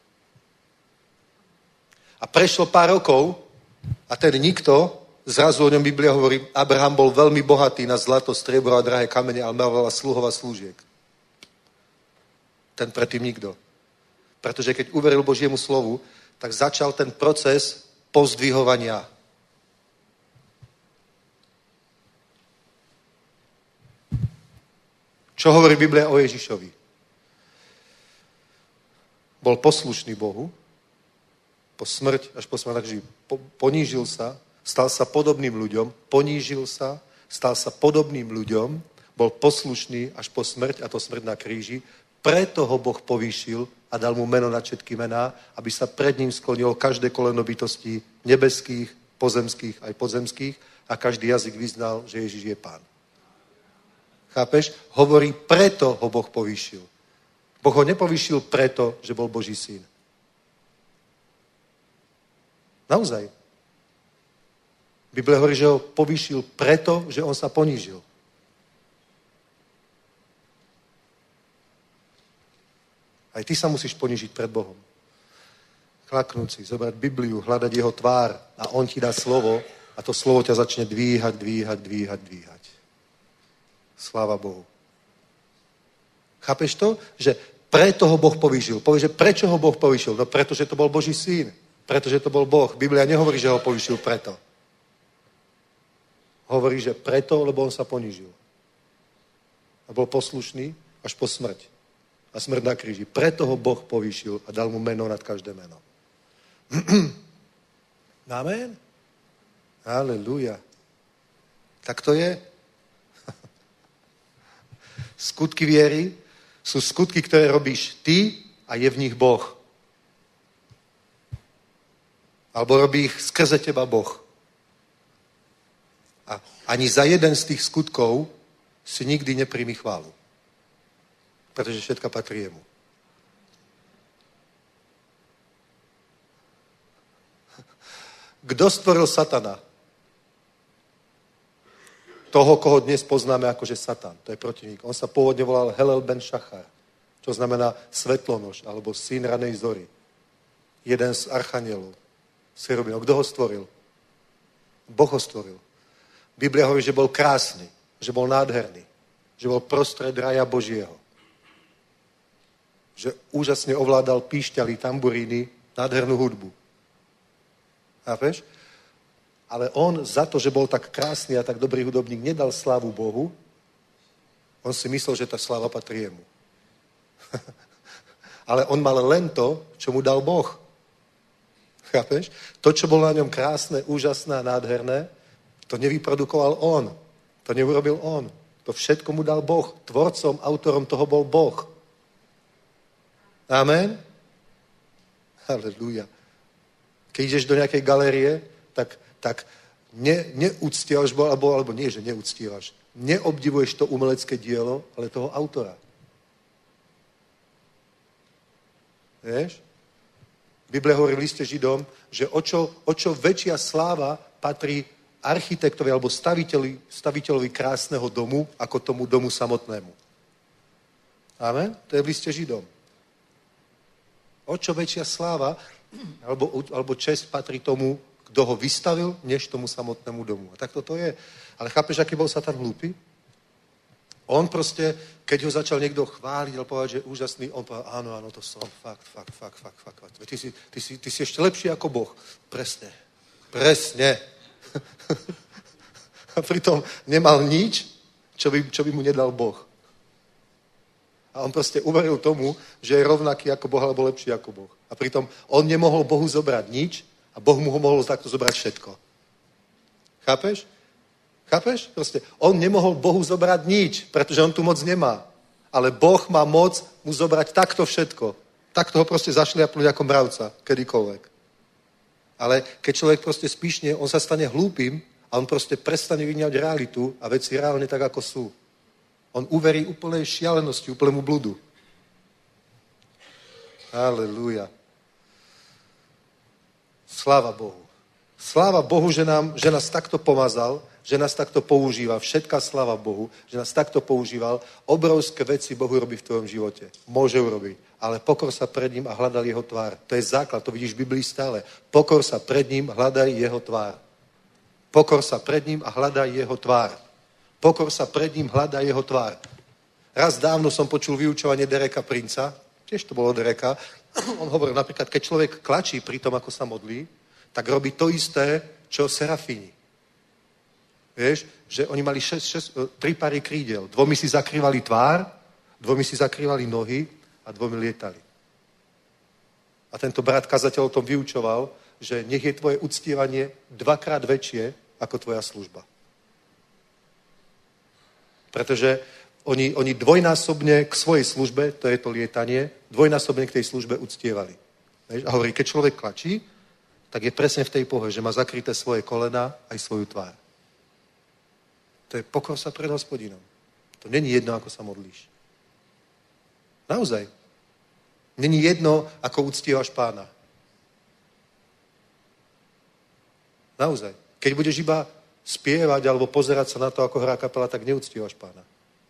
A prešlo pár rokov a ten nikto, zrazu o ňom Biblia hovorí, Abraham bol veľmi bohatý na zlato, striebro a drahé kamene, ale mal veľa sluhov a slúžiek. Ten predtým nikto. Pretože keď uveril Božiemu slovu, tak začal ten proces pozdvihovania. Čo hovorí Biblia o Ježišovi? Bol poslušný Bohu, po smrť, až po smrť, takže ponížil sa, stal sa podobným ľuďom, ponížil sa, stal sa podobným ľuďom, bol poslušný až po smrť, a to smrť na kríži, preto ho Boh povýšil a dal mu meno na všetky mená, aby sa pred ním sklonilo každé koleno bytostí nebeských, pozemských aj podzemských a každý jazyk vyznal, že Ježiš je Pán. Chápeš? Hovorí, preto ho Boh povýšil. Boh ho nepovýšil preto, že bol Boží syn. Naozaj. Biblia hovorí, že ho povýšil preto, že on sa ponížil. Aj ty sa musíš ponížiť pred Bohom. Klaknúť si, zobrať Bibliu, hľadať jeho tvár a on ti dá slovo a to slovo ťa začne dvíhať. Sláva Bohu. Chápeš to? Že Preto ho Boh povýšil. Povie, že prečo ho Boh povýšil? No pretože to bol Boží syn. Pretože to bol Boh. Biblia nehovorí, že ho povýšil preto. Hovorí, že preto, lebo on sa ponížil. A bol poslušný až po smrť. A smrť na kríži. Preto ho Boh povýšil a dal mu meno nad každé meno. Amen? Halelúja. Tak to je. Skutky viery sú skutky, ktoré robíš ty a je v nich Boh. Alebo robí ich skrze teba Boh. A ani za jeden z tých skutkov si nikdy nepríjmi chválu. Pretože všetka patrí jemu. Kto stvoril satana? Toho, koho dnes poznáme akože Satan. To je protivník. On sa pôvodne volal Helel ben Šachar, čo znamená svetlonož, alebo syn ranej zory. Jeden z archanielov. Serubinov. Kto ho stvoril? Boh ho stvoril. Biblia hovorí, že bol krásny, že bol nádherný, že bol prostred raja Božieho. Že úžasne ovládal píšťaly, tamburíny, nádhernú hudbu. Chápeš? Ale on za to, že bol tak krásny a tak dobrý hudobník, nedal slávu Bohu. On si myslel, že tá sláva patrí jemu. Ale on mal len to, čo mu dal Boh. Chápeš? To, čo bolo na ňom krásne, úžasné a nádherné, to nevyprodukoval on. To neurobil on. To všetko mu dal Boh. Tvorcom, autorom toho bol Boh. Amen? Halelúja. Keď ideš do nejakej galérie, tak neúctievaš, alebo nie, že neúctievaš. Neobdivuješ to umelecké dielo, ale toho autora. Vieš? Biblia hovorí v liste Židom, že o čo väčšia sláva patrí architektovi alebo staviteľovi krásneho domu, ako tomu domu samotnému. Amen? To je v liste Židom. O čo väčšia sláva alebo česť patrí tomu, kto ho vystavil, než tomu samotnému domu. A tak toto je. Ale chápeš, aký bol Satan hlúpy? On proste, keď ho začal niekto chváliť, ale povedať, že je úžasný, on povedal, áno, to som, fakt. Ty si ešte lepší ako Boh. Presne. A pritom nemal nič, čo by mu nedal Boh. A on proste uveril tomu, že je rovnaký ako Boh, alebo lepší ako Boh. A pritom on nemohol Bohu zobrať nič a Boh mu ho mohol takto zobrať všetko. Chápeš? Proste on nemohol Bohu zobrať nič, pretože on tu moc nemá. Ale Boh má moc mu zobrať takto všetko. Takto ho proste zašliapnúť ako mravca, kedykoľvek. Ale keď človek proste spíšne, on sa stane hlúpym a on proste prestane vidieť realitu a veci reálne tak, ako sú. On uverí úplnej šialenosti, úplnému bludu. Halelúja. Sláva Bohu. Sláva Bohu, že nás takto pomazal, že nás takto používa. Všetká sláva Bohu, že nás takto používal. Obrovské veci Bohu robí v tvojom živote. Môže urobiť. Ale pokor sa pred ním a hľadal jeho tvár. To je základ, to vidíš v Biblii stále. Pokor sa pred ním, hľadaj jeho tvár. Pokor sa pred ním a hľadaj jeho tvár. Pokor sa pred ním, hľadaj jeho tvár. Raz dávno som počul vyučovanie Dereka Princa, tiež to bolo Dereka. On hovoril napríklad, keď človek klačí pri tom, ako sa modlí, tak robí to isté, čo serafíni. Vieš, že oni mali 3 pary krídel. 2 si zakrývali tvár, 2 si zakrývali nohy a 2 lietali. A tento brat kazateľ o tom vyučoval, že nech je tvoje uctievanie 2-krát väčšie ako tvoja služba. Pretože oni dvojnásobne k svojej službe, to je to lietanie, dvojnásobne k tej službe uctievali. Vieš? A hovorí, keď človek klačí, tak je presne v tej pohe, že má zakryté svoje kolena aj svoju tvár. To je pokor sa pred Hospodinom. To není jedno, ako sa modlíš. Naozaj. Není jedno, ako uctievaš Pána. Naozaj. Keď budeš iba spievať alebo pozerať sa na to, ako hrá kapela, tak neuctievaš Pána.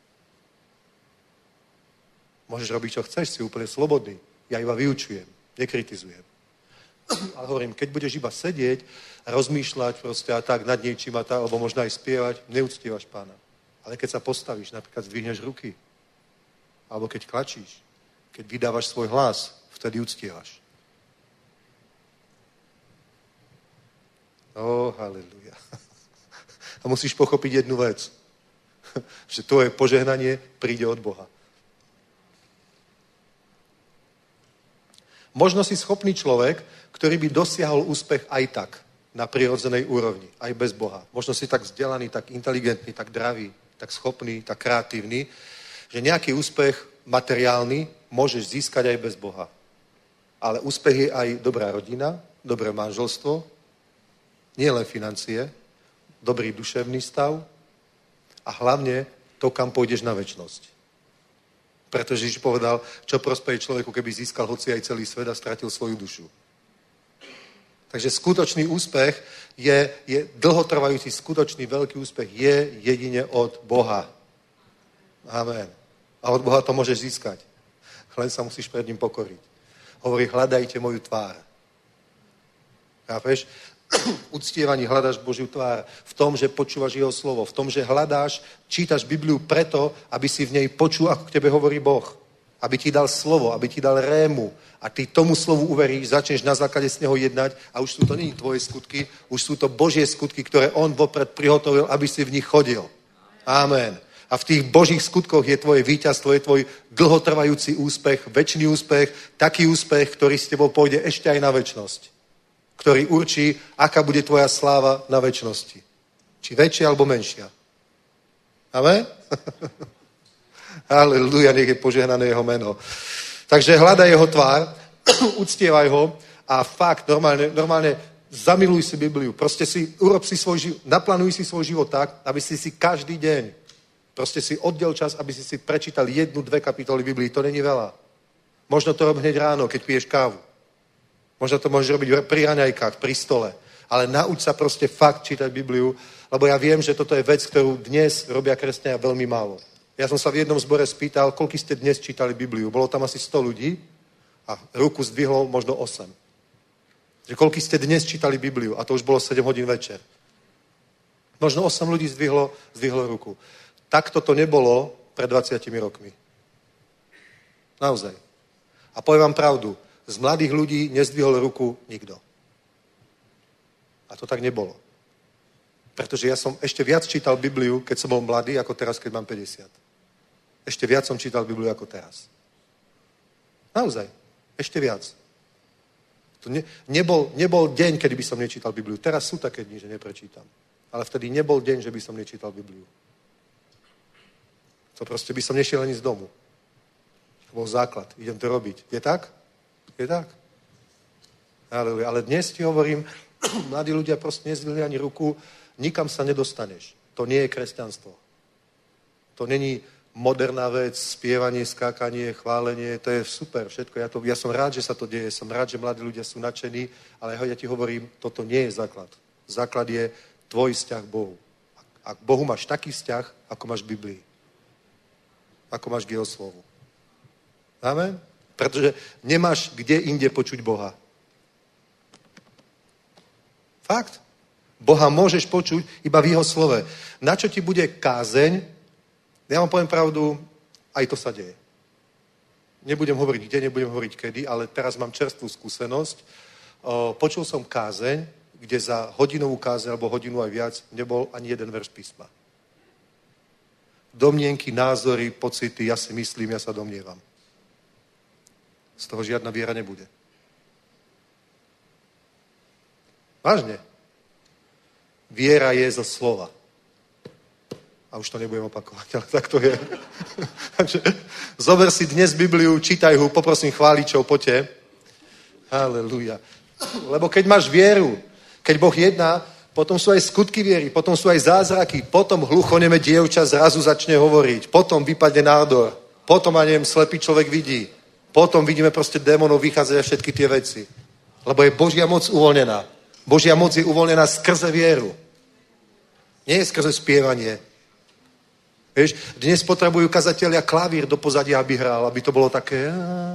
Môžeš robiť, čo chceš, si úplne slobodný. Ja iba vyučujem, nekritizujem. Ale hovorím, keď budeš iba sedieť a rozmýšľať proste a tak nad niečím a tak, alebo možno aj spievať, neuctievaš Pána. Ale keď sa postavíš, napríklad zdvihneš ruky, alebo keď klačíš, Keď vydávaš svoj hlas, vtedy uctievaš. Haleluja. A musíš pochopiť jednu vec. Že tvoje požehnanie príde od Boha. Možno si schopný človek, ktorý by dosiahol úspech aj tak, na prirodzenej úrovni, aj bez Boha. Možno si tak vzdelaný, tak inteligentný, tak dravý, tak schopný, tak kreatívny, že nejaký úspech materiálny môžeš získať aj bez Boha. Ale úspech je aj dobrá rodina, dobré manželstvo, nie len financie, dobrý duševný stav a hlavne to, kam pôjdeš na večnosť. Pretože Ježiš povedal, čo prospeje človeku, keby získal hoci aj celý svet a stratil svoju dušu. Takže skutočný úspech je dlhotrvajúci, skutočný veľký úspech je jedine od Boha. Amen. A od Boha to môžeš získať. Len sa musíš pred ním pokoriť. Hovorí, hľadajte moju tvár. Chápeš? Uctievaní hľadáš Božiu tvár v tom, že počúvaš jeho slovo, v tom, že hľadáš, čítaš Bibliu preto, aby si v nej počul, ako k tebe hovorí Boh. Aby ti dal slovo, aby ti dal rému a ty tomu slovu uveríš, začneš na základe z neho jednať a už sú to nie tvoje skutky, už sú to Božie skutky, ktoré on vopred prihotovil, aby si v nich chodil. Amen. A v tých Božích skutkoch je tvoje víťazstvo, je tvoj dlhotrvajúci úspech, večný úspech, taký úspech, ktorý s tebou pôjde ešte aj na večnosť. Ktorý určí, aká bude tvoja sláva na večnosti. Či väčšia, alebo menšia. Amen? Halleluja, nech je požehnané jeho meno. Takže hľadaj jeho tvár, uctievaj ho a fakt, normálne zamiluj si Bibliu. Proste urob si svoj život, naplánuj si svoj život tak, aby si každý deň proste si oddel čas, aby si prečítal 1-2 kapitoly Biblii. To není veľa. Možno to rob hneď ráno, keď piješ kávu. Možno to môžeš robiť pri raňajkách, pri stole. Ale nauč sa proste fakt čítať Bibliu, lebo ja viem, že toto je vec, ktorú dnes robia kresťania veľmi málo. Ja som sa v jednom zbore spýtal, koľko ste dnes čítali Bibliu. Bolo tam asi 100 ľudí a ruku zdvihlo možno 8. Že koľko ste dnes čítali Bibliu a to už bolo 7 hodín večer. Možno 8 ľudí zdvihlo ruku. Takto to nebolo pred 20 rokmi. Naozaj. A poviem vám pravdu, z mladých ľudí nezdvihol ruku nikto. A to tak nebolo. Pretože ja som ešte viac čítal Bibliu, keď som bol mladý, ako teraz, keď mám 50. Ešte viac som čítal Bibliu ako teraz. Naozaj. Ešte viac. To nebol deň, kedy by som nečítal Bibliu. Teraz sú také dni, že neprečítam. Ale vtedy nebol deň, že by som nečítal Bibliu. To proste by som nešiel ani z domu. To bol základ. Idem to robiť. Je tak? Je tak? Ale dnes ti hovorím, mladí ľudia proste nezdvihli ani ruku, nikam sa nedostaneš. To nie je kresťanstvo. To není moderná vec, spievanie, skákanie, chválenie, to je super, všetko. Ja som rád, že sa to deje, som rád, že mladí ľudia sú nadšení, ale ja ti hovorím, toto nie je základ. Základ je tvoj vzťah k Bohu. A k Bohu máš taký vzťah, ako máš v Biblii. Ako máš k jeho slovu. Amen? Pretože nemáš kde inde počuť Boha. Fakt. Boha môžeš počuť iba v jeho slove. Na čo ti bude kázeň? Ja vám poviem pravdu, aj to sa deje. Nebudem hovoriť kde, nebudem hovoriť kedy, ale teraz mám čerstvú skúsenosť. Počul som kázeň, kde za hodinovú kázeň, alebo hodinu aj viac, nebol ani jeden verš písma. Domnienky, názory, pocity, ja si myslím, ja sa domnievam. Z toho žiadna viera nebude. Vážne. Viera je zo slova. A už to nebudem opakovať, ale tak to je. Takže zober si dnes Bibliu, čítaj ho, poprosím chváličov, poďte. Halelúja. Lebo keď máš vieru, keď Boh jedná, potom sú aj skutky viery, potom sú aj zázraky, potom hluchoneme dievča zrazu začne hovoriť, potom vypadne nádor, potom, a neviem, slepý človek vidí, potom vidíme proste démonov vychádzať a všetky tie veci. Lebo je Božia moc uvoľnená. Božia moc je uvoľnená skrze vieru. Nie je skrze spievanie. Vieš, dnes potrebujú kazatelia klavír do pozadia, aby hral, aby to bolo také...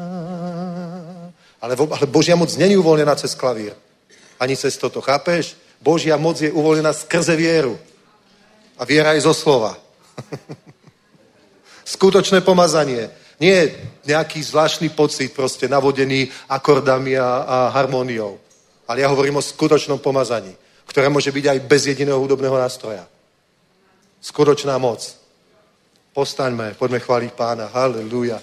Ale Božia moc není uvoľnená cez klavír. Ani cez toto, chápeš? Božia moc je uvoľnená skrze vieru. A viera je zo slova. Skutočné pomazanie. Nie nejaký zvláštny pocit, proste navodený akordami a harmóniou. Ale ja hovorím o skutočnom pomazaní, ktoré môže byť aj bez jediného hudobného nástroja. Skutočná moc. Postaňme, poďme chváliť Pána. Halelúja.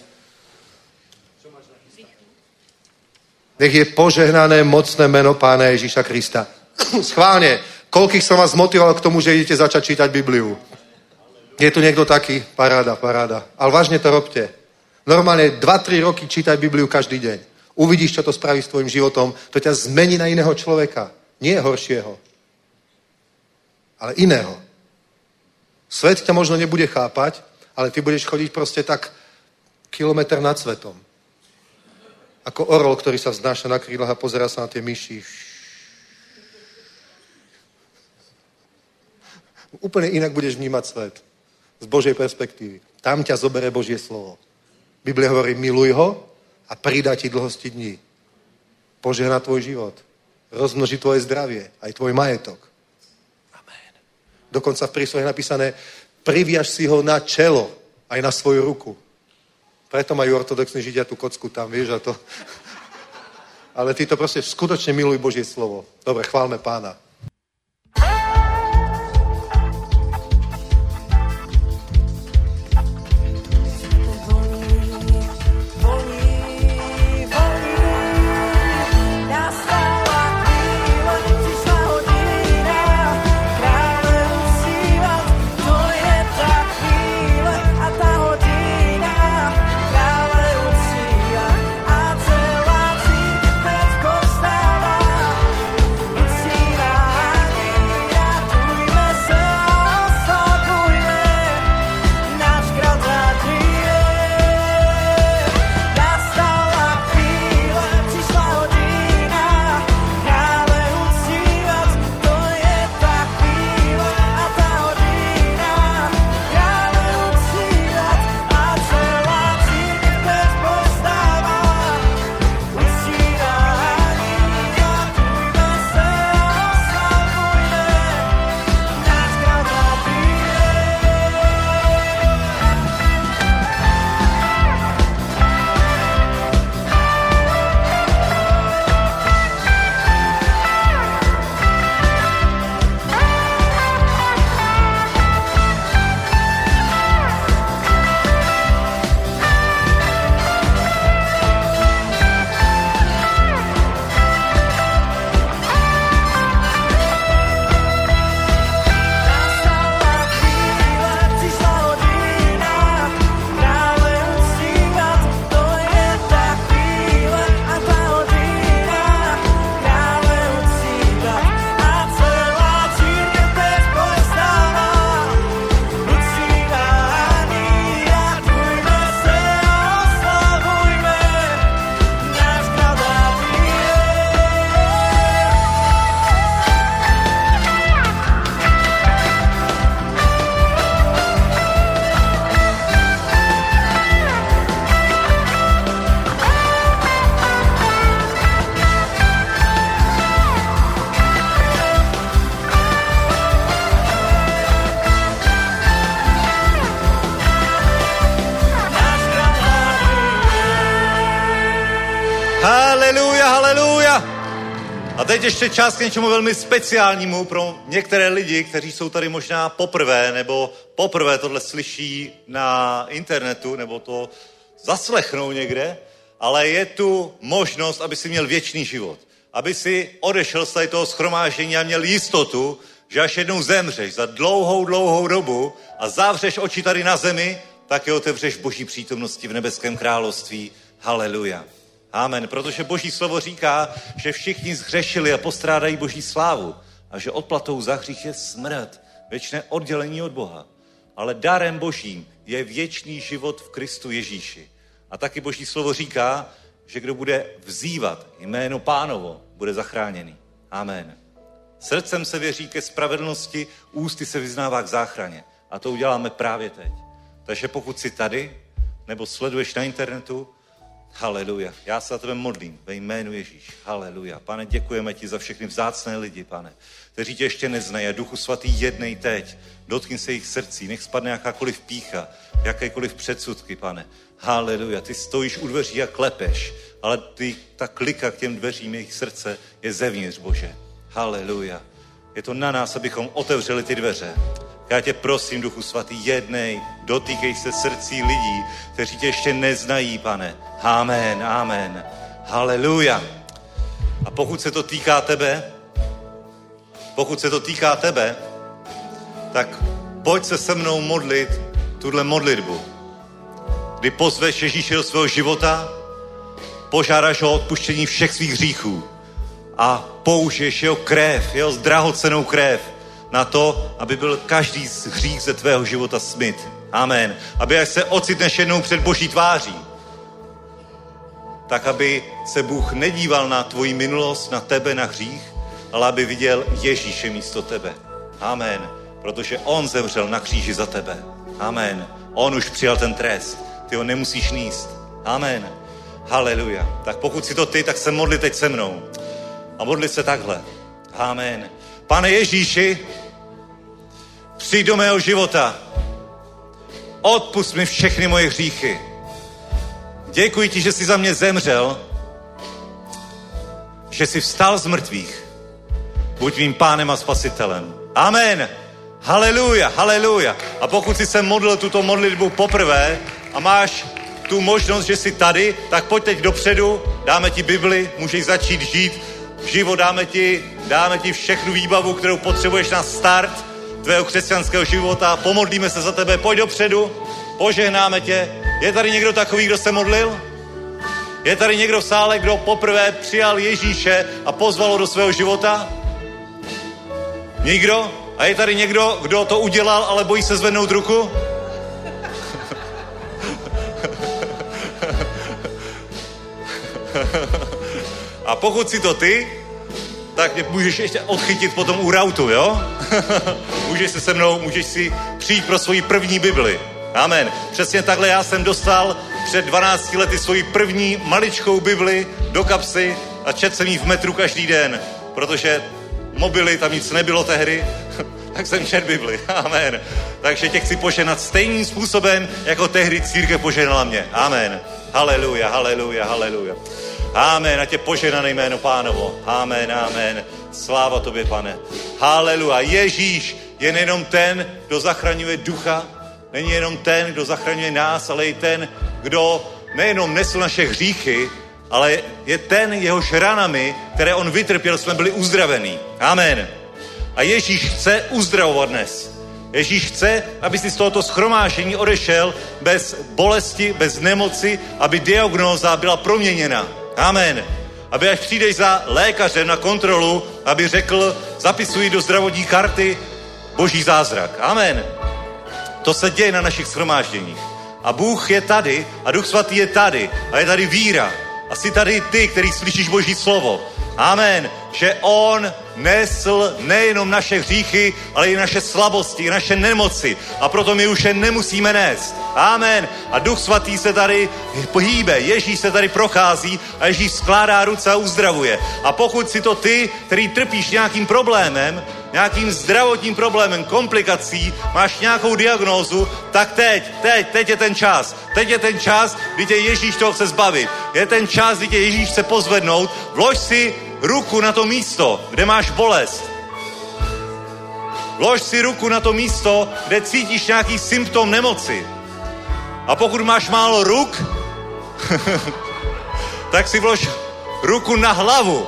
Nech je požehnané mocné meno Pána Ježíša Krista. Schválne, koľkých som vás motivoval k tomu, že idete začať čítať Bibliu? Je tu niekto taký? Paráda. Ale vážne to robte. Normálne 2-3 roky čítaj Bibliu každý deň. Uvidíš, čo to spraví s tvojim životom. To ťa zmení na iného človeka. Nie horšieho, ale iného. Svet ťa možno nebude chápať, ale ty budeš chodiť proste tak kilometr nad svetom. Ako orol, ktorý sa vznáša na krídlach a pozerá sa na tie myši. Úplne inak budeš vnímať svet. Z Božej perspektívy. Tam ťa zobere Božie slovo. Biblia hovorí, miluj ho a pridá ti dlhosti dní. Požehná tvoj život. Rozmnoží tvoje zdravie, aj tvoj majetok. Amen. Dokonca v príslohe je napísané, priviaž si ho na čelo, aj na svoju ruku. Preto majú ortodoxní Židia tú kocku tam, vieš, a to. Ale ty to proste skutočne miluj Božie slovo. Dobre, chválme Pána. A teď ještě čas k něčemu velmi speciálnímu pro některé lidi, kteří jsou tady možná poprvé, nebo poprvé tohle slyší na internetu, nebo to zaslechnou někde, ale je tu možnost, aby si měl věčný život. Aby si odešel z toho shromáždění a měl jistotu, že až jednou zemřeš za dlouhou dobu a zavřeš oči tady na zemi, tak je otevřeš v Boží přítomnosti v nebeském království. Haleluja. Amen. Protože Boží slovo říká, že všichni zhřešili a postrádají Boží slávu a že odplatou za hřích je smrt, věčné oddělení od Boha. Ale darem Božím je věčný život v Kristu Ježíši. A taky Boží slovo říká, že kdo bude vzývat jméno Pánovo, bude zachráněný. Amen. Srdcem se věří ke spravedlnosti, ústy se vyznává k záchraně. A to uděláme právě teď. Takže pokud jsi tady, nebo sleduješ na internetu, Haleluja. Já se za tebe modlím ve jménu Ježíš. Haleluja. Pane, děkujeme ti za všechny vzácné lidi, pane, kteří tě ještě neznají. A Duchu svatý, jednej teď. Dotkni se jejich srdcí. Nech spadne jakákoliv pýcha, jakékoliv předsudky, pane. Haleluja. Ty stojíš u dveří a klepeš, ale ta klika k těm dveřím jejich srdce je zevnitř, Bože. Haleluja. Je to na nás, abychom otevřeli ty dveře. Já tě prosím, Duchu svatý, jednej, dotýkej se srdcí lidí, kteří tě ještě neznají, pane. Amen, amen. Haleluja. A pokud se to týká tebe, tak pojď se se mnou modlit tuhle modlitbu. Kdy pozveš Ježíše do svého života, požádáš ho o odpuštění všech svých hříchů a použiješ jeho krev, jeho drahocennou krev na to, aby byl každý z hřích ze tvého života smyt. Amen. Aby až se ocitneš jednou před Boží tváří, tak aby se Bůh nedíval na tvoji minulost, na tebe, na hřích, ale aby viděl Ježíše místo tebe. Amen. Protože on zemřel na kříži za tebe. Amen. On už přijal ten trest. Ty ho nemusíš nést. Amen. Haleluja. Tak pokud si to ty, tak se modli teď se mnou. A modli se takhle. Amen. Pane Ježíši, přijď do mého života. Odpusť mi všechny moje hříchy. Děkuji ti, že jsi za mě zemřel, že jsi vstal z mrtvých. Buď mým pánem a spasitelem. Amen. Haleluja, haleluja. A pokud jsi se modlil tuto modlitbu poprvé a máš tu možnost, že jsi tady, tak pojď teď dopředu, dáme ti Bibli, můžeš začít žít život, dáme ti všechnu výbavu, kterou potřebuješ na start tvého křesťanského života. Pomodlíme se za tebe, pojď dopředu, požehnáme tě. Je tady někdo takový, kdo se modlil? Je tady někdo v sále, kdo poprvé přijal Ježíše a pozval ho do svého života? Nikdo? A je tady někdo, kdo to udělal, ale bojí se zvednout ruku? A pokud si to ty, tak mě můžeš ještě odchytit potom u rautu, jo? Můžeš si přijít pro svoji první Bibli. Amen. Přesně takhle já jsem dostal před 12 lety svoji první maličkou Bibli do kapsy a četl jsem ji v metru každý den, protože mobily, tam nic nebylo tehdy, tak jsem četl Bibli. Amen. Takže tě chci poženat stejným způsobem, jako tehdy církev poženala mě. Amen. Haleluja, haleluja, haleluja. Amen. A tě poženané jméno Pánovo. Amen, amen. Sláva tobě, pane. Haleluja. Ježíš je nejenom ten, kdo zachraňuje ducha, není jenom ten, kdo zachraňuje nás, ale i ten, kdo nejenom nesl naše hříchy, ale je ten, jehož ranami, které on vytrpěl, jsme byli uzdravení. Amen. A Ježíš chce uzdravovat dnes. Ježíš chce, aby si z tohoto shromáždění odešel bez bolesti, bez nemoci, aby diagnóza byla proměněna. Amen. Aby až přijdeš za lékařem na kontrolu, aby řekl, zapisuji do zdravotní karty Boží zázrak. Amen. To se děje na našich shromážděních. A Bůh je tady a Duch Svatý je tady a je tady víra. A jsi tady ty, který slyšíš Boží slovo. Amen. Že on nesl nejenom naše hříchy, ale i naše slabosti, i naše nemoci. A proto my už je nemusíme nést. Amen. A Duch Svatý se tady hýbe. Ježíš se tady prochází a Ježíš skládá ruce a uzdravuje. A pokud si to ty, který trpíš nějakým problémem, nějakým zdravotním problémem, komplikací, máš nějakou diagnózu, tak teď je ten čas. Teď je ten čas, kdy tě Ježíš toho chce zbavit. Je ten čas, kdy tě Ježíš chce pozvednout. Vlož si ruku na to místo, kde máš bolest. Vlož si ruku na to místo, kde cítíš nějaký symptom nemoci. A pokud máš málo ruk, tak si vlož ruku na hlavu.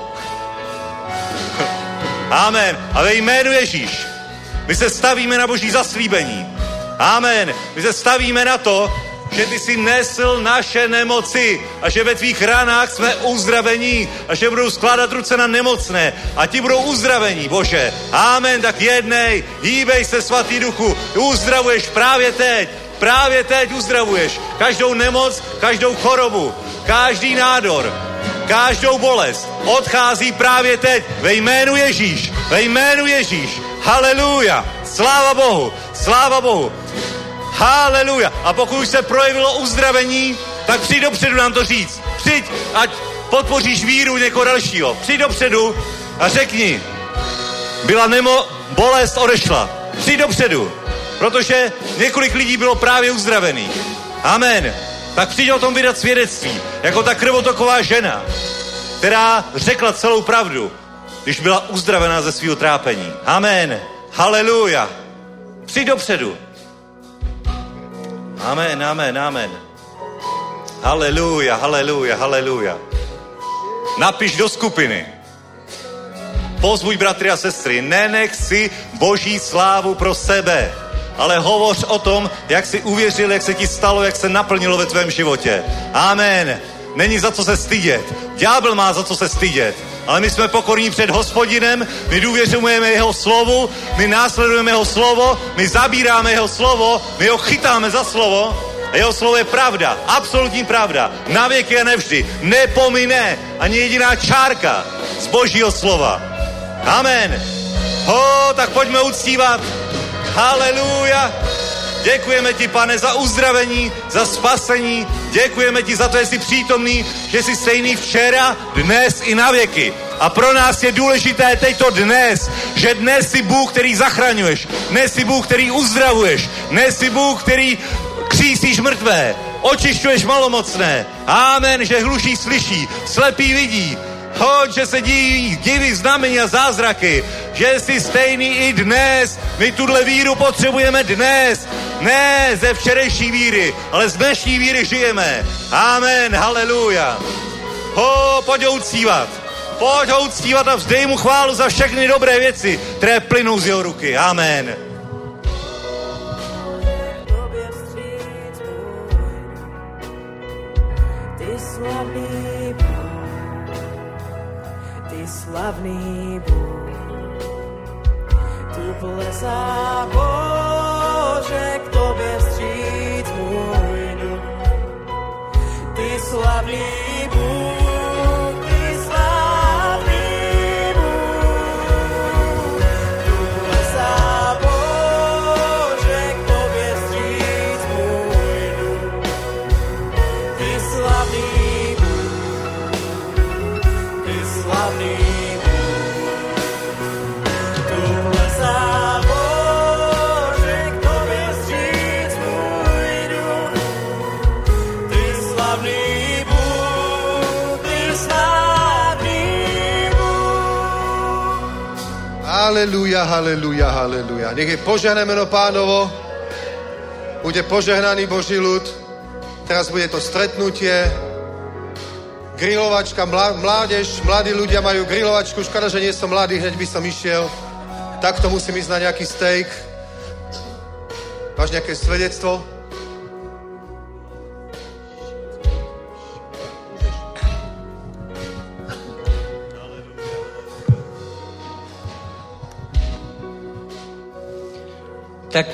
Amen. A ve jménu Ježíš my se stavíme na Boží zaslíbení. Amen. My se stavíme na to, že ty jsi nesl naše nemoci a že ve tvých ranách jsme uzdravení a že budou skládat ruce na nemocné a ti budou uzdravení, Bože. Amen. Tak jednej, hýbej se, Svatý Duchu, uzdravuješ právě teď uzdravuješ každou nemoc, každou chorobu, každý nádor, každou bolest. Odchází právě teď ve jménu Ježíš, ve jménu Ježíš. Haleluja, sláva Bohu, sláva Bohu. Haleluja. A pokud už se projevilo uzdravení, tak přijď dopředu nám to říct. Přijď, ať podpoříš víru někoho dalšího. Přijď dopředu a řekni, byla bolest, odešla. Přijď dopředu, protože několik lidí bylo právě uzdravených. Amen. Tak přijď o tom vydat svědectví, jako ta krvotoková žena, která řekla celou pravdu, když byla uzdravená ze svého trápení. Amen. Haleluja. Přijď dopředu. Amen, amen, amen. Haleluja, haleluja, haleluja. Napiš do skupiny. Pozbuď bratry a sestry, nenech si Boží slávu pro sebe, ale hovoř o tom, jak jsi uvěřil, jak se ti stalo, jak se naplnilo ve tvém životě. Amen. Není za co se stydět. Ďábel má za co se stydět. Ale my jsme pokorní před Hospodinem, my důvěřujeme jeho slovu, my následujeme jeho slovo, my zabíráme jeho slovo, my ho chytáme za slovo. A jeho slovo je pravda, absolutní pravda, na věky a nevždy, nepomine ani jediná čárka z Božího slova. Amen. Tak pojďme uctívat. Haleluja. Děkujeme ti, Pane, za uzdravení, za spasení. Děkujeme ti za to, že jsi přítomný, že jsi stejný včera, dnes i na věky. A pro nás je důležité teďto dnes, že dnes jsi Bůh, který zachraňuješ, dnes jsi Bůh, který uzdravuješ, dnes jsi Bůh, který křísíš mrtvé, očišťuješ malomocné. Amen, že hluší slyší, slepý vidí. Že se diví znamení a zázraky, že jsi stejný i dnes. My tuhle víru potřebujeme dnes. Ne ze včerejší víry, ale z dnešní víry žijeme. Amen, haleluja. Pojď ho uctívat. Pojď ho uctívat a vzdej mu chválu za všechny dobré věci, které plynou z jeho ruky. Amen. Slavný Bůh, tu plesá Bože, k tobě vstříc můj duch. Ty slavný Bůh, ty slavný Bůh, tu plesá Bože, k tobě vstříc můj duch. Ty slavný Bůh, ty slavný Haleluja, haleluja, haleluja. Nech je požehnané meno Pánovo. Bude požehnaný Boží ľud. Teraz bude to stretnutie. Grilovačka, mládež, mladí ľudia majú grilovačku. Škoda, že nie som mladý, hneď by som išiel. Takto musím ísť na nejaký steak. Máš nejaké svedectvo? Tak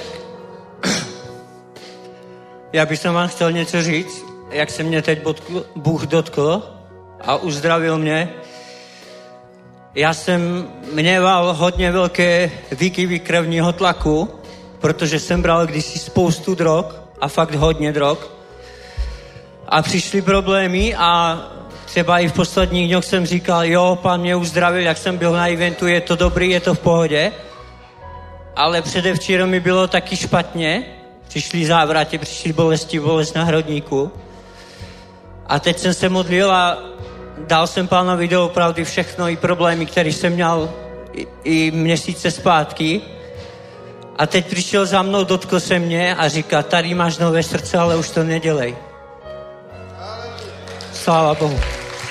já bych vám chtěl něco říct, jak se mě teď Bůh dotkl a uzdravil mě. Já jsem měval hodně velké výkyvy krevního tlaku, protože jsem bral kdysi spoustu drog a fakt hodně drog. A přišly problémy a třeba i v posledních dňoch jsem říkal, jo, Pán mě uzdravil, jak jsem byl na eventu, je to dobrý, je to v pohodě. Ale předevčírem mi bylo taky špatně, přišly závraty, přišly bolesti, bolest na hrudníku. A teď jsem se modlil a dal jsem Pánovi doopravdy všechno i problémy, které jsem měl i měsíce zpátky. A teď přišel za mnou, dotkl se mě a říká, tady máš nové srdce, ale už to nedělej. Sláva Bohu.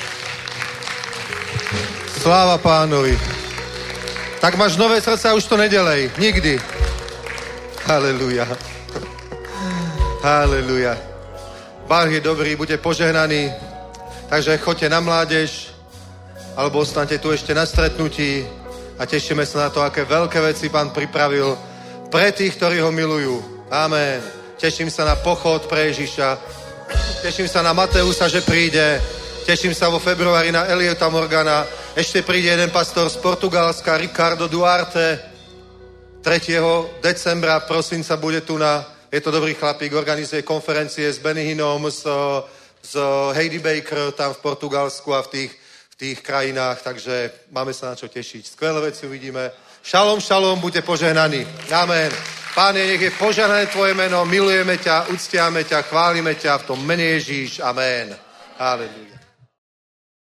Sláva Pánovi. Tak máš nové srdce a už to nedělej. Nikdy. Haleluja. Haleluja. Bůh je dobrý, buďte požehnaní. Takže choďte na mládež, alebo ostaňte tu ešte na stretnutí a tešíme sa na to, aké veľké veci Pán pripravil pre tých, ktorí ho milujú. Amen. Teším sa na pochod pre Ježiša. Teším sa na Mateusa, že príde. Teším sa vo februári na Eliota Morgana. Ešte príde jeden pastor z Portugalska, Ricardo Duarte. 3. decembra, prosinca, bude tu je to dobrý chlapík, organizuje konferencie s Benny Hinnom, s z Heidi Baker tam v Portugalsku a v tých krajinách, takže máme sa na čo tešiť. Skvelé veci uvidíme. Šalom, šalom, buďte požehnaní. Amen. Páne, nech je požehnané tvoje meno, milujeme ťa, uctiame ťa, chválime ťa v tom mene Ježíš. Amen. Halelujá.